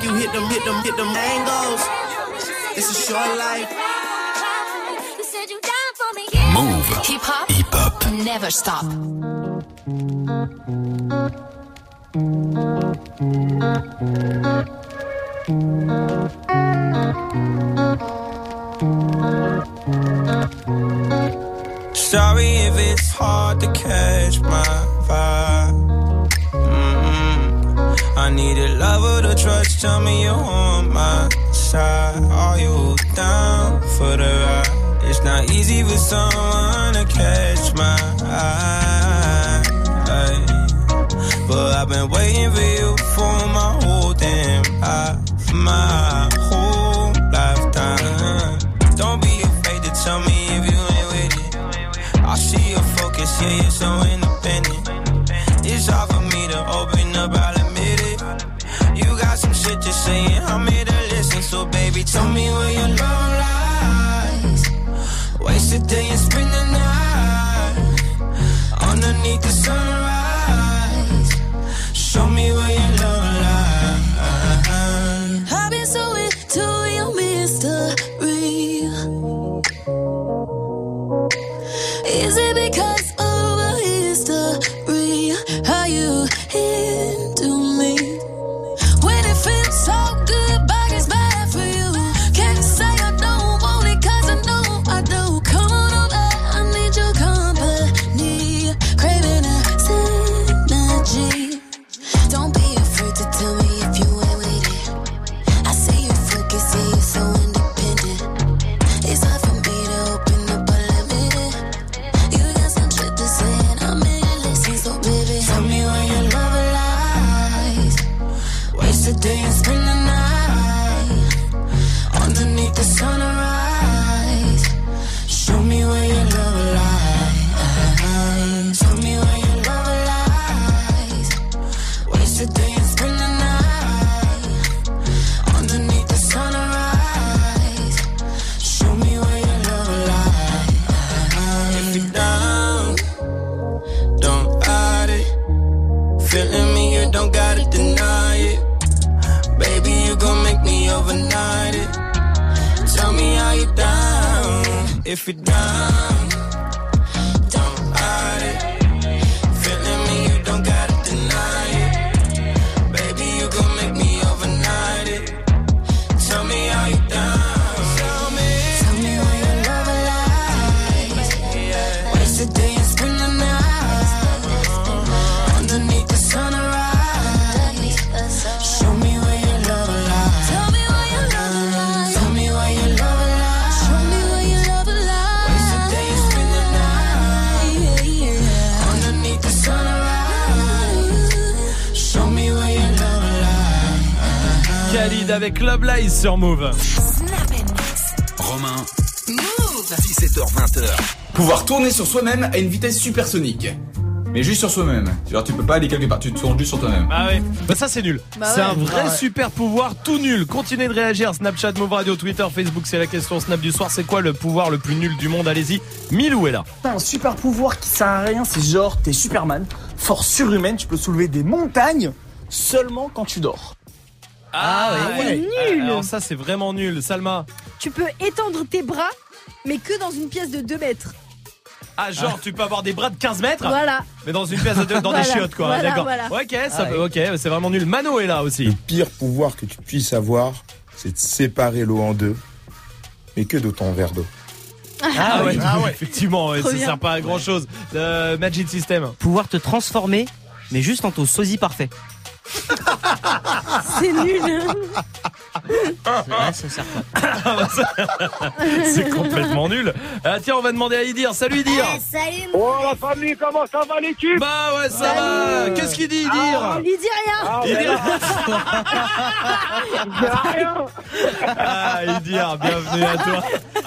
S14: you hit them, hit them, hit them angles. It's a short life.
S12: Move. Hip hop. Hip hop. Never stop.
S18: Sorry if it's hard to catch my vibe. Mm-hmm. I need a lover to trust. Tell me you're on my side. Are you down for the ride? It's not easy for someone to catch my eye. But I've been waiting for you for my whole damn life, my whole lifetime. Don't be afraid to tell me if you ain't with it. I see your focus, yeah, you're so independent. It's hard for me to open up, I'll admit it. You got some shit to say and I'm here to listen. So baby, tell me where your love lies. Waste a day and spend the night underneath the sunrise. Show me where your love lies.
S10: I've been so into your mystery. Is it because of a history? How you into me? When it feels so good, but it's bad for you. Can't say I don't want it, cause I know I do. Come on over, I need your company. Craving a synergy. Don't be afraid to tell me if you ain't with it. I see you focus, see you so independent. It's hard for me to open up, but let me in. You got some shit to say and I'm here to listen. So baby, tell me where your love lies. Waste a day and spend the night underneath the sunrise. Show me where your love lies. Tell me where your love lies. Waste a day and spend the night underneath the sunrise. Show me where your love lies.
S18: If you're down, don't hide it. Feeling me, you don't gotta deny it. Baby, you gon' make me overnight it. Tell me how you down. If you're down, don't hide it. Feeling me, you don't gotta deny it. Baby, you gon' make me overnight it. Tell me how you down. Tell me,
S10: Tell me where your love lies. Waste a day and spend the night underneath the sunrise. Show me where your love lies. Tell me where your love lies. Tell me where your love lies. Show me where your love lies. Waste a day and spend the night underneath the sunrise.
S18: show me where your love lies.
S1: Khalid avec Love Lies sur Move.
S4: Romain,
S12: Move.
S3: dix-sept heures vingt. Pouvoir tourner sur soi-même à une vitesse supersonique. Mais juste sur soi-même. Genre tu peux pas aller quelque part, tu te tournes juste sur toi-même.
S1: Ah ouais, bah ça c'est nul.
S13: Bah
S1: c'est
S13: ouais.
S1: un vrai
S3: Ah ouais.
S1: super pouvoir tout nul. Continuez de réagir. Snapchat, Move Radio, Twitter, Facebook, c'est la question Snap du soir. C'est quoi le pouvoir le plus nul du monde? Allez-y. Milou est là.
S11: T'as un super pouvoir qui sert à rien, c'est genre t'es Superman, force surhumaine, tu peux soulever des montagnes seulement quand tu dors.
S1: Ah,
S13: ouais. C'est nul.
S1: Alors ça c'est vraiment nul. Salma.
S13: Tu peux étendre tes bras, mais que dans une pièce de deux mètres.
S1: Ah genre tu peux avoir des bras de quinze mètres.
S13: Voilà.
S1: Mais dans une pièce de deux, dans
S13: Voilà,
S1: des chiottes quoi.
S13: voilà,
S1: D'accord.
S13: voilà.
S1: Ok, ça
S3: Ah
S1: peut,
S3: ouais.
S1: ok, c'est vraiment nul. Mano est là aussi.
S17: Le pire pouvoir que tu puisses avoir, c'est de séparer l'eau en deux, mais que de ton verre d'eau.
S1: Ah, ouais,
S15: ah ouais.
S1: effectivement, ouais,
S13: Trop
S1: ça
S13: bien.
S1: sert pas à grand chose. Euh, Magic System.
S15: Pouvoir te transformer, mais juste en ton sosie parfait.
S13: C'est nul.
S15: Ouais, ça sert pas.
S1: C'est complètement nul. Ah, tiens, on va demander à Idir. Salut Idir.
S7: Eh, salut.
S21: Oh la famille, comment ça va l'équipe?
S1: Bah ouais, ça va. Qu'est-ce qu'il dit Idir?
S13: On lui dit rien.
S21: Ah,
S1: Idir.
S21: rien.
S1: Ah, Idir, bienvenue à toi.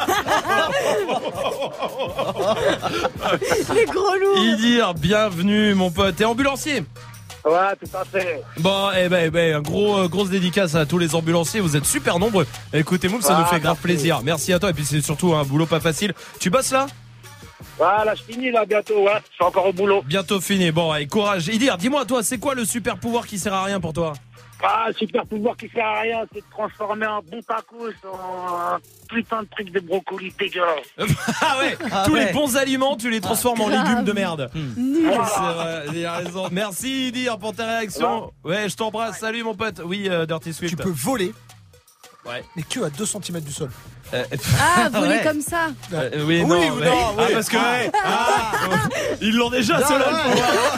S13: Les gros loups.
S1: Idir, bienvenue mon pote. T'es ambulancier?
S21: Ouais, tout à fait.
S1: Bon, eh ben, eh ben, un gros, euh, grosse dédicace à tous les ambulanciers. Vous êtes super nombreux. Écoutez, Move, ça
S21: Ah,
S1: nous fait grave
S21: merci.
S1: plaisir. Merci à toi. Et puis c'est surtout un boulot pas facile. Tu bosses là?
S21: Voilà, je finis là bientôt, ouais. Je suis encore au boulot.
S1: Bientôt fini. Bon, allez, courage. Idir, dis-moi, toi, c'est quoi le super pouvoir qui sert à rien pour toi?
S21: Ah, super pouvoir qui sert à rien, c'est de transformer un bon tacos en un putain de truc de brocoli dégueulasse.
S1: Ah ouais,
S21: Ah
S1: tous
S21: ouais.
S1: les bons aliments, tu les transformes en
S21: grave.
S1: légumes de merde.
S21: Mmh.
S1: Ouais, c'est vrai, il a raison. Merci Dir pour ta réaction. Ouais, je t'embrasse. Salut mon pote. Oui, euh, Dirty Swift.
S6: Tu peux voler,
S1: ouais.
S6: mais que à deux centimètres du sol.
S1: Euh,
S13: Ah, voler
S1: ouais.
S13: comme ça.
S1: Euh, oui,
S6: Oui
S1: non,
S6: ou
S1: mais-
S6: non,
S1: Ah,
S6: oui.
S1: parce que ouais.
S6: Ah.
S1: Ils l'ont déjà,
S6: Non,
S1: ceux-là.
S6: ouais.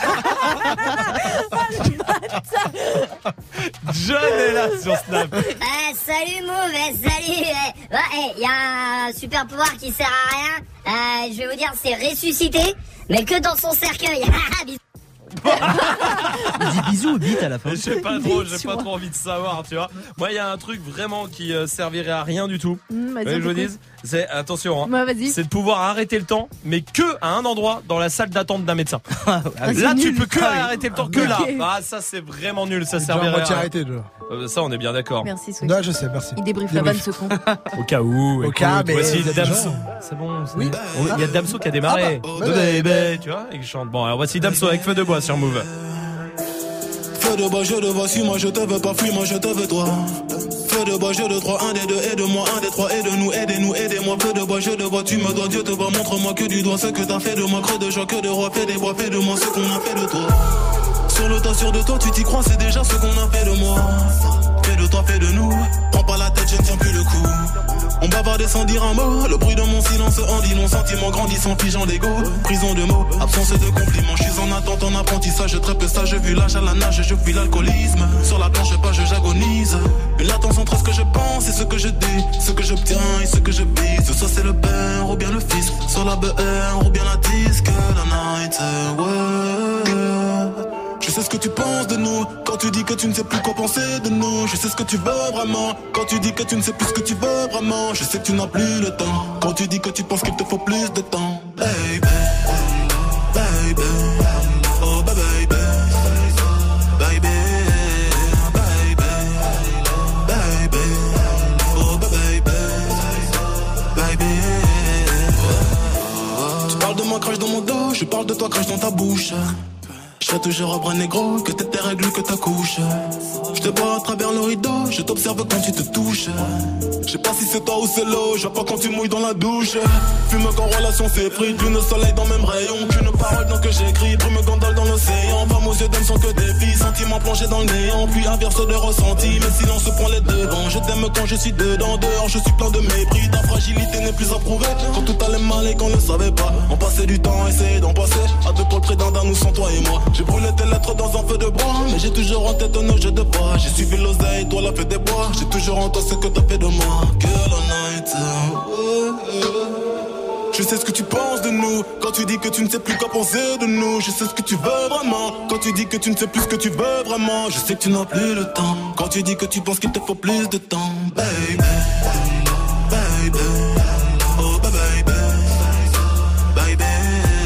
S1: John est là sur Snap.
S7: Eh, salut Mauve, eh, salut. eh. Ouais, il y a un super pouvoir qui sert à rien. Euh, je vais vous dire, c'est ressusciter, mais que dans son cercueil. Bisous.
S15: Il dit bisous ou bite à la fin.
S1: J'ai pas trop, j'ai pas trop envie de savoir, tu vois. Moi, il y a un truc vraiment qui euh, servirait à rien du tout.
S13: Mmh, vas-y,
S1: Vous voulez que je vous
S13: pourquoi
S1: dise, c'est attention, hein,
S13: Ouais, vas-y.
S1: c'est de pouvoir arrêter le temps, mais que à un endroit dans la salle d'attente d'un médecin.
S13: Ah, c'est
S1: Là, tu
S13: nul.
S1: peux que
S13: Ah oui.
S1: arrêter le temps, que
S13: Ok.
S1: là. Ah, ça, c'est vraiment nul, ça
S6: Déjà à
S1: servirait à
S6: moitié
S1: rien.
S6: arrêté, déjà.
S1: Euh, ça, on est bien d'accord.
S13: Merci, Swift.
S6: Non, je sais, merci.
S13: Il débriefe la vanne, ce con.
S1: Au cas où.
S6: Au
S1: écoute,
S6: cas, mais
S1: voici
S6: il y a des
S1: Damso.
S6: gens.
S1: C'est bon. c'est-
S6: Oui.
S1: On- Il y a Damso qui a démarré.
S6: Ah bah,
S1: De
S6: ouais,
S1: bébé, tu vois, et qui chante. Bon, alors voici Damso avec Feu de bois sur Move.
S19: Feu de bois, je te vois, suis-moi, je te veux pas, fuis-moi, je te veux toi. Feu de bois, je de trois, un des deux, aide-moi, un des trois, aide-nous, aidez-nous, aidez-moi. Feu de bois, je te vois, tu me dois, Dieu te voit, montre-moi que du doigt ce que t'as fait de moi, creux de joie, que de roi, fais des bois, fais de moi ce qu'on a fait de toi. Sur le tas, sûr de toi, tu t'y crois, c'est déjà ce qu'on a fait de moi. Fais de toi, fais de nous, prends pas la tête, je ne tiens plus le coup. On bavardait sans dire un mot, le bruit de mon silence en dit long, sentiment grandissant, figeant d'ego, prison de mots, absence de compliments, je suis en attente, en apprentissage, très peu sage, vu l'âge à la nage, je fuis l'alcoolisme, sur la planche pas, je j'agonise, une latence entre ce que je pense et ce que je dis, ce que j'obtiens et ce que je bise, soit c'est le père ou bien le fils, soit la B R ou bien la disque, la night, ouais. Je sais ce que tu penses de nous, quand tu dis que tu ne sais plus quoi penser de nous. Je sais ce que tu veux vraiment, quand tu dis que tu ne sais plus ce que tu veux vraiment. Je sais que tu n'as plus le temps, quand tu dis que tu penses qu'il te faut plus de temps. Baby, baby, oh baby, baby, baby, baby, oh baby, baby. Tu parles de moi, crache dans mon dos, je parle de toi, crache dans ta bouche. Je serai toujours un bras négro, que t'es tes règles, que ta couche. Je te vois à travers le rideau, je t'observe quand tu te touches. Je sais pas si c'est toi ou c'est l'eau, je vois pas quand tu mouilles dans la douche. Fume quand relation s'effrite, lune soleil dans même rayon. Qu'une parole dans que j'écris, brume gondole dans l'océan. Femmes aux yeux d'hommes sont que des filles, sentiments plongés dans le néant. Puis inverse de ressenti, mais silence prend les devants. Je t'aime quand je suis dedans, dehors je suis plein de mépris. Ta fragilité n'est plus à prouver, quand tout allait mal et qu'on ne savait pas. On passait du temps, essayer d'en passer, à deux pour le prix d'un d'un, nous sans toi et moi. J'ai brûlé tes lettres dans un feu de bois, mais j'ai toujours en tête nos jeux de bois. J'ai suivi l'oseille, toi la fête des bois. J'ai toujours en toi ce que t'as fait de moi. Girl all night, ouais. Je sais ce que tu penses de nous, quand tu dis que tu ne sais plus quoi penser de nous. Je sais ce que tu veux vraiment, quand tu dis que tu ne sais plus ce que tu veux vraiment. Je sais que tu n'as plus le temps, quand tu dis que tu penses qu'il te faut plus de temps. Baby, baby, oh baby, baby, baby.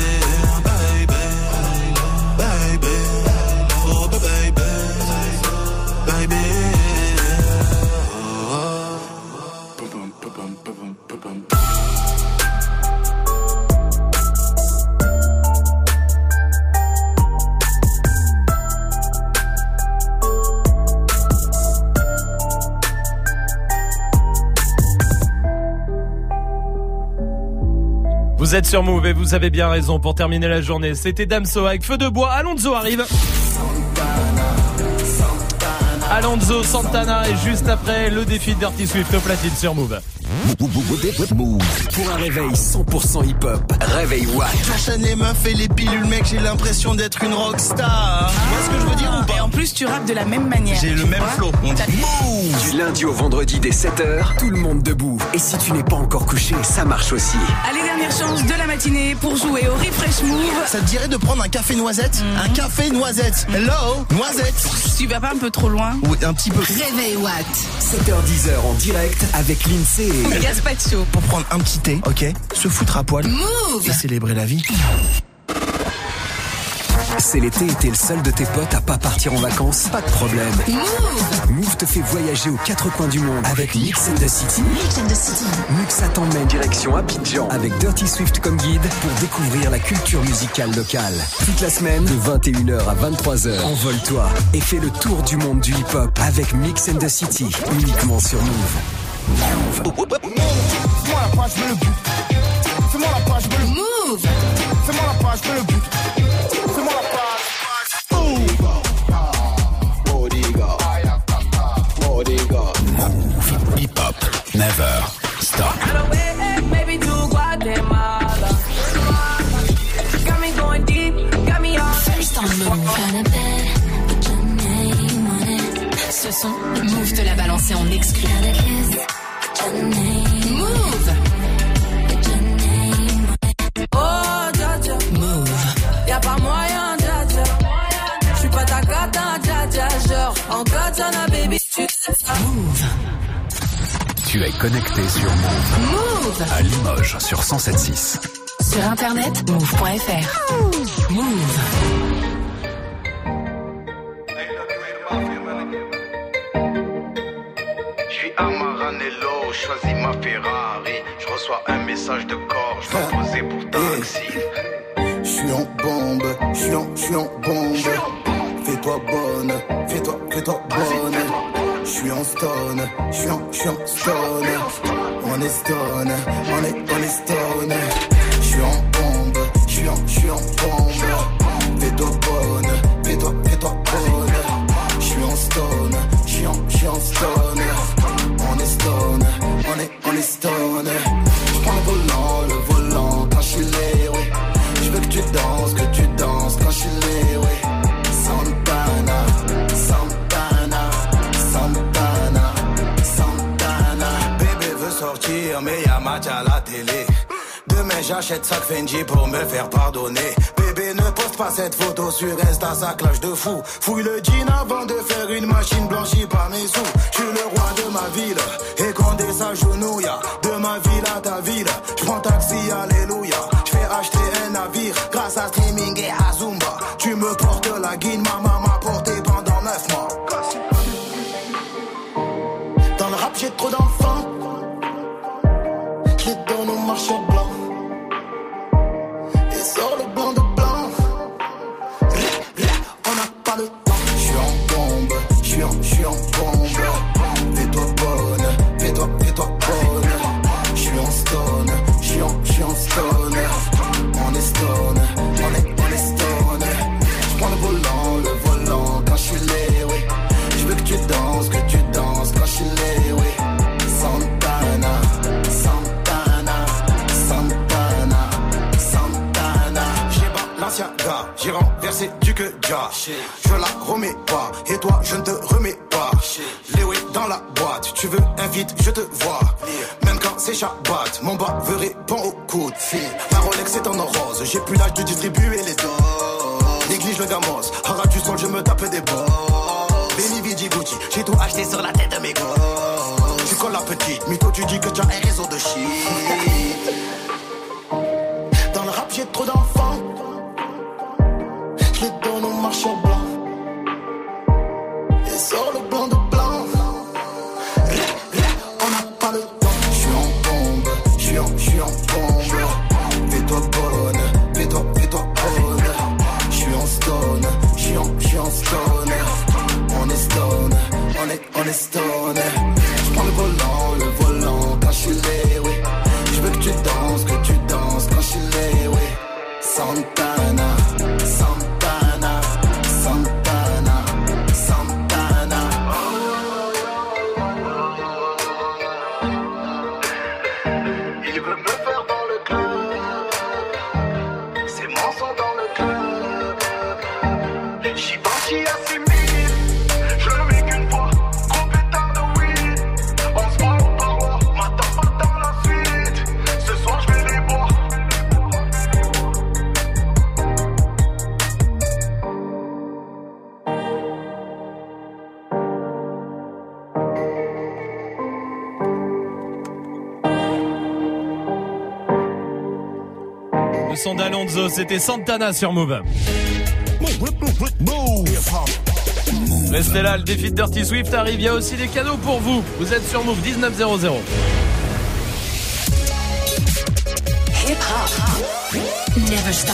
S1: Vous êtes sur Move et vous avez bien raison pour terminer la journée. C'était Damso avec Feu de bois. Alonso arrive. Alonso Santana et juste après le défi de Dirty Swift au platine sur Move.
S4: Move. Pour un réveil cent pour cent hip-hop. Réveil Watt.
S14: J'enchaîne les meufs et les pilules, mec, j'ai l'impression d'être une rockstar. Tu vois ce que je veux dire ou pas?
S5: Et en plus, tu rappes de la même manière.
S14: J'ai le même flow. On dit
S4: Move. Du lundi au vendredi dès sept heures, tout le monde debout. Et si tu n'es pas encore couché, ça marche aussi.
S5: Allez, dernière chance de la matinée pour jouer au Refresh Move.
S14: Ça te dirait de prendre un café noisette? mmh. Un café noisette. Hello, noisette.
S5: Tu vas pas un peu trop loin?
S14: Oui, un petit peu.
S12: Réveil Watt.
S4: sept heures dix en direct avec l'Insee.
S5: Gaspacho.
S14: Pour prendre un petit thé, ok? Se foutre à poil.
S12: Move.
S14: Et célébrer la vie.
S4: C'est l'été et t'es le seul de tes potes à pas partir en vacances? Pas de problème. Move Move te fait voyager aux quatre coins du monde avec Mix and the City. Mix and the City. Muxa t'emmène direction Abidjan avec Dirty Swift comme guide pour découvrir la culture musicale locale. Toute la semaine, de vingt et une heures à vingt-trois heures, envole-toi et fais le tour du monde du hip-hop avec Mix and the City, uniquement sur Move. Move.
S14: Fais-moi la page, je veux le but. Fais-moi la page, je veux le Move. Fais-moi la page, je veux le but. Fais-moi la page.
S4: Move. Hip-hop. Never stop.
S10: Maybe to Guatemala. Got me going deep, got me on.
S12: First on Move. Ce son, Move te l'a balancé en exclu. Move.
S10: Oh, dja dja.
S12: Move.
S10: Y'a pas moyen, dja dja. J'suis pas ta cata, dja dja. Genre, en katana, baby, tu sais ça.
S12: Move.
S4: Tu es connecté sur Move.
S12: Move.
S4: À Limoges sur cent sept virgule six.
S12: Sur internet, move point f r. Move.
S20: Amaranello, choisis ma Ferrari. Je reçois un message de corps, je dois poser pour taxi.
S14: J'suis en bombe, j'suis en, j'suis en bombe. Fais-toi bonne, fais-toi, fais-toi bonne. J'suis en stone, j'suis en, j'suis en stone. On est stone, on est, on est stone. J'suis en bombe, j'suis en, j'suis en bombe. Fais-toi bonne, fais-toi, fais-toi bonne. J'suis en stone, j'suis en, j'suis en stone. On est stone, on est, on est stone. J'prends le volant, le volant quand j'suis là, oui. J'veux que tu danses, que tu danses quand j'suis là, oui. Santana, Santana, Santana, Santana. Bébé veut sortir, mais y'a match à la télé. Demain j'achète sac Fendi pour me faire pardonner. Bébé ne poste pas cette photo sur Insta, ça clash de fou. Fouille le jean avant de faire une machine blanchie par mes sous. J'suis le roi de ma ville, et Condé s'agenouille. De ma ville à ta ville, j'prends taxi, alléluia. J'fais acheter un navire, grâce à streaming et à Zumba. Tu me portes la guine, ma maman m'a porté pendant neuf mois. Dans le rap j'ai trop d'enfants, j'les donne au marchand blanc. Et sort le blanc de blanc. On n'a pas le temps. J'suis en bombe, j'suis en, j'suis en bombe. Fais-toi bonne, fais-toi, fais-toi bonne. J'suis en stone, j'suis en, j'suis en stone. On est stone, on est, on est stone. J'prends le volant, le volant quand j'suis là, oui. J'veux que tu danses, que tu danses quand j'suis là, oui. Santana, Santana, Santana, Santana. J'ai Balenciaga, j'ai renversé du que ja. Je la remets pas, et toi je ne te remets pas. Léo est dans la boîte, tu veux invite, je te vois. Même quand c'est Shabbat, mon bas veut répondre au coup de fil. La Rolex est en or rose, j'ai plus l'âge de distribuer les doses. Néglige le gamos, en ras du sol je me tape des balles. Benny Vidi Gucci, j'ai tout acheté sur la tête de mes gosses. Tu colles la petite, mytho tu dis que tu as un réseau de shit. Dans le rap j'ai trop d'enfants, je les donne au marchand blanc. Et sort le blanc de blanc. On n'a pas le temps. J'suis en bombe, j'suis en, j'suis en bombe. Fais-toi bonne, fais-toi, fais-toi bonne. J'suis en stone, j'suis en, j'suis en stone. On est stone, on est, on est stone. J'prends le volant, le volant quand j'suis là, oui. J'veux que tu danses, que tu danses quand j'suis là, oui. Santana, Santana, Santana, Santana. Il veut me faire dans le club, c'est mon son dans le club. J'y parti à six mille, je le mets qu'une fois, gros pétard de weed. On se voit au parois, m'attends pas dans la suite. Ce soir je vais les boire.
S1: Le son d'Alonso, c'était Santana sur Move. Restez là, le défi de Dirty Swift arrive, il y a aussi des cadeaux pour vous. Vous êtes sur Move dix-neuf zéro zéro.
S12: Hip hop. Never stop.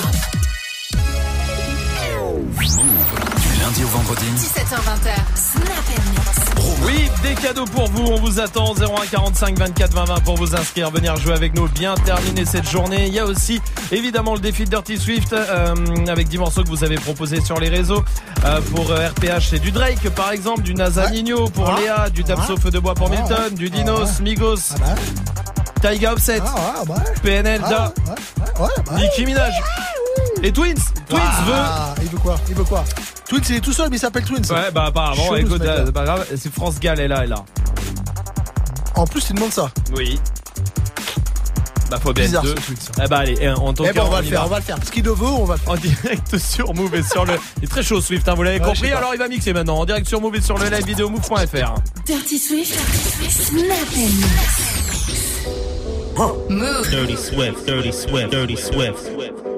S4: Du lundi au vendredi.
S12: dix-sept heures vingt. Snap and Mix.
S1: Oui, des cadeaux pour vous, on vous attend. Zéro un quarante-cinq vingt-quatre vingt vingt pour vous inscrire, venir jouer avec nous, bien terminer cette journée. Il y a aussi évidemment le défi de Dirty Swift euh, avec dix morceaux que vous avez proposés sur les réseaux. euh, Pour euh, R P H c'est du Drake par exemple, du NASA Nino pour ah. Léa, du Damso Feu de Bois pour Milton, ah. du Dinos, ah. Migos, ah bah. Taiga Offset, ah, ouais, ouais. P N L, Da, ah, ouais, ouais, ouais. Nicki Minaj et Twins. Twins
S6: ah, veut. Il veut quoi Il veut quoi Twins, il est tout seul, mais il s'appelle Twins.
S1: Ouais, bah apparemment, Chelou, écoute, c'est pas grave, c'est France Gall, elle est là, elle est là.
S6: En plus, il demande ça.
S1: Oui. Bah, faut bien deux. Eh bah, allez, en tant
S6: que.
S1: Eh bah,
S6: on va le faire, on va le faire. Ce qu'il veut, on va le faire.
S1: En direct sur Move et sur le. Il est très chaud, Swift, hein, vous l'avez ouais, compris. Alors, il va mixer maintenant. En direct sur Move et sur le live vidéo move point f r.
S12: Dirty Swift, Snap and Mix. Move.
S2: Dirty Swift, Dirty Swift, Dirty Swift.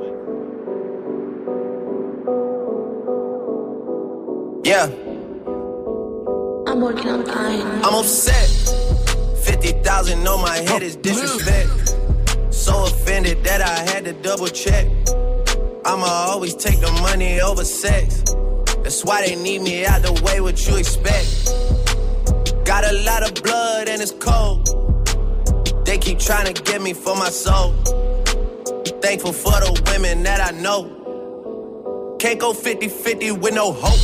S14: Yeah. I'm working on time. I'm upset. fifty thousand on my head is disrespect. So offended that I had to double check. I'ma always take the money over sex. That's why they need me out the way, what you expect. Got a lot of blood and it's cold. They keep trying to get me for my soul. Thankful for the women that I know. Can't go fifty fifty with no hope.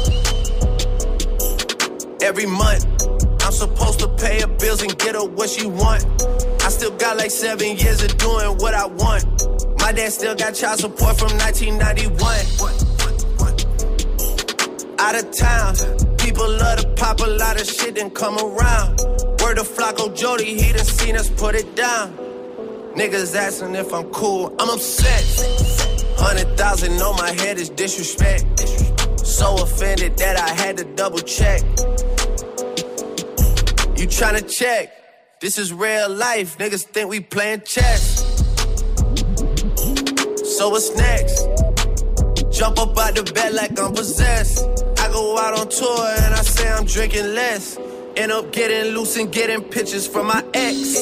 S14: Every month, I'm supposed to pay her bills and get her what she want. I still got like seven years of doing what I want. My dad still got child support from nineteen ninety-one. Out of town, people love to pop a lot of shit and come around. Word of Flacco Jody, he done seen us put it down. Niggas asking if I'm cool, I'm upset. Hundred thousand on my head is disrespect. So offended that I had to double check. You tryna check? This is real life. Niggas think we playing chess. So what's next? Jump up out the bed like I'm possessed. I go out on tour and I say I'm drinking less. End up getting loose and getting pictures from my ex.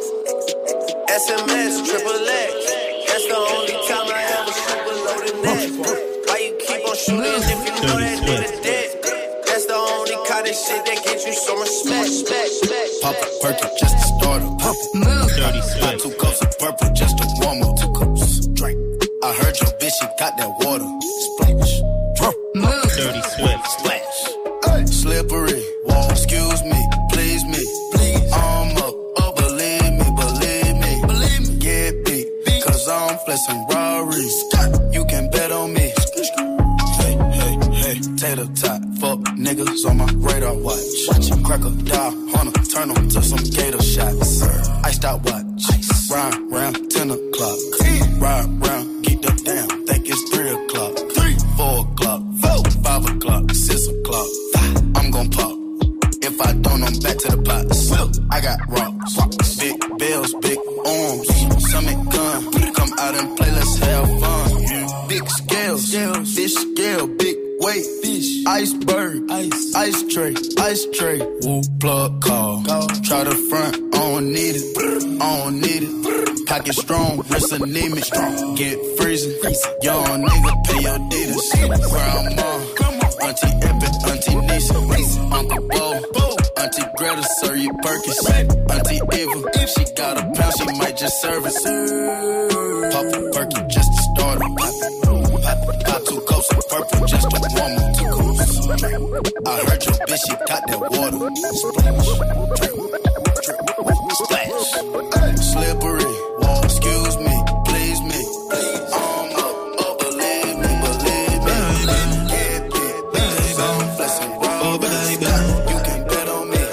S14: S M S, triple X. That's the only time I ever shoot below the neck. Why you keep on shooting if you know that nigga dead? That's the only kind of shit that gets you some respect.
S20: Pop a perky just to start up. Pop
S12: Move.
S20: Dirty Swift. Two cups of purple just to warm up. Two cups. Drink. I heard your bitch, she got that water. Splash.
S12: Move.
S2: Dirty Swift.
S20: Splash. Hey. Slippery. Wall. Excuse me. Please me. Please. I'm up. Oh, believe me. Believe me. Believe me. Get beat. beat. Cause I'm flexing Rari's. You can bet on me. Hey, hey, hey. Tater tot. Fuck niggas on my radar watch. Watch him crack a dial, hunter, turn them to some gator shots. Iced out watch, Ice. Ride round ten o'clock. Ride round, get the down, think it's three o'clock. Three, four o'clock, four, five o'clock, six o'clock. Five. I'm gon' pop. If I don't, I'm back to the pots. I got rocks, big bills, big arms. Summit gun, come out and play, let's have fun. Big scales, fish scale, big weight, fish, iceberg, ice, ice tray, ice tray. Woo, plug call. call. Try the front, I don't need it, I don't need it. Pocket strong, wrist anemic, get freezing. Young nigga, pay your deeders. Grandma, Auntie Epic, Auntie Nisa, Uncle Bo, Auntie Greta, serve you Perkins. Auntie Eva, if she got a pound, she might just serve it. Pop a perky just to start it. Got two cups of purple just to warm up. Two cups. I heard your bitch, she got that water. Splash, drip, drip, splash. Slippery, wall, excuse me, please me. I'm up, oh, believe me, believe me. Get big, cause I'm flexing raw. You can bet on me.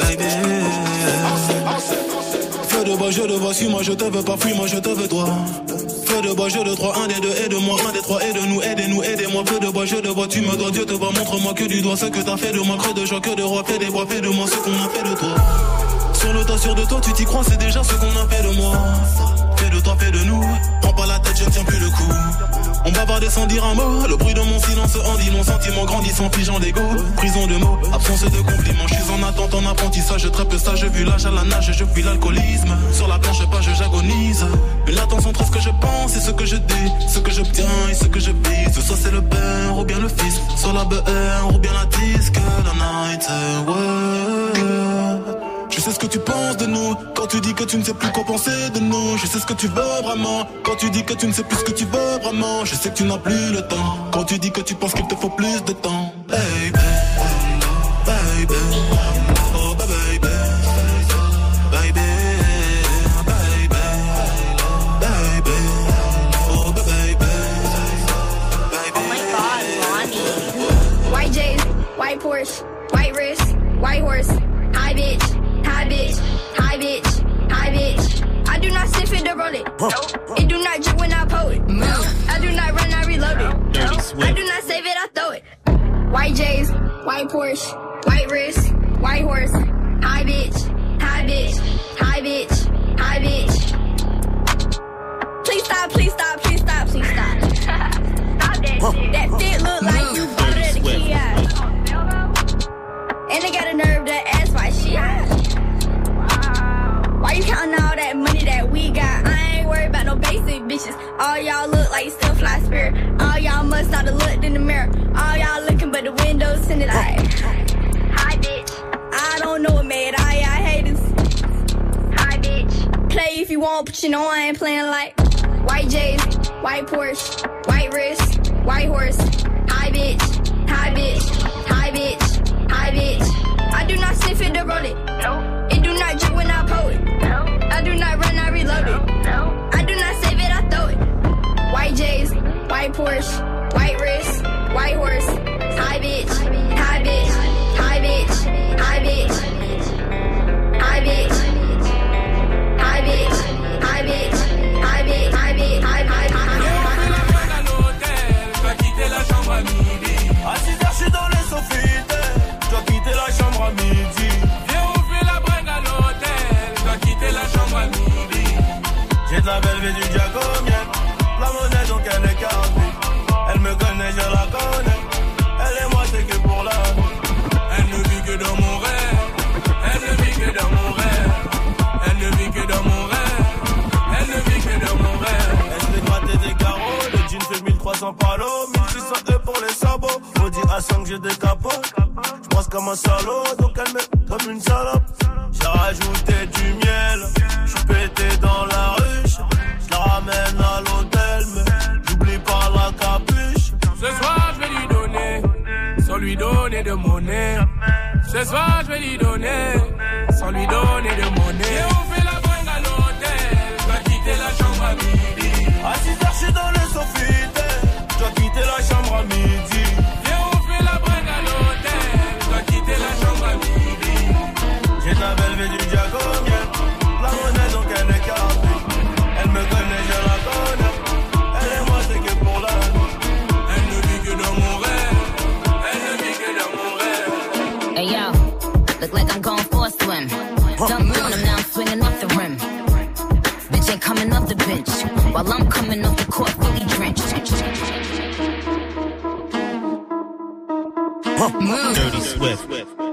S18: Feu de bois, je te vois, suis-moi, je te veux pas, fuis-moi, je te veux toi. Feu de bois, je de trois, un des deux, aide-moi, un des trois, aide-nous, aidez-nous, aidez-moi. Feu de bois, je de bois, tu me dois, Dieu te voit, montre-moi que du doigt ce que t'as fait de moi, creux de joie, que de roi, fais des bois, fais de moi ce qu'on a fait de toi. Sur le toit, sûr de toi, tu t'y crois, c'est déjà ce qu'on a fait de moi. Fais de toi, fais de nous, prends pas la tête, je ne tiens plus le coup. On bavarde sans dire un mot. Le bruit de mon silence en dit long. Sentiment grandissant, figeant d'ego. Prison de mots, absence de compliments. Je suis en attente, en apprentissage. Très peu sage, vu l'âge à la nage. Je fuis l'alcoolisme. Sur la planche page, j'agonise. Une attention entre ce que je pense et ce que je dis. Ce que j'obtiens et ce que je vise. Soit c'est le père ou bien le fils. Soit la B R ou bien la disque. La night, ouais. Je sais ce que tu penses de nous. Quand tu dis que tu ne sais plus quoi penser de nous. Je sais ce que tu veux vraiment. Quand tu dis que tu ne sais plus ce que tu veux vraiment. Je sais que tu n'as plus le temps. Quand tu dis que tu penses qu'il te faut plus de temps. Baby, baby, oh baby, baby, baby, baby, oh baby, baby.
S8: Oh my God, Bonnie. White J's, white Porsche, white wrist, white horse, high bitch. Hi bitch, hi bitch, hi bitch. I do not sniff it to roll it. Nope. It do not drip when I pull it. No. I do not run, I reload it. Nope. I do not save it, I throw it. White J's, white Porsche, white wrist, white horse. Hi bitch, hi bitch, hi bitch, hi bitch. Please stop, please stop, please stop, please stop. Stop that shit. That fit look like you bought it at the kiosk. And they got a nerve to ask why she hot. Why you counting all that money that we got? I ain't worried about no basic bitches. All y'all look like still fly spirit. All y'all must not have looked in the mirror. All y'all looking but the windows tinted eye. Hi bitch. I don't know what made all y'all haters. Hi bitch. Play if you want, but you know I ain't playing like white J's, white Porsche, white wrist, white horse. Hi bitch, hi bitch, hi bitch, hi bitch. I do not sniff it to roll it. No. It do not drip when I pull it. No. I do not run, I reload it. No. I do not save it, I throw it. White J's, white Porsche, white wrist, white horse. Hi bitch, hi bitch, hi bitch, hi bitch, hi bitch, hi bitch, hi bitch, hi bitch, hi bitch, hi bitch, hi bitch.
S18: T'as quitté la chambre à midi. À six heures, je suis dans les sophites. Je dois quitter la chambre à midi. Viens ouvrir la bringue à l'hôtel. Je dois quitter la chambre à midi. J'ai de la belle vie du diagonien. La monnaie donc elle est carrée. Elle me connaît, je la connais. Elle et moi c'est que pour la vie. Elle ne vit que dans mon rêve. Elle ne vit que dans mon rêve. Elle ne vit que dans mon rêve. Elle ne vit que dans mon rêve. Elle se fait gratter des carreaux. Le jean fait mille trois cents palos. mille six cents euros pour les sabots. Maudit à cinq j'ai des capotes. J'pense comme un salaud. Donc elle me comme une salope. J'ai rajouté du miel. J'suis pété dans la ruche. J'la ramène à l'hôtel. Mais j'oublie pas la capuche. Ce soir je vais lui donner. Sans lui donner de monnaie. Ce soir je vais lui donner. Sans lui donner de monnaie. Et on fait la bringue à l'hôtel. J'dois quitter la chambre à midi. À six heures j'suis dans le sophites. J'dois quitter la chambre à midi. Et on fait la bringue à l'hôtel. J'dois quitter la chambre à midi. J'ai de la belle vie du diagonien. La monnaie donc elle est carrée. Elle me connaît, je la connais. Elle et moi c'est que pour la vie. Elle ne vit que dans mon rêve. Elle ne vit que dans mon rêve.
S22: Hey yo, look like I'm going for a swim. Dunk on him now, I'm swinging off the rim. Bitch ain't coming off the bench. While I'm coming off the court, fully drenched. Move.
S2: Dirty Swift.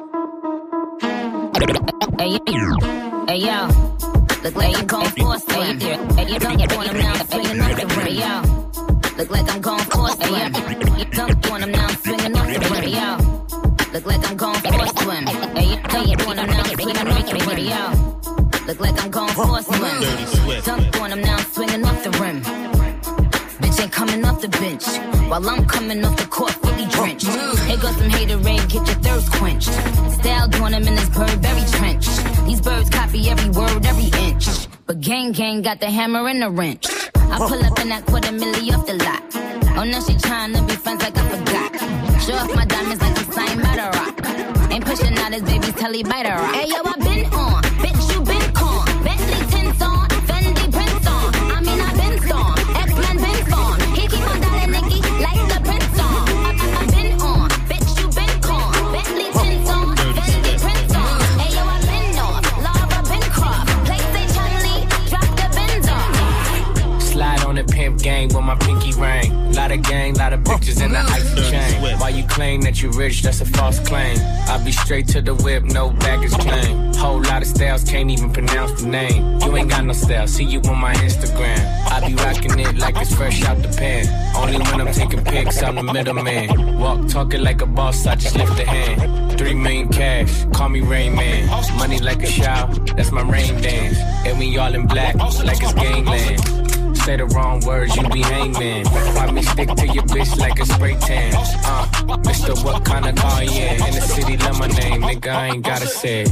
S22: Hey yo, hey yo, look like I'm going for a swim. Hey yo, dunk on him now, I'm swinging off the rim. Hey yo, look like I'm going for a swim. Dunk on him now, I'm swinging off the rim. Hey yo, look like I'm going for a swim. Hey yo, dunk on him now, I'm swinging off the rim. Hey yo, look like I'm going for a swim. Dunk on him now, I'm swinging off the rim. Bitch ain't coming off the bench. While I'm coming off the court, fully drenched. Here goes some haterade, get your thirst quenched. Style doing them in this Burberry trench. These birds copy every word, every inch. But gang gang got the hammer and the wrench. I pull up in that quarter milli off the lot. Oh, now she tryna be friends like I forgot. Show off my diamonds like I'm signed by the rock. Ain't pushing out his baby's telly by the rock. Hey yo, I been on, bitch you been con. Bentley tints on, Fendi prints on. I mean I been storm, X-Men been storm. He keep on dialing Nicky like the prince on. I, I, I been on, bitch you been con. Bentley tints on, Fendi prints on. Hey yo, I been on, Laura been crossed. Play say Charlie, drop the Benz on.
S23: Slide on the pimp gang with my pinky ring. Lot
S9: Lot of gang, lot of bitches in the icy chain. Why you claim that you rich, that's a false claim. I be straight to the whip, no baggage claim. Whole lot of styles, can't even pronounce the name. You ain't got no style, see you on my Instagram. I be rocking it like it's fresh out the pan. Only when I'm taking pics, I'm the middleman. Walk talking like a boss, I just lift a hand. Three million cash, call me Rain Man. Money like a shower, that's my rain dance. And we all in black, like it's gangland. Say the wrong words, you be hangman. Why me stick to your bitch like a spray tan? Uh, Mister What kind of car, yeah. In the city, love my name, nigga, I ain't gotta say it.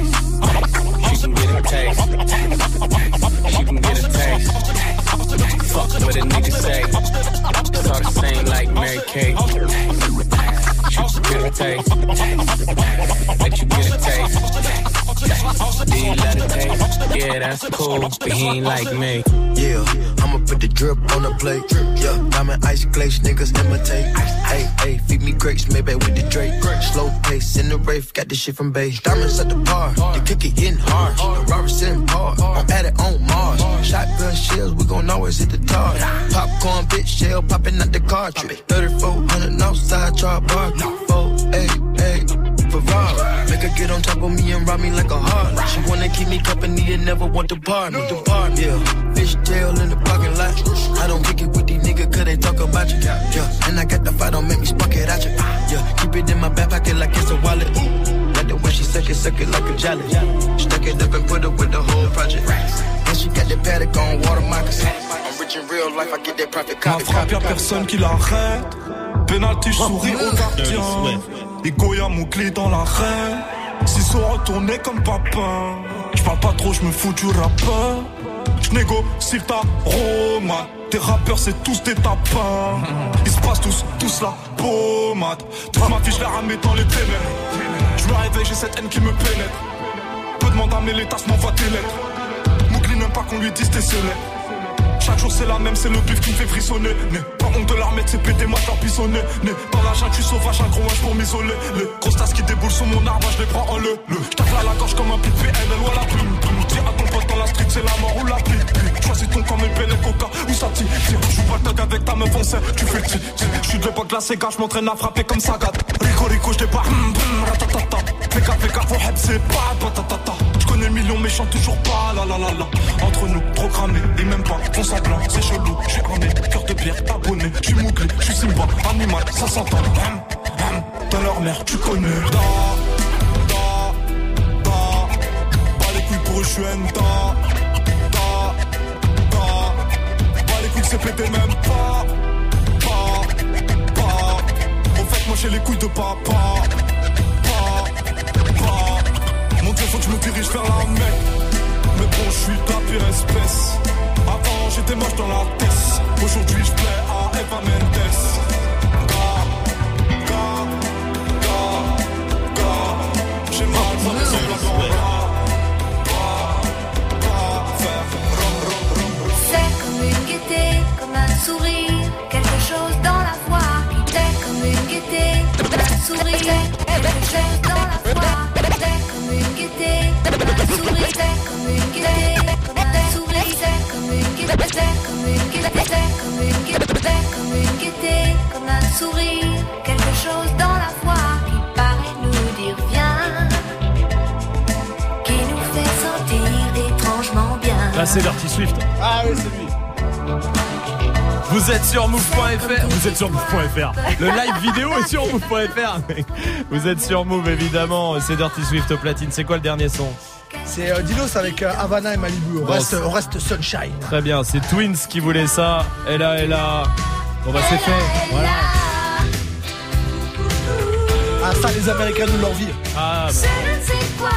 S9: She can get a taste. She can get a taste. Fuck what a nigga say. It's all the same like Mary Kate. She can get a taste. Let you get a taste. Do you let it taste? Yeah, that's cool, but he ain't like me.
S16: Yeah, I'ma put the drip on the plate. Yeah, diamond ice glaze, niggas imitate. Hey, hey, feed me grapes, maybe with the Drake. Slow pace in the rave, got this shit from base. Diamonds at the bar, the cookie getting hard. The Robert sitting hard, I'm at it on Mars. Shotgun shells, we gon' always hit the tar. Popcorn, bitch, shell popping out the cartridge. thirty-four hundred outside, char bar. Four, eight, eight. Ferrari. Make her get on top of me and rob me like a heart. She wanna keep me company and never want to part me. Depart, yeah. Fish tail in the parking lot. I don't kick it with these niggas cause they talk about you. Yeah, and I got the fight, don't make me spark it at you. Yeah, keep it in my back pocket like it's a wallet. Like the way she suck it, suck it like a jelly. Stuck it up and put it with the whole project. And she got the paddock on water moccasin. I'm rich in real life, I get that profit copy.
S19: Ma frappe, y'a personne qui l'arrête. Penalty, je souris au gardien. Et Goya mon clé dans l'arène. S'ils sont retournés comme papa. J'parle pas trop, j'me fous du rappeur. J'négocie ta Roma. Tes rappeurs c'est tous des tapins. Ils se passent tous, tous la pommade. Toute ma vie je la ramène dans les ténèbres. J'me réveille, j'ai cette haine qui me pénètre. Peu demande à mes tasses, m'envoie tes lettres. Mougli n'aime pas qu'on lui dise tes sonnets. Chaque jour c'est la même, c'est le bif qui me fait frissonner. Né, pas honte de la remettre, c'est pété, moi je leur pissonner. Né, dans la jungle, je suis sauvage, un gros wesh pour m'isoler. Les grosses tasses qui déboulent sur mon arbre, je les prends en le. Le, j'tape à la gorge comme un pit P N L ou à la plume. Dis à ton pote dans la street, c'est la mort ou la pluie. Choisis ton comme une belle coca ou ça tire. J'joue pas le tag avec ta meuf en scène, tu fais le tir. J'suis de l'époque de la Sega, j'm'entraîne à frapper comme Sagat. Rico Rico, j'débarque, ratatata. Fais gaffe, fais gaffe, on c'est pas patatata. J'connais le million mais chante toujours pas, la la la la. Entre nous, programmé, et même pas, font semblant, c'est chelou. J'suis armé, cœur de pierre, abonné. J'suis mouclé, j'suis Simba, animal, ça s'entend. Hum, hum, dans leur mère, tu connais. Da, da, da. Pas les couilles pour eux, j'suis un da. Da, da. Pas les couilles que c'est pété, même pas. Pas, pas. Au fait, moi j'ai les couilles de papa. Pas, pas. Mon Dieu, faut que je me dirige vers la mec. Mais bon, je suis ta pire espèce. Avant, j'étais moche dans la tête. Aujourd'hui, je plais à Eva Mendes. Ga, ga, ga, ga. J'ai mal, ça me semble encore là.
S8: C'est comme une gaieté, comme un sourire. Quelque chose dans la voix qui t'est comme une gaieté, comme un sourire. Quelque chose dans la voix. C'est comme une gaieté, comme un sourire. C'est comme une gaieté, comme un sourire. C'est comme une gaieté, c'est comme une gaieté, c'est comme une gaieté, c'est comme une gaieté, comme un sourire. Quelque chose dans la voix qui paraît nous dire viens, qui nous fait sentir étrangement bien.
S1: Là c'est Dirty Swift.
S6: Ah oui, c'est lui.
S1: Vous êtes sur move point f r. Vous êtes sur move point f r. Le live vidéo est sur move point f r. Vous êtes sur Move évidemment. C'est Dirty Swift au platine. C'est quoi le dernier son?
S6: C'est euh, Dinos avec euh, Havana et Malibu. On, bon, reste, on reste Sunshine.
S1: Très bien. C'est Twins qui voulait ça. Elle a, elle a. Bon bah c'est fait. Voilà.
S6: Ah ça les Américains nous l'envient.
S1: Ah bah.
S8: Je ne sais quoi.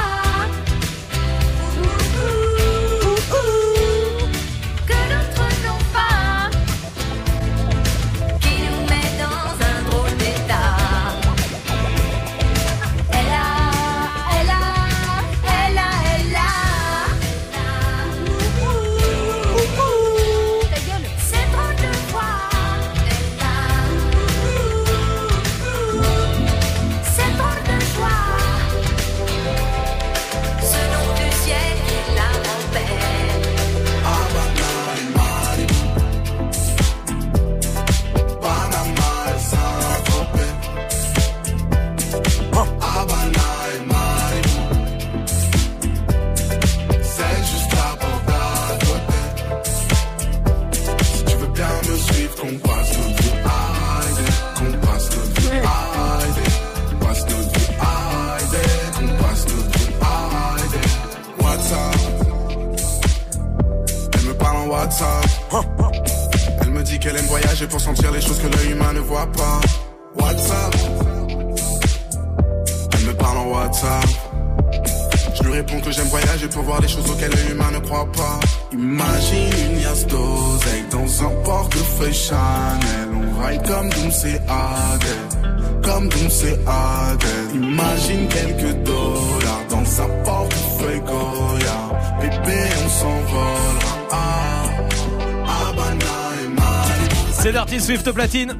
S18: qu'elle aime voyager pour sentir les choses que l'œil humain ne voit pas. WhatsApp, elle me parle en WhatsApp. Je lui réponds que j'aime voyager pour voir des choses auxquelles l'œil humain ne croit pas. Imagine une liasse d'oseille dans un portefeuille Chanel. On raille comme Doom's et Adèle, comme Doom's et Adèle. Imagine quelques dollars dans un portefeuille Goya. Bébé, on s'envolera. Ah, Habana et Mali.
S1: C'est Dirty Swift platine.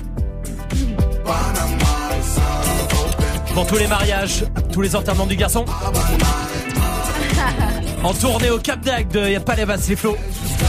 S1: Pour tous les mariages, tous les enterrements du garçon. En tournée au Cap d'Agde, y'a pas les basses, les flots.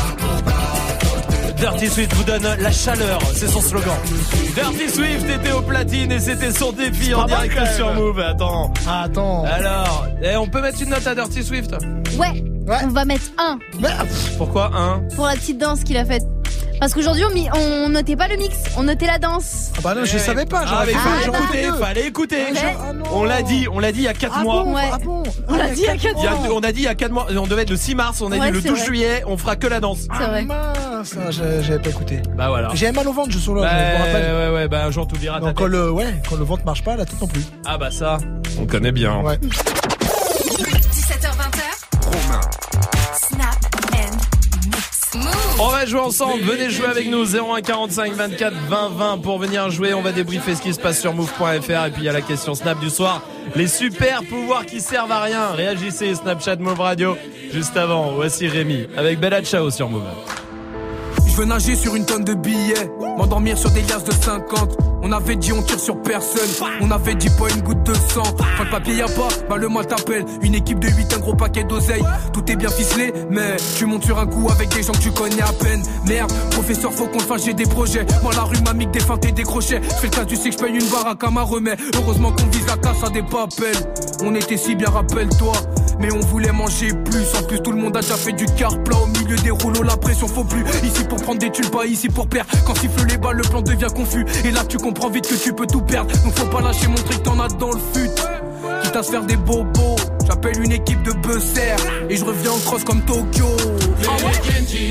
S1: Dirty Swift vous donne la chaleur, c'est son slogan. Dirty Swift était au platine et c'était son défi en direct sur Move. Attends.
S6: Ah, attends.
S1: Alors, eh, on peut mettre une note à Dirty Swift?
S13: Ouais, ouais. On va mettre un.
S1: Pourquoi un?
S13: Pour la petite danse qu'il a faite. Parce qu'aujourd'hui, on, mis, on notait pas le mix, on notait la danse.
S6: Ah bah non, je savais pas.
S1: Ah, mais
S6: ah,
S1: fallait écouter,
S13: bah.
S1: fallait écouter.
S13: Ouais.
S6: Ah
S1: on l'a dit, on l'a dit il y a quatre
S13: ah
S1: mois.
S13: Bon, ouais.
S6: Ah bon
S13: On l'a dit il y a quatre mois.
S1: On a dit il y a quatre mois, on devait être le six mars, on a
S13: ouais,
S1: dit le douze
S13: vrai.
S1: juillet, on fera que la danse.
S13: C'est vrai.
S6: Ah mince, j'avais pas écouté.
S1: Bah voilà.
S6: J'avais mal au ventre, je suis là,
S1: bah,
S6: je me rappelle.
S1: Ouais, ouais, bah un jour t'oublieras ta tête.
S6: Quand le, ouais, quand le ventre marche pas, la tête non plus.
S1: Ah bah ça, on connaît bien.
S6: Ouais.
S12: dix-sept heures vingt.
S1: Romain.
S12: Snap and mix.
S1: On va jouer ensemble, venez jouer avec nous zéro un quarante-cinq vingt-quatre vingt vingt pour venir jouer, on va débriefer ce qui se passe sur move point f r et puis il y a la question Snap du soir, les super pouvoirs qui servent à rien, réagissez Snapchat Move Radio. Juste avant, voici Rémi avec Bella Ciao sur Move.
S3: Je veux nager sur une tonne de billets, m'endormir sur des liasses de cinquante. On avait dit on tire sur personne, on avait dit pas une goutte de sang. Quand le papier y a pas, bah le mal t'appelle. Une équipe de huit, un gros paquet d'oseille. Tout est bien ficelé, mais tu montes sur un coup avec des gens que tu connais à peine. Merde, professeur faut qu'on le fasse, j'ai des projets. Moi la rue m'a mis que des feintes et des crochets. Je fais le cas, tu sais que je paye une baraque à ma remède. Heureusement qu'on vise la casse à des papels. On était si bien, rappelle-toi. Mais on voulait manger plus. En plus tout le monde a déjà fait du car plat. Au milieu des rouleaux la pression faut plus. Ici pour prendre des thunes, pas ici pour perdre. Quand siffle les balles le plan devient confus. Et là tu comprends vite que tu peux tout perdre. Donc faut pas lâcher, montrer que t'en as dans le fut. Quitte à se faire des bobos. J'appelle une équipe de buzzer. Et je reviens en cross comme Tokyo. Ah ouais.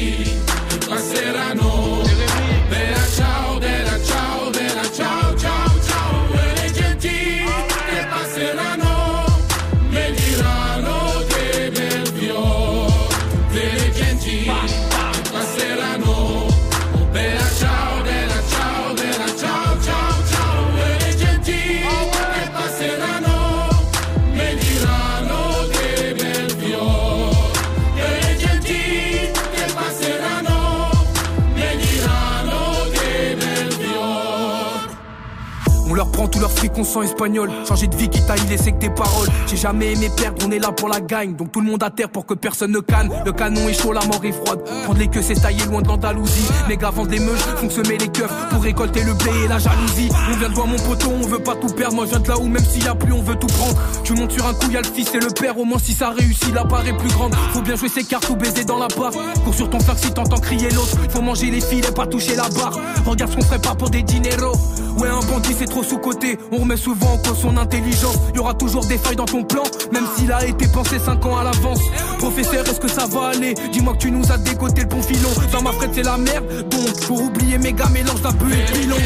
S3: On leur prend tout leur fric, on sent espagnol. Changer de vie, quitte à y laisser que des paroles. J'ai jamais aimé perdre, on est là pour la gagne. Donc tout le monde à terre pour que personne ne canne. Le canon est chaud, la mort est froide. Prendre les queues, c'est tailler loin de l'Andalousie. Les gars vendent les meuches, font semer les keufs pour récolter le blé et la jalousie. On vient de voir mon poteau, on veut pas tout perdre. Moi je viens de là où même s'il y a plus, on veut tout prendre. Tu montes sur un coup, y'a le fils et le père. Au moins si ça réussit, la part est plus grande. Faut bien jouer ses cartes ou baiser dans la barre. Cours sur ton flingue si t'entends crier l'autre. Faut manger les filets, pas toucher la barre. Regarde ce qu'on ferait pas pour des dineros. Ouais, un bandit c'est trop sous-côté. On remet souvent en cause son intelligence. Y'aura toujours des failles dans ton plan, même s'il a été pensé cinq ans à l'avance. Professeur, est-ce que ça va aller? Dis-moi que tu nous as décoté le bon filon. Dans ma frette c'est la merde, donc pour oublier méga mélange d'un peu et de pilon.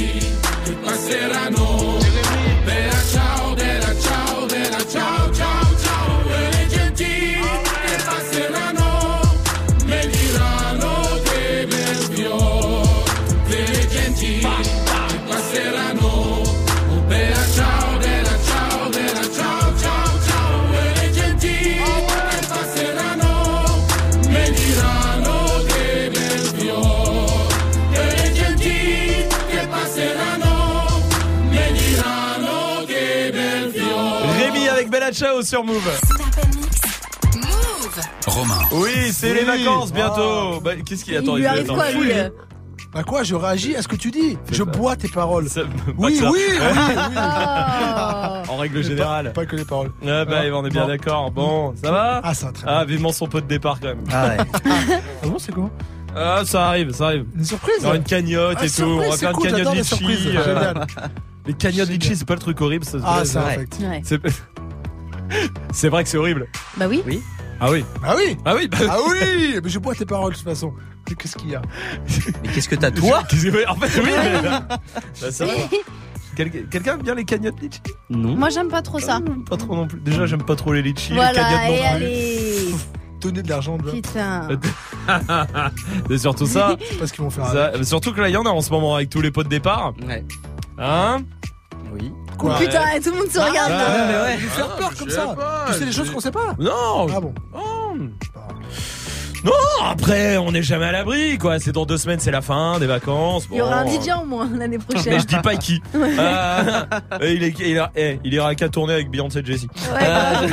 S1: Bella Ciao sur Move.
S12: Move.
S4: Romain.
S1: Oui, c'est oui. les vacances bientôt.
S6: Oh.
S1: Bah, qu'est-ce qu'il attend?
S13: Il lui arrive quoi, lui?
S6: Bah quoi, je réagis à ce que tu dis. Je ça. bois tes paroles.
S1: Ça,
S6: oui, oui, oui, oui, oui.
S1: Oh. En règle générale.
S6: Pas, pas que les paroles.
S1: Ah bah, ah, on est bien non. d'accord. Bon, ça va?
S6: Ah, ça va très
S1: bien. Ah,
S6: bien.
S1: vivement son pot de départ quand même.
S15: Ah ouais.
S6: Ah bon, c'est quoi?
S1: Ah, ça arrive, ça arrive.
S6: Une surprise?
S1: On va une cagnotte
S6: ah,
S1: et
S6: surprise,
S1: tout. On va faire une
S6: cool,
S1: cagnotte litchi.
S6: Euh... Génial.
S1: Les cagnottes litchi, c'est pas le truc horrible, ça.
S6: Ah, c'est vrai.
S1: C'est... c'est vrai que c'est horrible.
S13: Bah oui.
S15: Oui.
S1: Ah oui.
S6: Ah oui.
S1: Ah oui. Bah...
S6: Ah oui. Mais je bois tes paroles de toute façon. Qu'est-ce qu'il y a?
S15: Mais qu'est-ce que t'as toi?
S1: En fait, oui. Mais... bah, ça va. Quel- Quelqu'un aime bien les cagnottes litchi?
S15: Non.
S13: Moi, j'aime pas trop ça.
S1: Pas trop non plus. Déjà, j'aime pas trop les litchis.
S13: Voilà,
S1: les cagnottes non
S13: et
S1: plus.
S13: allez.
S6: Donner de l'argent, de
S13: Putain.
S1: C'est surtout ça.
S6: C'est pas ce qu'ils vont faire.
S1: ça. Surtout que là, il y en a en ce moment avec tous les pots de départ.
S15: Ouais.
S1: Hein?
S15: Oui.
S6: Quoi?
S13: Putain, tout le monde se regarde
S6: Ah,
S13: là.
S6: mais ouais. Nous faire peur comme ça.
S1: Pas,
S6: Tu sais les choses qu'on sait pas?
S1: Non.
S6: Ah bon?
S1: Oh. Non, après, on n'est jamais à l'abri, quoi. C'est dans deux semaines, c'est la fin des vacances. Bon.
S13: Il y aura un D J en moins l'année prochaine.
S1: Mais je dis pas qui. Euh, il, est, il, a, eh, il ira qu'à tourner avec Beyoncé et Jessie.
S13: Ouais,
S1: Euh,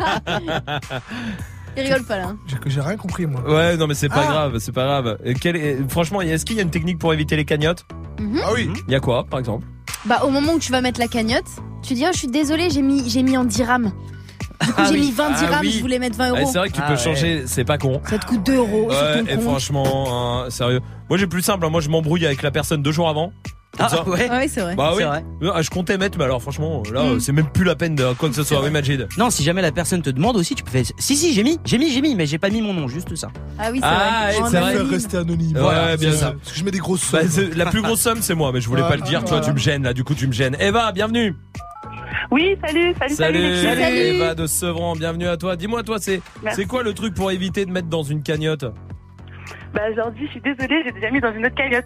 S13: Il rigole pas là.
S6: J'ai, j'ai rien compris, moi.
S1: ouais, non, mais c'est pas
S6: Ah.
S1: grave, c'est pas grave. Et quel est- franchement, est-ce qu'il y a une technique pour éviter les cagnottes?
S13: Mhm.
S6: Ah oui.
S1: Il y a quoi, par exemple?
S13: Bah, au moment où tu vas mettre la cagnotte, tu dis, oh, je suis désolé, j'ai mis, j'ai mis en dirhams. Du coup,
S1: Ah
S13: j'ai
S1: oui.
S13: mis vingt
S1: Ah
S13: dirhams,
S1: oui.
S13: je voulais mettre vingt
S1: Ouais,
S13: euros.
S1: c'est vrai que tu
S15: Ah
S1: peux
S15: ouais.
S1: changer, c'est pas con.
S13: Ça te coûte deux euros sur
S1: Ouais,
S13: ton
S1: et
S13: compte.
S1: franchement, hein, sérieux. Moi, j'ai plus simple, hein, moi, je m'embrouille avec la personne deux jours avant. Comme
S15: Ah
S1: ça.
S15: ouais.
S13: Ouais, c'est vrai.
S1: Bah
S15: C'est
S1: oui.
S15: vrai.
S1: Ah, je comptais mettre, mais alors franchement, là,
S13: Mm.
S1: c'est même plus la peine de quoi que ce soit. Oui, Majid.
S15: Non, si jamais la personne te demande aussi, tu peux faire. Si, si, j'ai mis, j'ai mis, j'ai mis, mais j'ai pas mis mon nom, juste ça.
S13: Ah oui, c'est
S1: Ah,
S13: vrai.
S1: et
S13: En
S1: c'est vrai.
S6: Faire
S13: anonyme.
S6: rester anonyme.
S1: Ouais,
S6: Voilà,
S1: bien
S6: c'est
S1: ça.
S6: Parce que je mets des grosses
S1: Bah,
S6: sommes.
S1: c'est- la plus grosse somme, c'est moi, mais je voulais
S6: Ouais.
S1: pas le dire. Toi,
S6: Voilà.
S1: tu me gênes, là, du coup, tu me gênes. Eva, bienvenue.
S21: Oui, salut, salut, salut, les
S1: Salut,
S21: filles.
S1: Eva de Sevran, bienvenue à toi. Dis-moi, toi, c'est,
S21: Merci.
S1: c'est quoi le truc pour éviter de mettre dans une cagnotte?
S21: Bah, je leur dis, je suis désolée, j'ai déjà mis dans une autre cagnotte.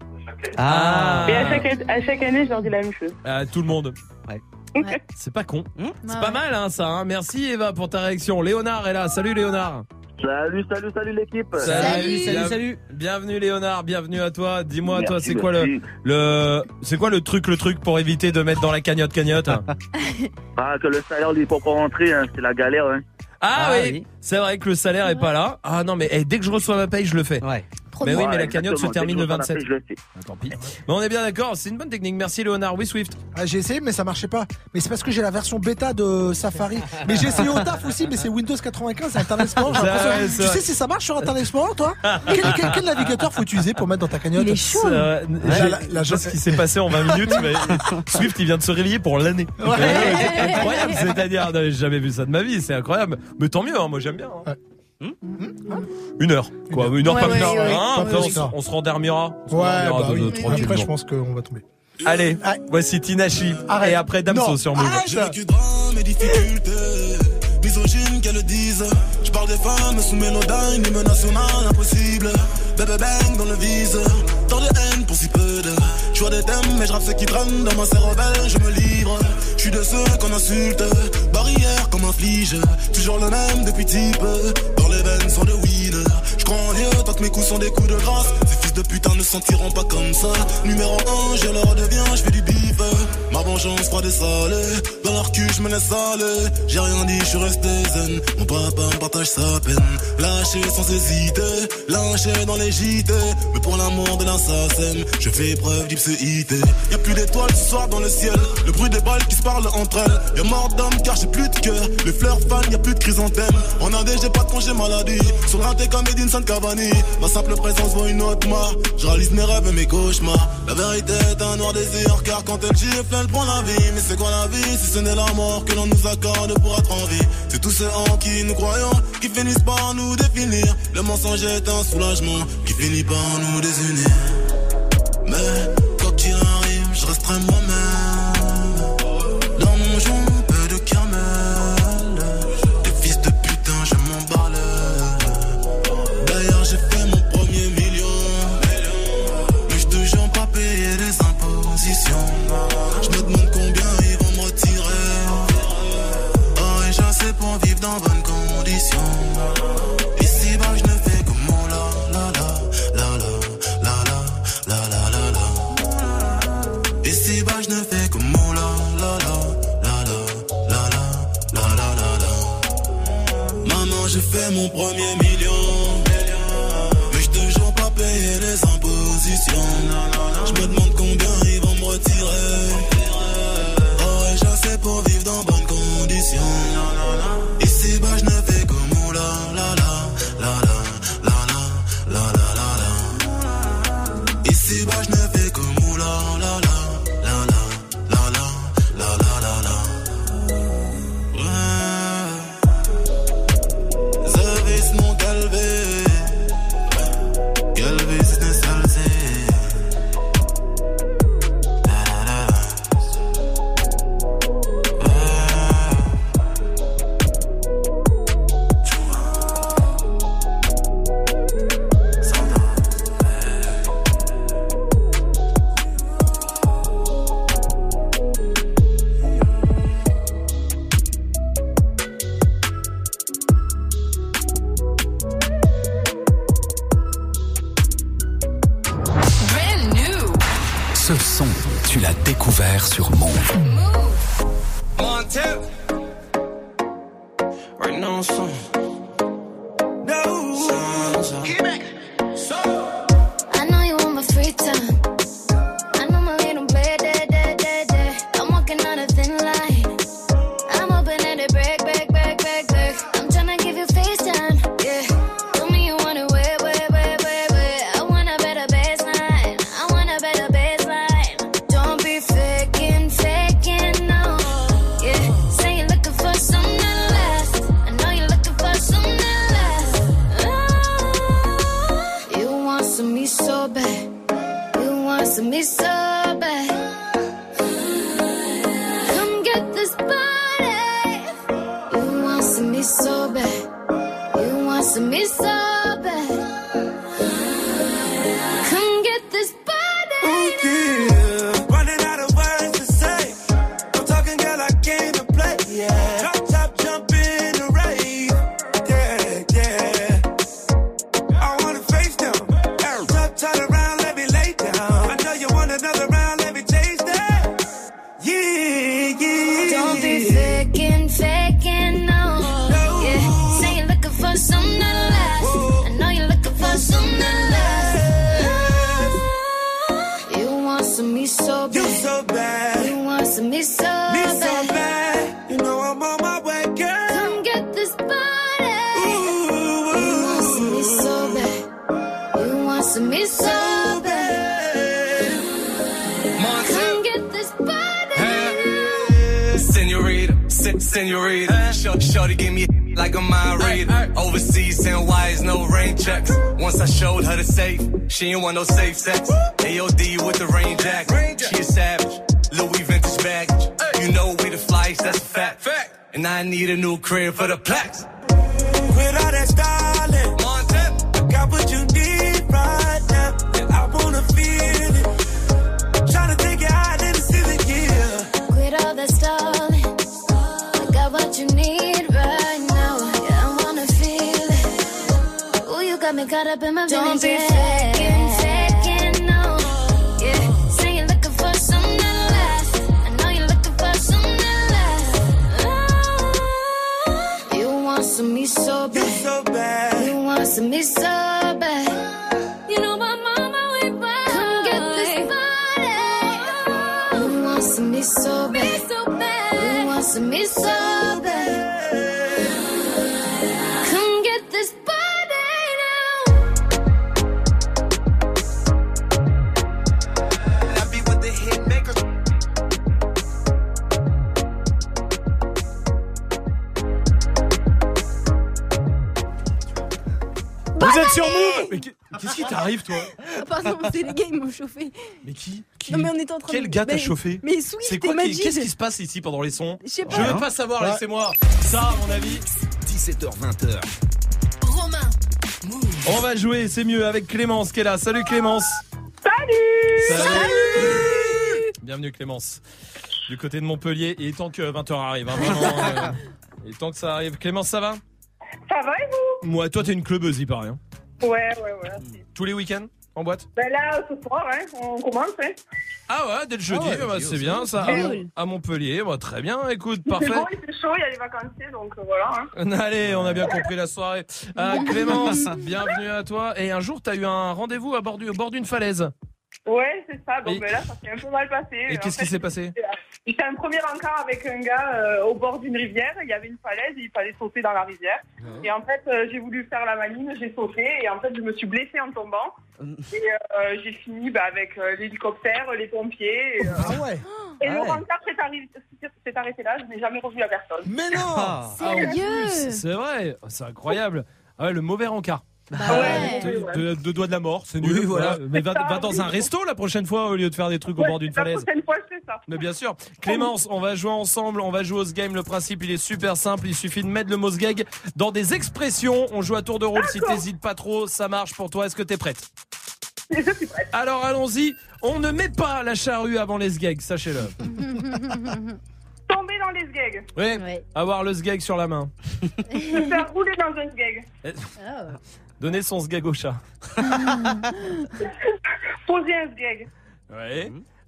S15: Ah.
S21: Et à chaque, à chaque année, je leur dis la même chose.
S1: À tout le monde.
S15: Ouais.
S13: Ouais.
S1: C'est pas con.
S15: Hum
S1: C'est
S13: Ouais,
S1: pas
S13: ouais.
S1: mal, hein, ça. Hein. Merci, Eva, pour ta réaction. Léonard est là. Salut, Léonard.
S21: Salut, salut, salut l'équipe.
S15: Salut, salut,
S1: Bien-
S15: salut.
S1: Bienvenue, Léonard. Bienvenue à toi. Dis-moi,
S21: Merci,
S1: toi, c'est quoi le,
S21: merci.
S1: le, c'est quoi le truc, le truc pour éviter de mettre dans la cagnotte, cagnotte?
S21: Ah, que le salaire n'est pas encore rentré, hein, c'est la galère. Hein.
S1: Ah,
S15: Ah
S1: oui.
S15: oui.
S1: C'est vrai que le salaire est pas là. Ah non, mais eh, dès que je reçois ma paye, je le fais.
S15: Ouais.
S13: Trop
S1: Mais
S13: bien.
S1: oui, mais la
S21: Ouais,
S1: cagnotte se
S21: exactement.
S1: termine
S21: Dès
S1: le
S21: que je reçois
S1: vingt-sept.
S21: la paye, je le fais.
S1: Ah, tant pis. Mais on est bien d'accord, c'est une bonne technique. Merci Léonard. Oui, Swift.
S6: Ah, j'ai essayé, mais ça marchait pas. Mais c'est parce que j'ai la version bêta de Safari. Mais j'ai essayé au taf aussi, mais c'est Windows quatre-vingt-quinze et Internet Explorer. j'ai
S1: Ça,
S6: l'impression-
S1: ouais,
S6: Tu
S1: c'est
S6: sais
S1: vrai.
S6: si ça marche sur Internet Explorer, toi? quel, quel- quel navigateur faut utiliser pour mettre dans ta cagnotte?
S13: Il est chaud.
S1: Euh,
S6: Ouais,
S1: j'ai-
S6: la- la-
S1: je sais ce qui s'est passé en vingt minutes, mais Swift il vient de se réveiller pour l'année.
S6: Ouais.
S1: C'est incroyable, c'est-à-dire, non, j'ai jamais vu ça de ma vie, c'est incroyable. Mais tant mieux, hein, moi j'aime bien. hein. Une heure, quoi, une heure
S13: Ouais,
S1: pas
S13: ouais,
S1: plus.
S13: ouais, ouais.
S1: Hein,
S6: Pas
S1: après, on,
S6: plus,
S1: s-
S6: ça.
S1: on se rendormira. On se
S6: Ouais,
S1: rendormira
S6: bah
S1: de-
S6: oui.
S1: de-
S6: Après,
S1: tranquillement.
S6: je pense qu'on va tomber.
S1: Allez,
S6: Ah.
S1: voici Tinachi.
S6: Arrête.
S1: Et après Damso
S6: Non.
S1: sur Move.
S6: Arrête.
S19: J'ai vécu drame et difficultés, misogynes qu'elles le disent. Je parle des femmes sous mélodyne, hymne national impossible. Bébé bang dans le vise, tant de haine pour si peu de. Je vois des thèmes, mais je rappe ce qui traîne dans ma cervelle, je me livre. Je suis de ceux qu'on insulte, barrière comme un flige. Toujours le même depuis type, dans les veines sont de weed. Je crois en Dieu tant que mes coups sont des coups de grâce. Ces fils de putain ne sentiront pas comme ça. Numéro un, je leur deviens, je fais du bif. Ma vengeance froide et salée, dans leur cul je me laisse aller. J'ai rien dit, je suis resté zen. Mon papa me partage sa peine. Lâché sans hésiter, lynché dans les J T. Mais pour l'amour de l'assassin, je fais preuve d'ipséité. Y'a plus d'étoiles ce soir dans le ciel. Le bruit des balles qui se parlent entre elles. Y'a mort d'homme car j'ai plus de cœur. Les fleurs fanent, y'a plus de chrysanthème. En A D, j'ai pas de congé maladie. Sur le raté comme Edinson Cavani. Ma simple présence vaut une autre mort. Je réalise mes rêves et mes cauchemars. La vérité est un noir désir. Car quand elle gifle, elle prend la vie. Mais c'est quoi la vie si ce n'est la mort que l'on nous accorde pour être en vie? C'est tous ceux en qui nous croyons qui finissent par nous définir. Le mensonge est un soulagement qui finit par nous désunir. Mais quoi qu'il arrive, je resterai moi-même. Dans mon joint, peu de caramel. Des fils de putain, je m'emballe. D'ailleurs, j'ai fait mon premier million. Mais je toujours pas payé les impositions. Je me demande combien ils vont me retirer. Oh, et je sais pour vivre dans bonnes conditions. Ici, bah, je ne fais que mon la la la la la la la la la la. Ici, bah, je ne fais que mon la la la la la la la la la la. Maman, j'ai fait mon premier million. Mais je toujours pas payé les impositions. Je me demande combien ils vont me retirer. Oh, et je sais pour vivre dans bonnes conditions. Ici, bah, je ne fais que mon la la la la la la la la la la. Ici, bah, je ne fais que mon la la la la la la la la la la la. Ouais.
S4: son, tu l'as découvert sur Move.
S18: Montep. Right now on song. No. Keep it. So.
S8: I know you want my free time. I know my little bed, day, day, day, day. I'm walking on a thin line. I'm hoping that it break, break, break, break, break. I'm tryna give you FaceTime, yeah. Tell me you want it, wait, wait, wait, wait, wait. I want a better baseline. I want a better baseline. Don't be faking, faking, no. Yeah, say you're looking for something that lasts. I know you're looking for something that lasts. Oh, you want some me so bad. You want some me so bad. Come get this body. You want some me so bad. You want some me so bad. Come get this body.
S19: Yeah, running out of words to say. I'm talking, girl, I came to play. Yeah, drop top, jump in the rave. Yeah, yeah. I wanna face them. Top, turn around, let me lay down. I know you want another round, let me taste that. Yeah, yeah.
S8: Don't be faking, faking, no. Yeah, say you're looking for something that lasts. I know you're looking for something that lasts. You want some me so bad.
S19: You so bad.
S8: You want some me so
S19: Me
S8: bad.
S19: so bad. You know I'm on my way, girl.
S8: Come get this body.
S19: Ooh,
S8: You want some me so bad. You want some me so bad. Come get this body.
S18: Senorita, sen- senorita. Short, shorty gave me like a mind reader. Overseas, send wires, no rain checks. Once I showed her the safe, she ain't want no safe sex. A O D with the rain jacket. She a savage, Louis vintage baggage. You know we the flyest, that's a fact. And I need a new crib for the plaques.
S19: Quit all that styling.
S18: Montep.
S19: Got what you need right now. And I wanna feel it. Tryna take it out in the city, yeah.
S8: Quit all that stalling. I got what you need right now. Yeah, I wanna feel it. Ooh, you got me caught up in my feelings. Don't be faking, faking, no. Yeah, say you're looking for something that lasts. I know you're looking for something that lasts. Oh, you want some me so
S19: You
S8: bad.
S19: so bad.
S8: You want some me so bad. You know my mama we buy. Come get this body. You want some me so bad. You want some me so bad. Come get this body now.
S19: I be with the hit maker.
S1: Vous êtes sur Move. Mais qu'est- qu'est-ce qui t'arrive, toi?
S13: Ah, pardon, c'est les gars, ils m'ont chauffé.
S1: Mais qui, qui
S13: Non, mais on était en train
S1: Quel
S13: de-
S1: gars t'a
S13: mais-
S1: chauffé?
S13: mais Swift
S1: C'est
S13: et
S1: quoi qui-
S13: Majid.
S1: Qu'est-ce qui se passe ici pendant les sons?
S13: Je sais pas.
S1: Je veux pas savoir,
S6: Ouais.
S1: laissez-moi. Ça, à mon avis.
S4: dix-sept heures vingt.
S12: Romain.
S1: On va jouer, c'est mieux, avec Clémence qui est là. Salut Clémence.
S21: Salut.
S1: Salut. Bienvenue Clémence. Du côté de Montpellier, il est temps que vingt heures arrive. Hein, vraiment, euh, il est temps que ça arrive. Clémence, ça va?
S21: Ça va et vous?
S1: Moi, toi, t'es une clubeuse, il paraît. Hein.
S21: Ouais, ouais, ouais.
S1: Tous les week-ends en boîte?
S21: Ben là, ce soir, hein, on commence, hein.
S1: Ah ouais, dès le jeudi,
S21: Ah ouais,
S1: bah,
S21: jeudi
S1: c'est
S21: aussi.
S1: bien ça. À,
S21: Cool.
S1: à Montpellier, bah, très bien. Écoute,
S21: Il
S1: parfait.
S21: fait beau, il fait chaud, il y a les vacanciers, donc euh, voilà. Hein.
S1: Allez, on a bien compris la soirée. Euh, Clémence, bienvenue à toi. Et un jour, t'as eu un rendez-vous à bord du- au bord d'une falaise.
S21: Ouais, c'est ça. Donc
S1: Et-
S21: ben là, ça s'est un peu mal passé.
S1: Et
S21: En
S1: qu'est-ce
S21: fait,
S1: qui s'est passé?
S21: J'étais un premier encart avec un gars euh, au bord d'une rivière. Il y avait une falaise et il fallait sauter dans la rivière. Et en fait, euh, j'ai voulu faire la maline, j'ai sauté et en fait, je me suis blessée en tombant. Et euh, j'ai fini bah, avec euh, l'hélicoptère, les pompiers. Et, euh,
S6: Ah ouais.
S21: et
S6: Ah
S21: le
S6: ouais.
S21: rencard s'est arri- s'est arrêté là. Je n'ai jamais revu la personne.
S6: Mais non.
S1: Ah, ah, en
S13: Sérieux?
S1: plus, c'est vrai, c'est incroyable. Ah ouais, le mauvais rencard.
S21: Bah
S13: ouais.
S1: Deux de, de doigts de la mort, c'est nul.
S15: Oui, voilà.
S1: Mais va,
S21: C'est ça,
S1: va dans
S21: oui.
S1: un resto la prochaine fois au lieu de faire des trucs au
S21: Ouais,
S1: bord d'une
S21: la
S1: falaise.
S21: prochaine fois, je fais ça.
S1: Mais bien sûr. Clémence, on va jouer ensemble, on va jouer au game. Le principe, il est super simple. Il suffit de mettre le mot gag dans des expressions. On joue à tour de rôle. Si t'hésites pas trop, ça marche pour toi. Est-ce que t'es prête?
S21: Je suis prête.
S1: Alors allons-y. On ne met pas la charrue avant les sgags, sachez-le.
S21: Tomber dans les sgags.
S1: Oui.
S13: Ouais.
S1: Avoir le sgag sur la main.
S21: Se faire rouler dans un sgag.
S13: Oh.
S1: Donner son sgag au chat.
S21: Poser un sgag.
S1: Ouais.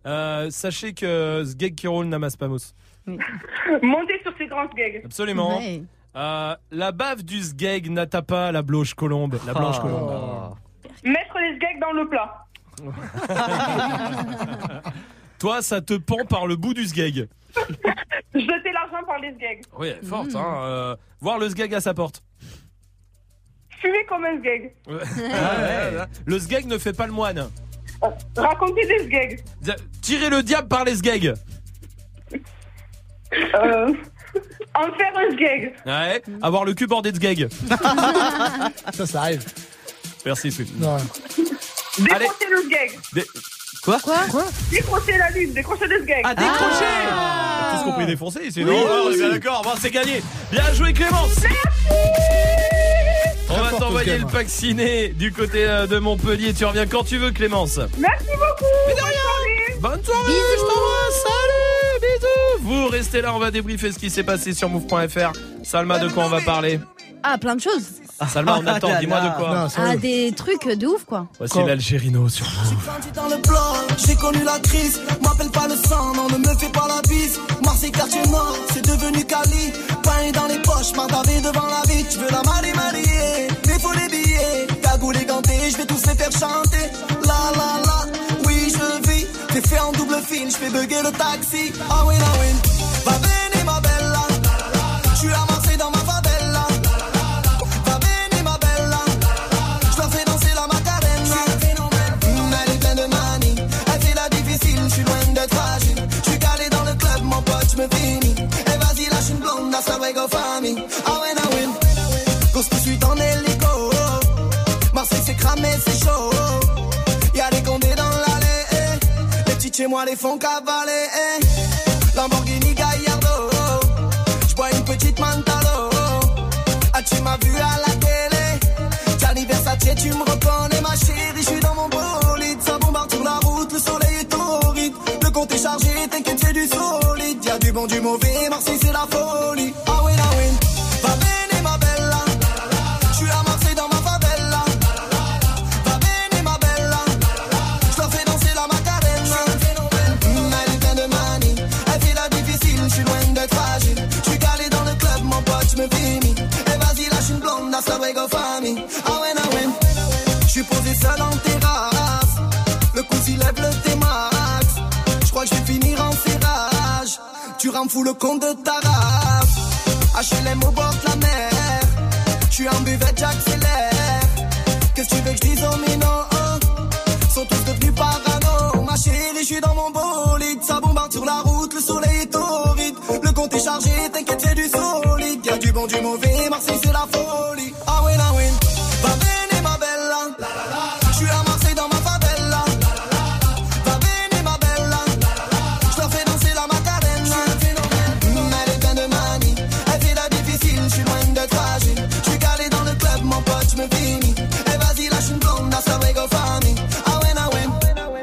S1: Euh, sachez que Sgeg qui roule n'amasse pas mousse.
S11: Montez sur ces grands Sgeg.
S1: Absolument. Ouais. Euh, la bave du Sgeg n'attaque pas la blanche colombe. La blanche oh. colombe.
S11: Mettre les Sgeg dans le plat.
S1: Toi, ça te pend par le bout du Sgeg.
S11: Jeter l'argent par les Sgeg.
S1: Oui, elle est forte. Mmh. Hein. Euh, voir le Sgeg à sa porte.
S11: Fumer comme un Sgeg.
S1: Ouais. Ah, ouais. Le Sgeg ne fait pas le moine.
S11: Euh, raconter des Sgeg.
S1: Tirer le diable par les Sgeg.
S11: Euh, en faire un Sgeg.
S1: Ouais. Avoir le cul bordé de Sgeg.
S6: Ça, ça arrive.
S1: Merci, Sweet.
S11: Décrocher le Sgeg.
S1: Dé... Quoi
S11: Quoi Quoi Décrocher la lune, décrocher le Sgeg.
S1: Ah, décrocher ah Tout ce qu'on peut défoncer, sinon oui, on est bien d'accord, bon, c'est gagné. Bien joué, Clémence.
S11: Merci.
S1: On va t'envoyer le pack ciné du côté de Montpellier. Tu reviens quand tu veux, Clémence.
S11: Merci beaucoup.
S1: Mais de rien. Bonne soirée. Bisous. Je t'embrasse. Salut. Bisous. Vous restez là, on va débriefer ce qui s'est passé sur move point f r. Salma, de quoi on va parler?
S13: Ah, plein de choses.
S1: Ah, Salma, on attend, dis-moi de quoi.
S13: Non, ah, des trucs de ouf, quoi.
S1: Voici l'Algérino sur Move.
S14: J'ai grandi dans le plan, j'ai connu la crise. M'appelle pas le sang, non, ne me fais pas la bise. Marseille, quartier nord, c'est devenu Cali. Pain dans les poches, mardavé devant la vie. Tu veux la marier, marier, mais faut les billets. Cagoule et ganté, je vais tous les faire chanter. La la la, oui, je vis. T'es fait en double fil, je fais bugger le taxi. Ah oui, ah oui. Va venir, ma belle, là. Je suis à Marseille dans ma favela. Je me finis, et vas-y lâche une blonde, that's how we go famille. Ah ouais, ah ouais, cause que je suis en hélico. Marseille c'est cramé, c'est chaud. Y'a des condés dans l'allée, eh. Les petits chez moi les font cavaler, eh. Lamborghini Gallardo, j'bois une petite Mantalo. Ah tu m'as vu à la télé, Gianni Versace tu me reconnais ma chérie. J'suis dans mon bolide, ça bombarde sur la route, le soleil est torride. Le compte est chargé, t'inquiète c'est du solide. Y'a du bon, du mauvais, Marseille c'est la folie. Ah oui, ah oui, va venir ma bella. J'suis à Marseille dans ma favela. Va venir ma bella. J'leur fais danser la Macarena. Mmh, elle est pleine de manie, elle fait la difficile, j'suis loin d'être fragile. J'suis calé dans le club, mon pote, j'me finis. Et vas-y lâche une blonde, that's the way go famille. Ah ouais, ah ouais, j'suis posé seul en terrasse. Le coup s'il lève le T-Max. J'crois que je vais finir en serrage. Tu rends fou le compte de ta race. H L M au bord de la mer. J'suis en buvette, j'accélère. Qu'est-ce que tu veux que j'dise aux minots? Sont tous devenus parano. Ma chérie, j'suis dans mon bolide. Ça bombarde sur la route, le soleil est torride. Le compte est chargé, t'inquiète c'est du solide. Y'a du bon, du mauvais, Marseille c'est la folie. Ah oui, ah oui, va venir ma bella. J'suis à Marseille dans ma favela. J'suis calé dans le club, mon pote, j'me finis. Et vas-y, lâche une blonde, that's how we go famille. Ah ouais, ah ouais.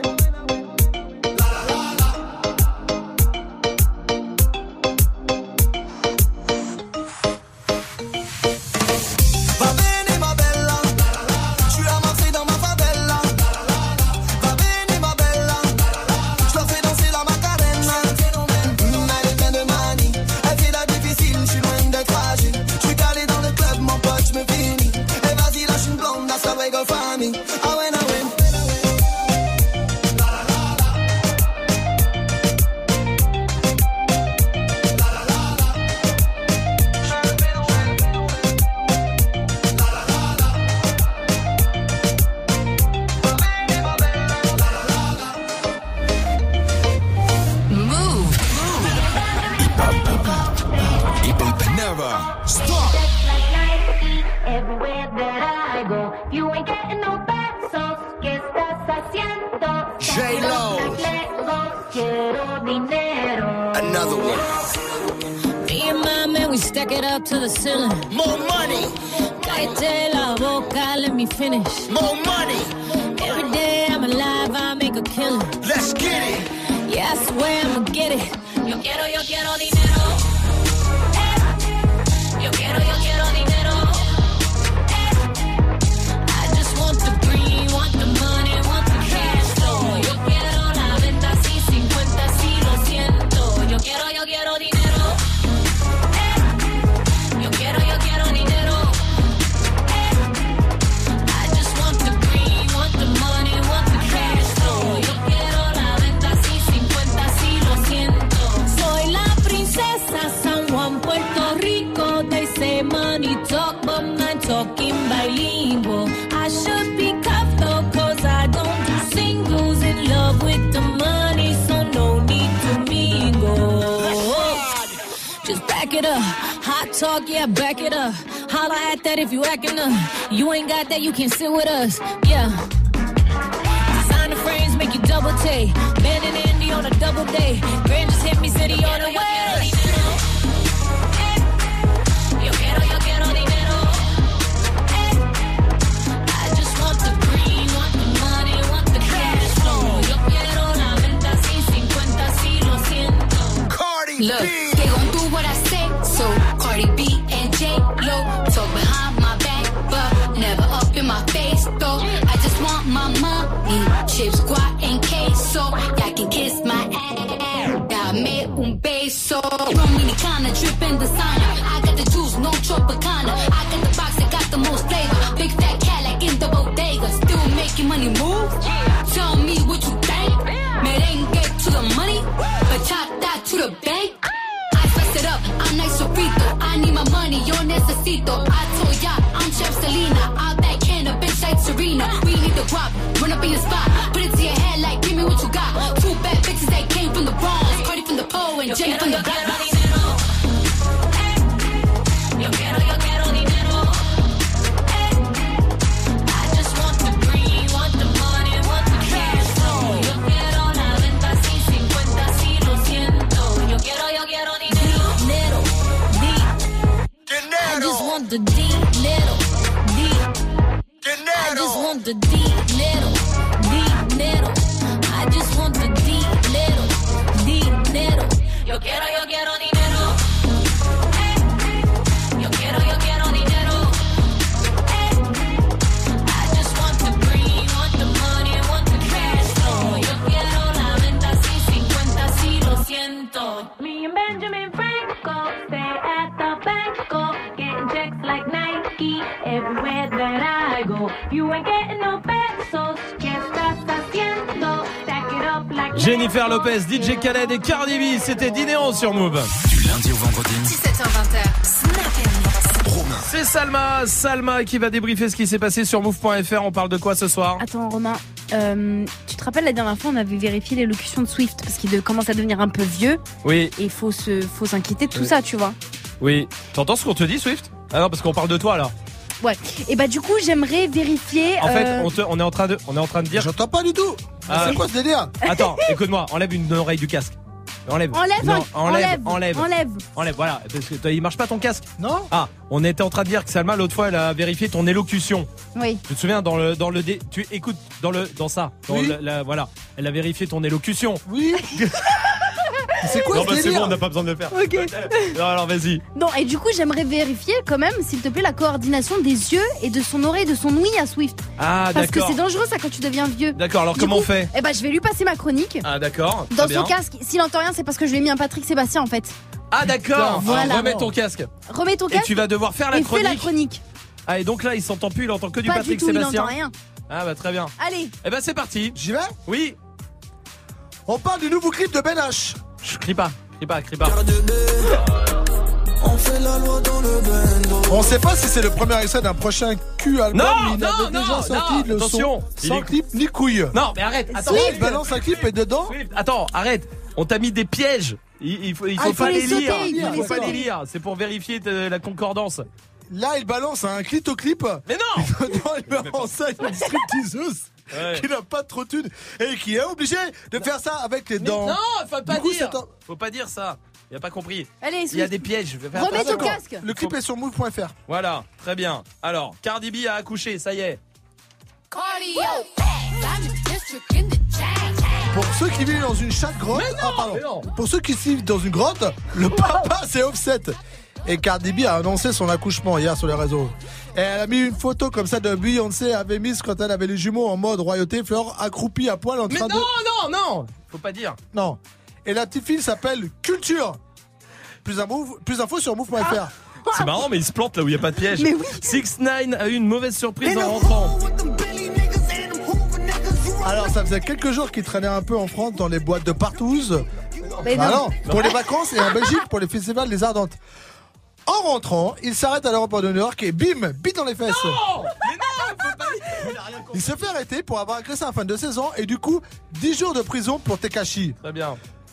S14: Va venir ma bella. J'suis à Marseille dans ma favela. Va venir ma bella. J'leur fais danser la Macarena. Mmh, elle est pleine de manie, elle fait la difficile, j'suis loin d'être fragile. J'suis calé dans le club, mon pote, j'me finis. Et vas-y, lâche une blonde, that's how we go famille. Ah ouais, ah ouais.
S22: Move.
S2: Never stop.
S22: Everywhere that I go, you ain't getting no pesos. ¿Qué estás haciendo?
S2: J-Lo.
S22: Quiero dinero.
S2: Another one.
S22: Me and my man, we stack it up to the ceiling.
S2: More money.
S22: Cállate la boca, let me finish.
S2: More money.
S22: Every day I'm alive, I make a killing.
S2: Let's get it.
S22: Yeah, I swear I'ma get it. Yo quiero, yo quiero dinero. Eh. Yo quiero, yo quiero dinero. Eh. I just want the green, want the money, want the cash flow. Yo quiero la venta, sí, sí.
S10: it up. Hot talk, yeah, back it up. Holla at that if you acting up. You ain't got that, you can sit with us. Yeah. Designer frames make you double take. Ben and Andy on a double day. Grand just hit me, city on the way. Yo quiero, yo quiero dinero. I just want the green, want the money, want the cash flow. Yo quiero la venta sin cincuenta, si lo siento.
S16: Cardi
S12: Look,
S16: B.
S12: they gon' do what I say. So Cardi B and J-Lo talk behind my back, but never up in my face, though. I just want my money, chips, guac, and queso. Y'all can kiss my ass, dame un beso. Dominicana, drippin' designer. I got the juice, no Tropicana. I got the box that got the most flavor. Big fat cat like in the bodega. Still making money move. Tell me what you think. Merengue to the money, bachata to the bank. I spice it up, I'm nice sofrito. I need my money, yo necesito. I told ya, I'm Chef Selena. I backhand a bitch like Serena. We need the guap, run up in your spot. Put it to your head like, give me what you got. Two bad bitches that came from the Bronx. Cardi from the pole and Jenny from the block. Yo quiero, yo quiero dinero. I just want the green, want the money, want the cash flow. Yo quiero la venta sin cincuenta, si lo siento. Yo quiero, yo quiero dinero. Dinero, I just want the dinero. I just want the dinero. Dinero. I just want the dinero. Dinero. Yo quiero, yo quiero dinero. Yo quiero, yo quiero dinero. I just want the green, want the money, want the cash flow. Yo quiero la venta sin cincuenta, si lo siento.
S10: Me and Benjamin Franco stay at the banco, getting checks like Nike everywhere that I go. You ain't getting no pesos, ¿qué estás haciendo? Stack it up like
S1: Jennifer Lopez, D J Khaled et Cardi B, c'était Dinero sur Move.
S4: Du lundi au vendredi.
S12: dix-sept heures vingt. Snap
S4: Romain.
S1: C'est Salma, Salma qui va débriefer ce qui s'est passé sur move point f r. On parle de quoi ce soir?
S13: Attends Romain, euh, tu te rappelles la dernière fois on avait vérifié l'élocution de Swift parce qu'il de- commence à devenir un peu vieux
S1: Oui,
S13: et il faut se, faut s'inquiéter de tout
S1: Oui.
S13: ça, tu vois.
S1: oui. T'entends ce qu'on te dit, Swift? Ah non, parce qu'on parle de toi là.
S13: Ouais. Et bah du coup j'aimerais vérifier.
S1: En fait,
S13: euh,
S1: on, te- on est en train de, on est en train de dire.
S6: J'entends pas du tout.
S1: Ah.
S6: C'est quoi ce délire?
S1: Attends, écoute-moi, enlève une oreille du casque. Enlève.
S13: Enlève,
S1: Non,
S13: enlève,
S1: enlève,
S13: enlève.
S1: enlève. Voilà, parce que toi, il marche pas ton casque.
S6: Non.
S1: Ah, on était en train de dire que Salma l'autre fois elle a vérifié ton élocution.
S13: Oui.
S1: Tu te souviens dans le dans le dé, tu écoutes dans le dans ça, dans
S6: Oui.
S1: le- la- voilà, elle a vérifié ton élocution.
S6: Oui. C'est quoi
S1: Non
S6: ce
S1: bah c'est
S6: délire?
S1: bon, on n'a pas besoin de le faire.
S13: Ok.
S1: Non, alors vas-y.
S13: Non, et du coup j'aimerais vérifier quand même, s'il te plaît, la coordination des yeux et de son oreille, de son ouïe à Swift.
S1: Ah
S13: Parce que
S1: d'accord.
S13: c'est dangereux ça quand tu deviens vieux.
S1: D'accord, alors
S13: Du
S1: comment
S13: coup,
S1: on fait?
S13: Eh bah je vais lui passer ma chronique.
S1: Ah d'accord.
S13: Dans
S1: très
S13: son
S1: bien.
S13: casque, s'il entend rien, c'est parce que je lui ai mis un Patrick Sébastien en fait.
S1: Ah d'accord.
S13: Voilà.
S1: Alors, remets ton casque.
S13: Remets ton
S1: Et
S13: casque
S1: tu vas devoir faire la
S13: et fais
S1: chronique.
S13: la chronique.
S1: Ah et donc là il s'entend plus, il entend que du
S13: Pas
S1: Patrick
S13: du tout,
S1: Sébastien.
S13: il entend rien.
S1: Ah bah très bien.
S13: Allez.
S1: Eh ben c'est parti.
S6: J'y vais?
S1: Oui.
S6: On parle du nouveau clip de Ben H.
S1: Je crie pas, crie pas, crie pas.
S14: On fait la loi dans le bando.
S6: On sait pas si c'est le premier extrait d'un prochain Q album.
S1: Non,
S6: mais il
S1: non,
S6: avait
S1: non,
S6: déjà sorti
S1: non,
S6: le
S1: attention.
S6: son
S1: Il
S6: sans
S1: est-
S6: clip ni couille.
S1: Non mais arrête. Attends.
S6: Là, il balance un clip et dedans.
S1: Swift, attends, arrête. On t'a mis des pièges. Il, il faut, il
S6: Ah,
S1: faut
S6: il faut
S1: pas
S6: les
S1: les
S6: sauter,
S1: lire.
S6: il
S1: Il
S6: faut
S1: faut
S6: les
S1: pas
S6: sauter.
S1: les lire. C'est pour vérifier de- la concordance.
S6: Là, il balance un clip clip.
S1: Mais non.
S6: Dedans, il met en scène une stripteaseuse
S1: Ouais.
S6: qui n'a pas trop de thunes et qui est obligée de faire ça avec les
S1: Mais
S6: dents.
S1: non, faut pas
S6: Du coup,
S1: dire.
S6: c'est un-
S1: Faut pas dire ça. Il a pas compris.
S13: Allez,
S1: Il y a
S13: Swift.
S1: des pièges. Je vais faire
S13: Remets
S1: attention.
S13: ton casque.
S6: Le clip est sur move point f r.
S1: Voilà, très bien. Alors, Cardi B a accouché, ça y est.
S6: Pour ceux qui vivent dans une chatte grotte,
S1: Mais non,
S6: ah, pardon.
S1: mais non.
S6: Pour ceux qui vivent dans une grotte, le papa c'est Offset. Et Cardi B a annoncé son accouchement hier sur les réseaux. Et elle a mis une photo comme ça de Beyoncé avait mise quand elle avait les jumeaux en mode royauté, Fleur accroupie à poil en
S1: Mais
S6: train
S1: non,
S6: de.
S1: non, non. Faut pas dire.
S6: Non. Et la petite fille s'appelle Culture. Plus, info, plus d'infos sur move point f r.
S1: C'est marrant, mais il se plante là où il n'y a pas de piège.
S13: Mais oui.
S1: six neuf a eu une mauvaise surprise en rentrant.
S6: Alors ça faisait quelques jours qu'il traînait un peu en France dans les boîtes de partouze.
S13: Mais
S6: Bah
S13: non.
S6: non, pour les vacances et en Belgique pour les festivals des Ardentes. En rentrant, il s'arrête à l'aéroport de New York et bim, bite dans les fesses.
S1: Non, mais non, faut pas dire.
S6: Il se fait arrêter pour avoir agressé un fan de seize ans et du coup dix jours de prison pour Tekashi.
S1: Très bien.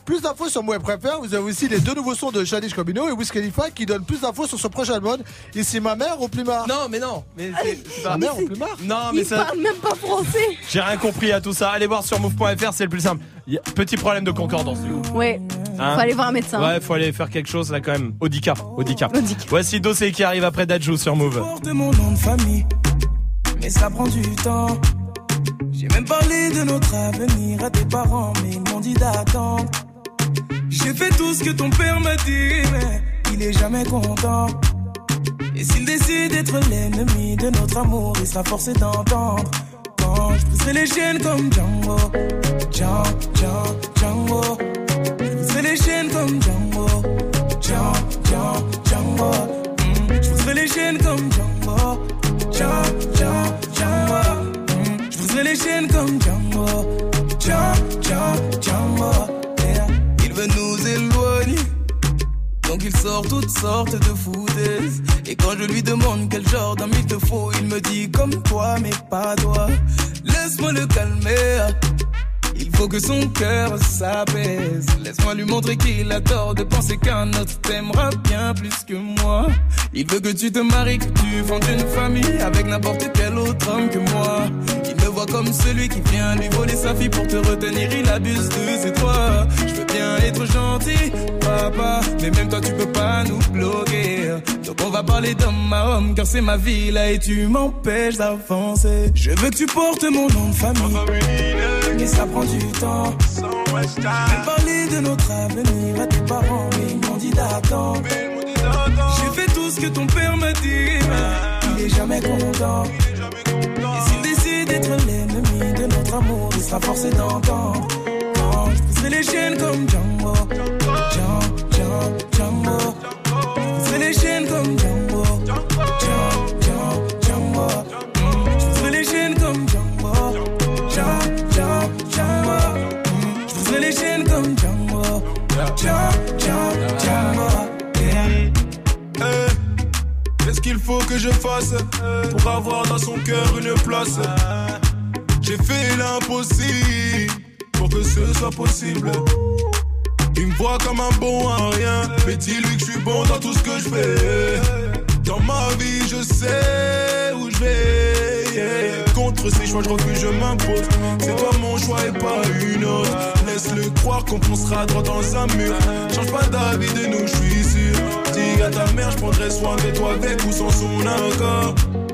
S6: Plus d'infos sur Move Préfère. Vous avez aussi les deux nouveaux sons de Childish Gambino et Wiz Khalifa qui donnent plus d'infos sur son prochain album. Ici ma mère au Plumard.
S1: Non, mais non. Mais c'est, c'est pas
S6: ma mère au Plumard.
S1: Non, mais
S13: Il
S1: ça.
S13: parle même pas français.
S1: J'ai rien compris à tout ça. Allez voir sur move point f r, c'est le plus simple. Y a... Petit problème de concordance.
S13: Ouais.
S1: Hein
S13: faut aller voir un médecin.
S1: Ouais, faut aller faire quelque chose là quand même. Audica. Audica. Voici Dossé qui arrive après Dadju sur Move.
S14: De mon nom de famille, mais ça prend du temps. J'ai même parlé de notre avenir à tes parents, mais ils m'ont dit d'attendre. J'ai fait tout ce que ton père m'a dit, mais il est jamais content. Et s'il décide d'être l'ennemi de notre amour, il sera forcé d'entendre. Quand je briserai les chaînes comme Django, Django, Django, Django. Je briserai les chaînes comme Django, Django, Django, Django. Mm. Je briserai les chaînes comme Django, Django, Django, Django. Mm. Je briserai les chaînes comme Django, Django, Django, Django. Yeah. Il veut nous éloigner, donc il sort toutes sortes de foutaises. Et quand je lui demande quel genre d'homme il te faut, il me dit comme toi mais pas toi. Laisse-moi le calmer, il faut que son cœur s'apaise. Laisse-moi lui montrer qu'il a tort de penser qu'un autre t'aimera bien plus que moi. Il veut que tu te maries, que tu fondes une famille avec n'importe quel autre homme que moi. Il me voit comme celui qui vient lui voler sa fille pour te retenir, il abuse de ses droits. Je veux bien être gentil, papa, mais même toi tu peux pas nous bloquer. Donc on va parler d'homme à homme, car c'est ma vie là et tu m'empêches d'avancer. Je veux que tu portes mon nom de famille, mais ça prend du temps. J'ai parlé de notre avenir à tes parents, mais ils m'ont dit d'attendre. J'ai fait tout ce que ton père m'a dit, mais il est jamais content. Et s'il décide d'être l'ennemi de notre amour, il sera forcé d'entendre. Quand je briserai les chaînes comme Django, Django, Django, Django. Je briserai les chaînes comme Django, Django, Django, Django. Je briserai les chaînes comme Django, Django, Django, Django. Je briserai les chaînes comme Django, Django, Django, Django.
S19: Hey, qu'est-ce qu'il faut que je fasse pour avoir dans son cœur une place? J'ai fait l'impossible pour que ce soit possible. Il me voit comme un bon à rien, mais dis-lui que je suis bon dans tout ce que je fais. Dans ma vie, je sais où je vais. Yeah. Contre ces choix, je refuse, je m'impose. C'est toi mon choix et pas une autre. Laisse-le croire qu'on foncera droit dans un mur. Change pas d'avis de nous, je suis sûr. Dis à ta mère, je prendrai soin de toi avec ou sans son accord.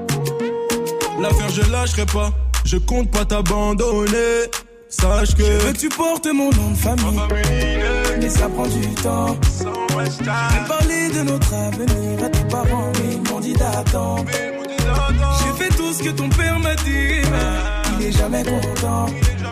S19: L'affaire, je lâcherai pas. Je compte pas t'abandonner. Sache que
S14: je veux que tu portes mon nom de famille, mais ça prend du temps. J'ai parlé de notre avenir à tes parents, mais ils m'ont dit d'attendre. J'ai fait tout ce que ton père m'a dit, mais il est jamais content.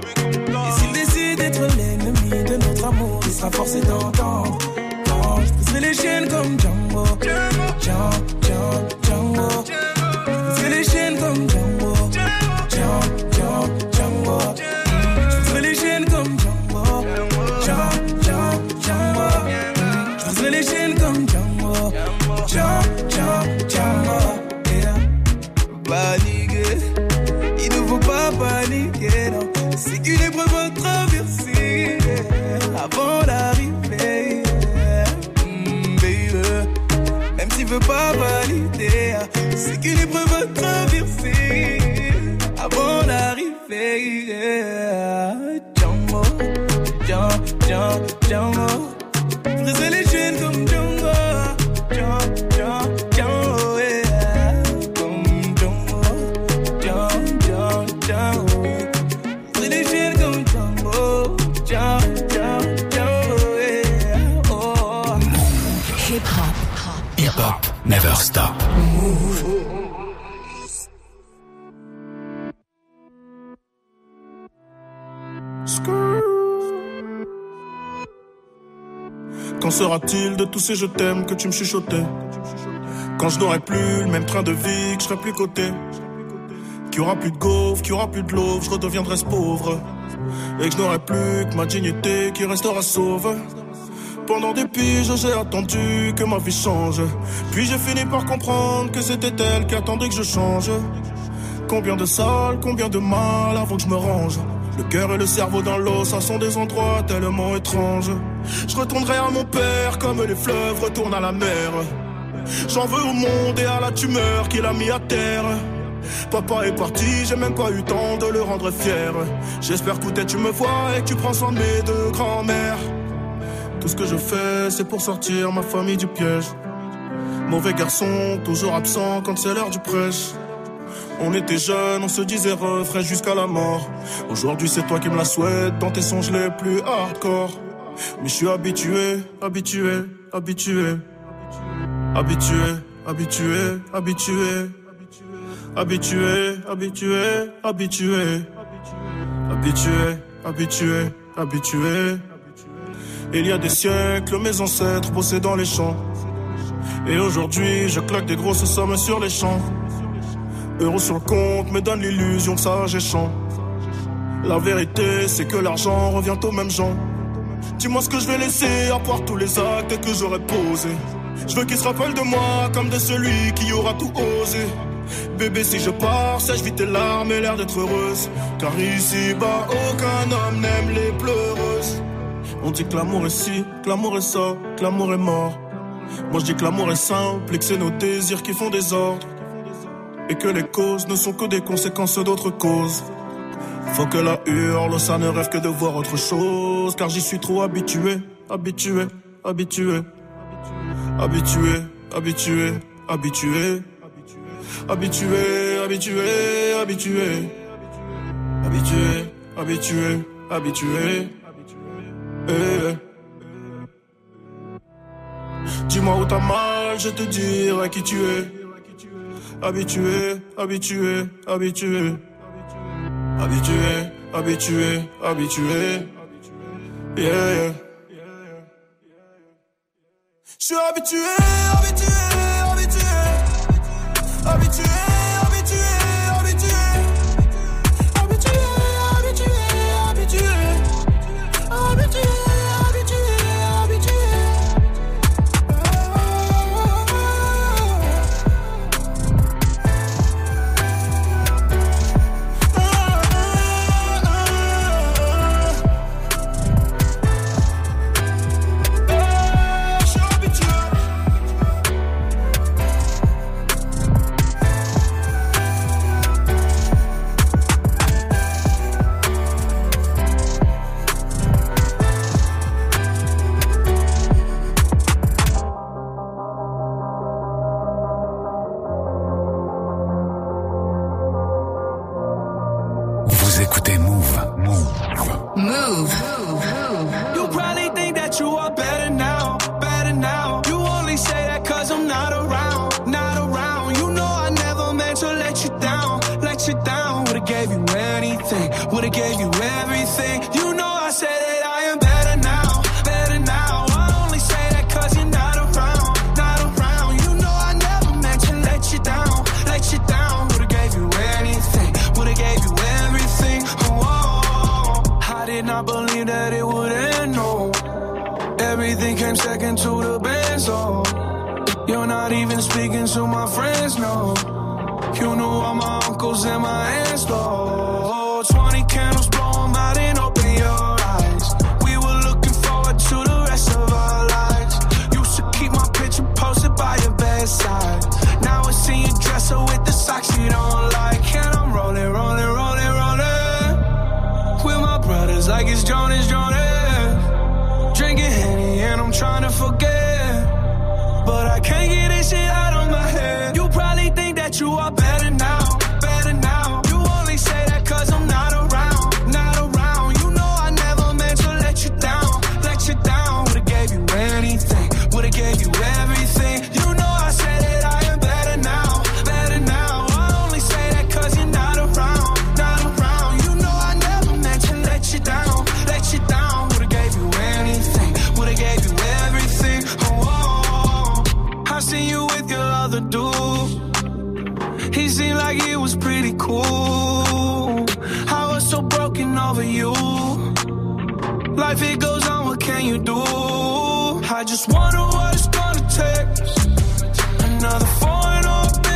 S14: Et s'il décide d'être l'ennemi de notre amour, il sera forcé d'entendre. Quand je briserai les chaînes comme Django, Django, Django, Django. Je briserai les chaînes comme Django, Django, Django, Django. Les chaînes comme Django, Django, Django, Django. Je briserai les chaînes comme Django, Django, Django, Django. Yeah. Paniquer, il ne faut pas paniquer, non. C'est qu'une épreuve à traverser, yeah. Avant d'arriver, yeah. mm, baby. Même s'il veut pas valider, c'est qu'une épreuve à traverser, avant d'arriver, yeah. Django, Django, Django, Django. Je briserai les chaînes comme Django, Django, Django, Django, yeah. Comme Django, Django, Django, Django. Je briserai les chaînes comme Django, Django, Django, Django, yeah. Oh.
S4: Hip hop, hip hop, never stop. Move.
S19: Quand sera-t-il de tous ces je t'aime que tu me chuchotais? Quand je n'aurai plus le même train de vie, que je serai plus coté, qu'il y aura plus de gaufres, qu'il y aura plus de l'eau, je redeviendrai ce pauvre. Et que je n'aurai plus que ma dignité qui restera sauve. Pendant des piges j'ai attendu que ma vie change. Puis j'ai fini par comprendre que c'était elle qui attendait que je change. Combien de salles, combien de mal avant que je me range. Le cœur et le cerveau dans l'eau, ça sont des endroits tellement étranges. Je retournerai à mon père comme les fleuves retournent à la mer. J'en veux au monde et à la tumeur qu'il a mis à terre. Papa est parti, j'ai même pas eu temps de le rendre fier. J'espère que tu me vois et que tu prends soin de mes deux grands-mères. Tout ce que je fais, c'est pour sortir ma famille du piège. Mauvais garçon, toujours absent quand c'est l'heure du prêche. On était jeunes, on se disait refrain jusqu'à la mort. Aujourd'hui c'est toi qui me la souhaites dans tes songes les plus hardcore. Mais je suis habitué, habitué, habitué. Habitué, habitué, habitué. Habitué, habitué, habitué. Habitué, habitué, habitué. Il y a des siècles, mes ancêtres bossaient dans les champs. Et aujourd'hui, je claque des grosses sommes sur les champs. Euros sur le compte me donne l'illusion que ça j'échange. La vérité, c'est que l'argent revient aux mêmes gens. Dis-moi ce que je vais laisser à part tous les actes que j'aurais posés. Je veux qu'ils se rappellent de moi comme de celui qui aura tout osé. Bébé, si je pars, sèche vite tes larmes et l'air d'être heureuse. Car ici-bas, aucun homme n'aime les pleureuses. On dit que l'amour est ci, que l'amour est ça, que l'amour est mort. Moi je dis que l'amour est simple et que c'est nos désirs qui font des ordres. Et que les causes ne sont que des conséquences d'autres causes. Faut que la hurle, ça ne rêve que de voir autre chose. Car j'y suis trop habitué, habitué, habitué. Habitué, habitué, habitué. Habitué, habitué, habitué. Habitué, habitué, habitué. Eh. Dis-moi où t'as mal, je te dirai qui tu es. Habitué, habitué, habitué. Habitué, habitué, habitué. Yeah. Je suis habitué, habitué, habitué. Habitué, habitué, habitué. Habitué, habitué, habitué. Habitué, habitué, habitué.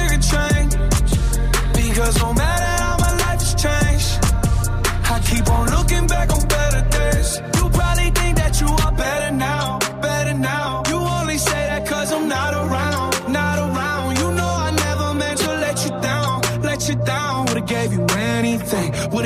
S18: Because no matter how my life has changed, I keep on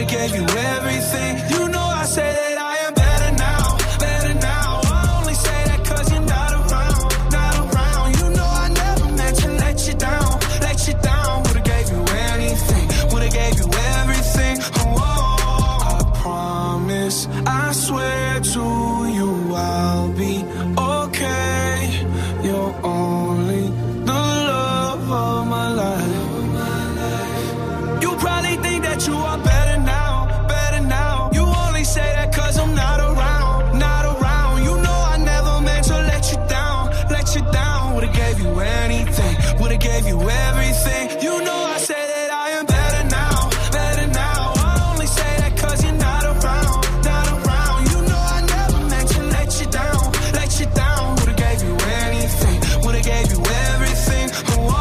S18: gave you everything. You know I say that I am better now, better now. I only say that cause you're not around, not around. You know I never meant to let you down, let you down. Would've gave you anything, would've gave you everything. Oh, I promise, I swear to you I'll be okay. You're only the love of my life. You probably think that you are better now, better now. You only say that cause I'm not around, not around. You know I never meant to let you down, let you down. Would've gave you anything, would've gave you everything. You know I say that I am better now, better now. I only say that cause you're not around, not around. You know I never meant to let you down, let you down. Would've gave you anything, would've gave you everything. Oh,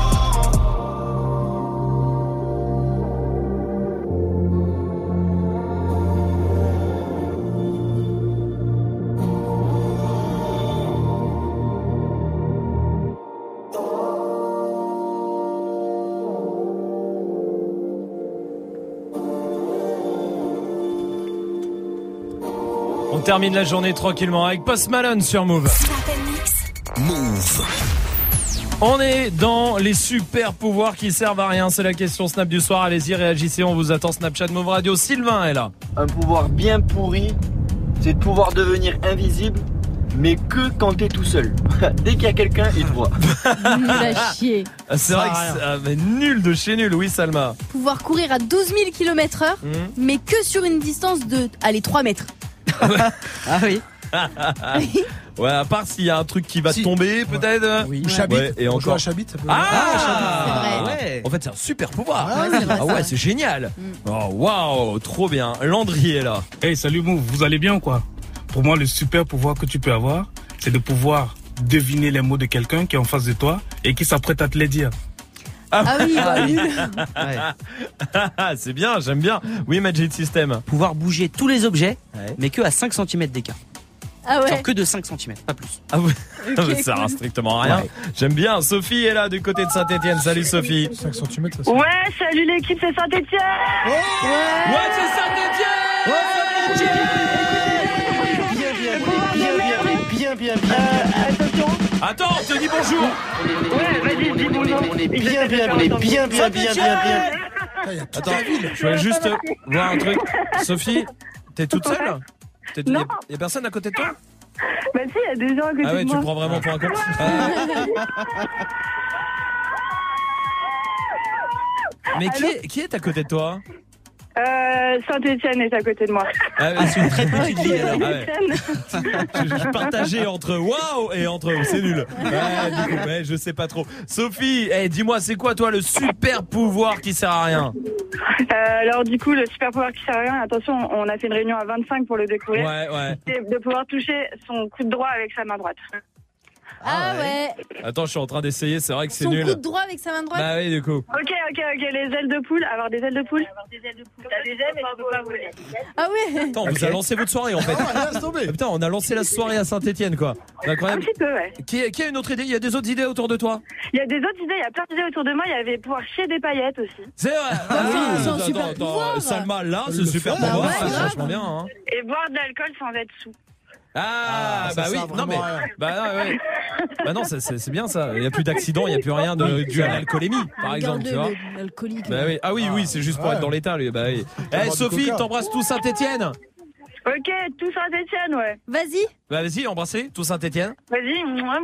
S1: On termine la journée tranquillement avec Post Malone sur Move.
S4: Move.
S1: On est dans les super pouvoirs qui servent à rien. C'est la question Snap du soir. Allez-y, réagissez. On vous attend. Snapchat Move Radio. Sylvain est là.
S7: Un pouvoir bien pourri, c'est de pouvoir devenir invisible, mais que quand t'es tout seul. Dès qu'il y a quelqu'un, il te voit.
S13: Nul à chier.
S1: Ah, c'est vrai que c'est ah, mais nul de chez nul. Oui, Salma.
S13: Pouvoir courir à douze mille kilomètres heure, mmh. mais que sur une distance de, allez, trois mètres.
S15: Ah oui.
S1: Ouais, à part s'il y a un truc qui va si. tomber, peut-être.
S6: Oui. Ou Chabit.
S1: Ouais, et
S6: on
S1: encore.
S6: joue à Chabit, ça peut.
S1: Ah,
S13: ah
S1: c'est vrai. Ouais. En fait, c'est un super pouvoir.
S6: Ah, ouais, c'est,
S1: ah ouais, c'est génial. Mm. Oh waouh, trop bien. Landry est là.
S17: Hey, salut Move, vous allez bien ou quoi? Pour moi, le super pouvoir que tu peux avoir, c'est de pouvoir deviner les mots de quelqu'un qui est en face de toi et qui s'apprête à te les dire.
S13: Ah, ah oui, bah oui.
S1: Ouais. C'est bien, j'aime bien. Oui, Magic System.
S15: Pouvoir bouger tous les objets, ouais. mais que à cinq centimètres d'écart.
S13: Ah ouais.
S15: Genre que de cinq centimètres, pas plus.
S1: Ah ouais.
S13: Okay,
S1: ça sert
S13: cool.
S1: strictement à rien. Ouais. J'aime bien. Sophie est là du côté de Saint-Etienne. Salut Sophie.
S6: cinq centimètres, ça.
S11: Ouais, salut l'équipe, c'est Saint-Etienne.
S1: Oh ouais. Ouais, c'est Saint-Etienne.
S7: Ouais, Saint-Etienne. Bien, bien, bien, bien, bien, bien, bien.
S11: Euh, attention.
S1: Attends, on te dis bonjour.
S11: Ouais, vas-y, dis bonjour.
S7: On est bien, bien, on est bien, bien, bien, bien, bien.
S1: Attends, je voulais juste voir un truc. Sophie, t'es toute seule? Il
S11: Non.
S1: y a personne à côté de toi?
S11: Bah si, il y a des gens à côté de moi.
S1: Ah ouais, tu me prends vraiment pour un con. euh... Mais qui est, qui est à côté de toi?
S11: Euh, Saint-Etienne est à côté de moi.
S1: Ah, ah c'est une très petite ville alors. Ah ouais. je, je partageais entre waouh et entre c'est nul. Ouais, du coup, mais je sais pas trop. Sophie, hey, dis-moi, c'est quoi toi le super pouvoir qui sert à rien?
S11: Euh, alors du coup, le super pouvoir qui sert à rien, attention, on a fait une réunion à vingt-cinq pour le découvrir.
S1: Ouais, ouais.
S11: C'est de pouvoir toucher son coup de droit avec sa main droite.
S13: Ah ouais. ouais.
S1: Attends, je suis en train d'essayer, c'est vrai que c'est
S13: Son
S1: nul.
S13: coup de droit avec sa main droite.
S1: Bah oui, du coup.
S11: Ok, ok, ok, les ailes de poule, avoir des ailes de poule. Avoir des ailes de poule. T'as des ailes, mais tu peux pas voler.
S13: Ah ouais.
S1: Attends, on okay. vous a lancé votre soirée en fait.
S6: Ah, ouais,
S1: putain, on a lancé la soirée à Saint-Etienne quoi. C'est incroyable.
S11: Un petit peu, ouais.
S1: Qui, qui a une autre idée? Il y a des autres idées autour de toi?
S11: Il y a des autres idées, il y a plein d'idées autour de moi. Il y avait pouvoir chier des paillettes aussi.
S1: C'est vrai.
S13: Ah, ah, oui,
S1: attends, attends, attends. Salma, là, c'est super
S13: bah
S1: pouvoir,
S13: ouais,
S1: c'est vachement bien. Hein.
S11: Et boire de l'alcool sans être sous.
S1: Ah, ah bah oui, non mais bah, ouais. bah non, c'est, c'est, c'est bien ça. Il y a plus d'accidents, il y a plus rien de dû à l'alcoolémie, par exemple, tu vois. Bah oui, ah oui, oui, c'est juste pour ouais. être dans l'état, lui. Bah oui. Eh, hey, Sophie, t'embrasses tout Saint-Etienne.
S11: Ok, tout Saint-Etienne, ouais.
S13: Vas-y.
S1: Bah vas-y, embrassez tout Saint-Etienne.
S11: Vas-y.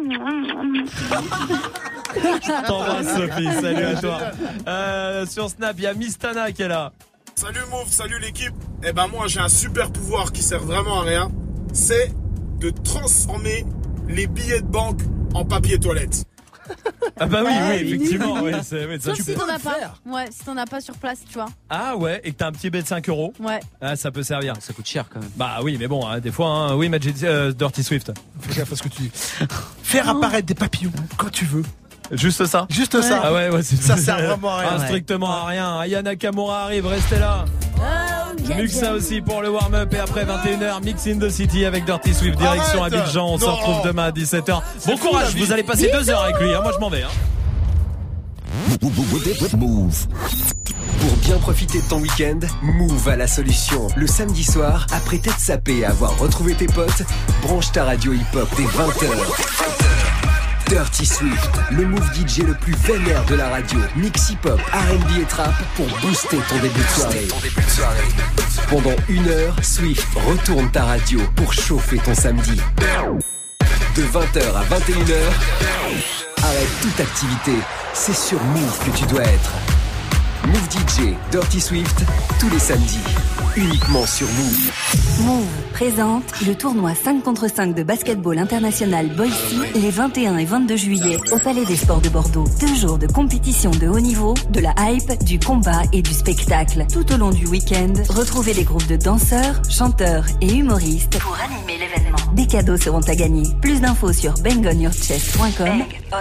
S1: Je t'embrasse, Sophie. Salut à toi. Euh, sur Snap, il y a Mistana qui est là.
S23: Salut Move, salut l'équipe. Eh ben moi, j'ai un super pouvoir qui sert vraiment à rien. C'est de transformer les billets de banque en papier toilette.
S1: Ah bah oui, ah, oui, effectivement. Ouais, c'est, ouais, ça,
S13: Sauf
S1: tu
S13: si
S1: peux
S13: t'en as
S1: le
S13: pas.
S1: faire.
S13: Ouais, si t'en as pas sur place, tu vois.
S1: Ah ouais, et que t'as un petit billet de cinq euros.
S13: Ouais.
S1: Ah, ça peut servir.
S15: Ça coûte cher quand même.
S1: Bah oui, mais bon, hein, des fois, hein, oui, Magic, euh, Dirty Swift.
S6: Fais gaffe à ce que tu dis. Faire apparaître des papillons quand tu veux.
S1: Juste ça.
S6: Juste ouais. ça.
S1: Ah ouais, ouais, c'est
S6: ça sert vraiment à rien.
S1: Ah, strictement à rien. Ayana Nakamura arrive, restez là.
S13: Oh,
S1: Mieux que ça aussi pour le warm-up et après vingt et une heures, Mix in the City avec Dirty Swift, direction
S6: Arrête.
S1: Abidjan. On
S6: non.
S1: se retrouve demain à dix-sept heures.
S6: C'est
S1: bon
S6: fou,
S1: courage, vous allez passer deux heures avec lui. Hein. Moi, je m'en vais. Hein.
S4: Move. Pour bien profiter de ton week-end, Move a la solution. Le samedi soir, après t'être sapé et avoir retrouvé tes potes, branche ta radio hip-hop dès vingt heures. Dirty Swift, le Move D J le plus vénère de la radio. Mix hip-hop, R and B et trap pour booster ton début de soirée. Pendant une heure, Swift retourne ta radio pour chauffer ton samedi. De vingt heures à vingt et une heures, arrête toute activité. C'est sur Move que tu dois être. Move D J, Dirty Swift, tous les samedis, uniquement sur Move.
S5: Move présente le tournoi cinq contre cinq de basketball international Boise les vingt et un et vingt-deux juillet au Palais des Sports de Bordeaux. Deux jours de compétition de haut niveau, de la hype, du combat et du spectacle. Tout au long du week-end, retrouvez des groupes de danseurs, chanteurs et humoristes pour animer l'événement. Des cadeaux seront à gagner. Plus d'infos sur bang on your chest point com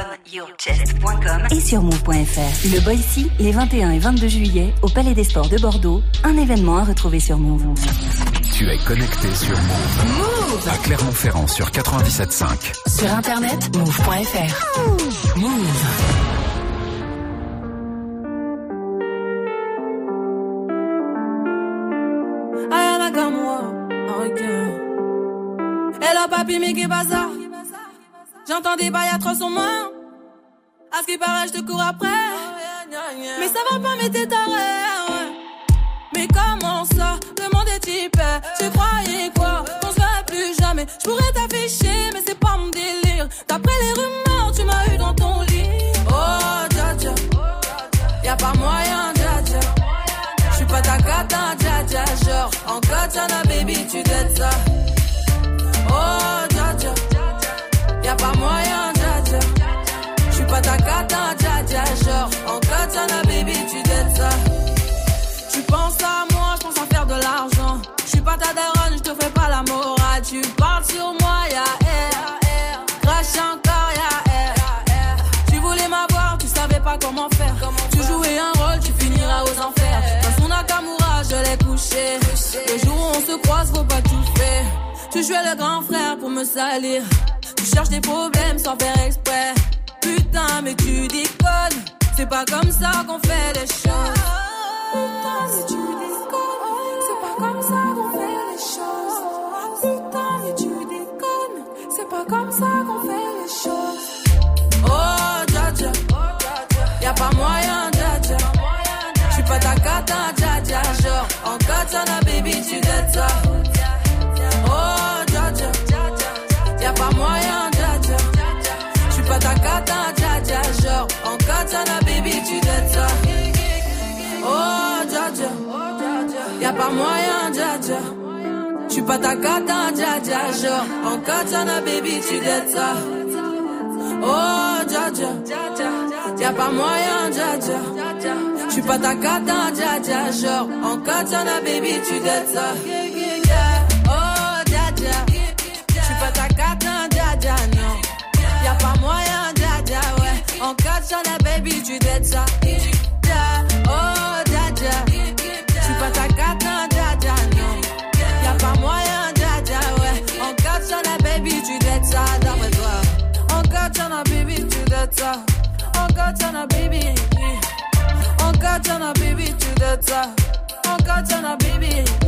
S5: et sur move point f r. Le Boise les vingt et un et vingt-deux juillet au Palais des Sports de Bordeaux. Un événement à retrouver sur Move.
S9: Tu es connecté sur Move. Move à Clermont-Ferrand sur quatre-vingt-dix-sept virgule cinq.
S5: Sur internet, move point f r. Move.
S10: Ayana Gamwa, ok. Hello papi, mais qu'est bazar? J'entends des bails atroces sur moi. À ce qui paraît, je te cours après. Mais ça va pas, mais t'es taré. Mais comment ça? Le monde est type. Tu croyais quoi? Qu'on se verrait plus jamais. Je pourrais t'afficher, mais c'est pas mon délire. D'après les rumeurs, tu m'as eu dans ton lit. Oh, dja dja. Y'a pas moyen, dja dja. J'suis pas ta cata, dja dja. Genre, en katana, baby, tu dettes ça. Oh, dja dja. Y'a pas moyen, dja dja. J'suis pas ta cata, dja dja. Genre, en katana, baby, tu dettes ça. Tu penses à moi, je pense à faire de l'argent. Je suis pas ta daronne, je te fais pas la morale. Tu parles sur moi, y'a air. Crash encore, y'a air. Tu voulais m'avoir, tu savais pas comment faire. Tu jouais un rôle, tu finiras aux enfers. Dans son Nakamura, je l'ai couché. Le jour où on se croise, faut pas tout faire. Tu jouais le grand frère pour me salir. Tu cherches des problèmes sans faire exprès. Putain, mais tu déconnes. C'est pas comme ça qu'on fait les choses. Putain, mais tu déconnes, c'est pas comme ça qu'on fait les choses. Putain, mais tu déconnes, c'est pas comme ça qu'on fait les choses. Oh, dja dja, y'a pas moyen, dja dja. J'suis pas ta cata, dja dja. Genre, en katana, baby, tu dettes ça. Oh, dja dja, y'a pas moyen, dja dja. J'suis pas ta cata, dja dja. Genre, en katana, baby, tu dettes ça. Oh, dja dja, y'a pas moyen, dja dja. J'suis pas ta cata, dja dja. Genre, en katana, baby, tu dettes ça. Oh, dja dja, y'a pas moyen, dja dja. J'suis pas ta cata, dja dja. Genre, en katana, baby, tu dettes ça. Oh, dja dja, j'suis pas ta cata, dja dja, non. Y'a pas moyen, dja dja, ouais. En katana, baby, tu dettes ça. Oh, dja dja, j'suis pas ta cata, dja dja, non. Y'a pas moyen, dja dja, ouais. En katana, baby, tu dettes ça, d'après toi. En katana, baby, tu dettes ça. En katana, baby. En katana, baby, tu dettes ça. En katana, baby.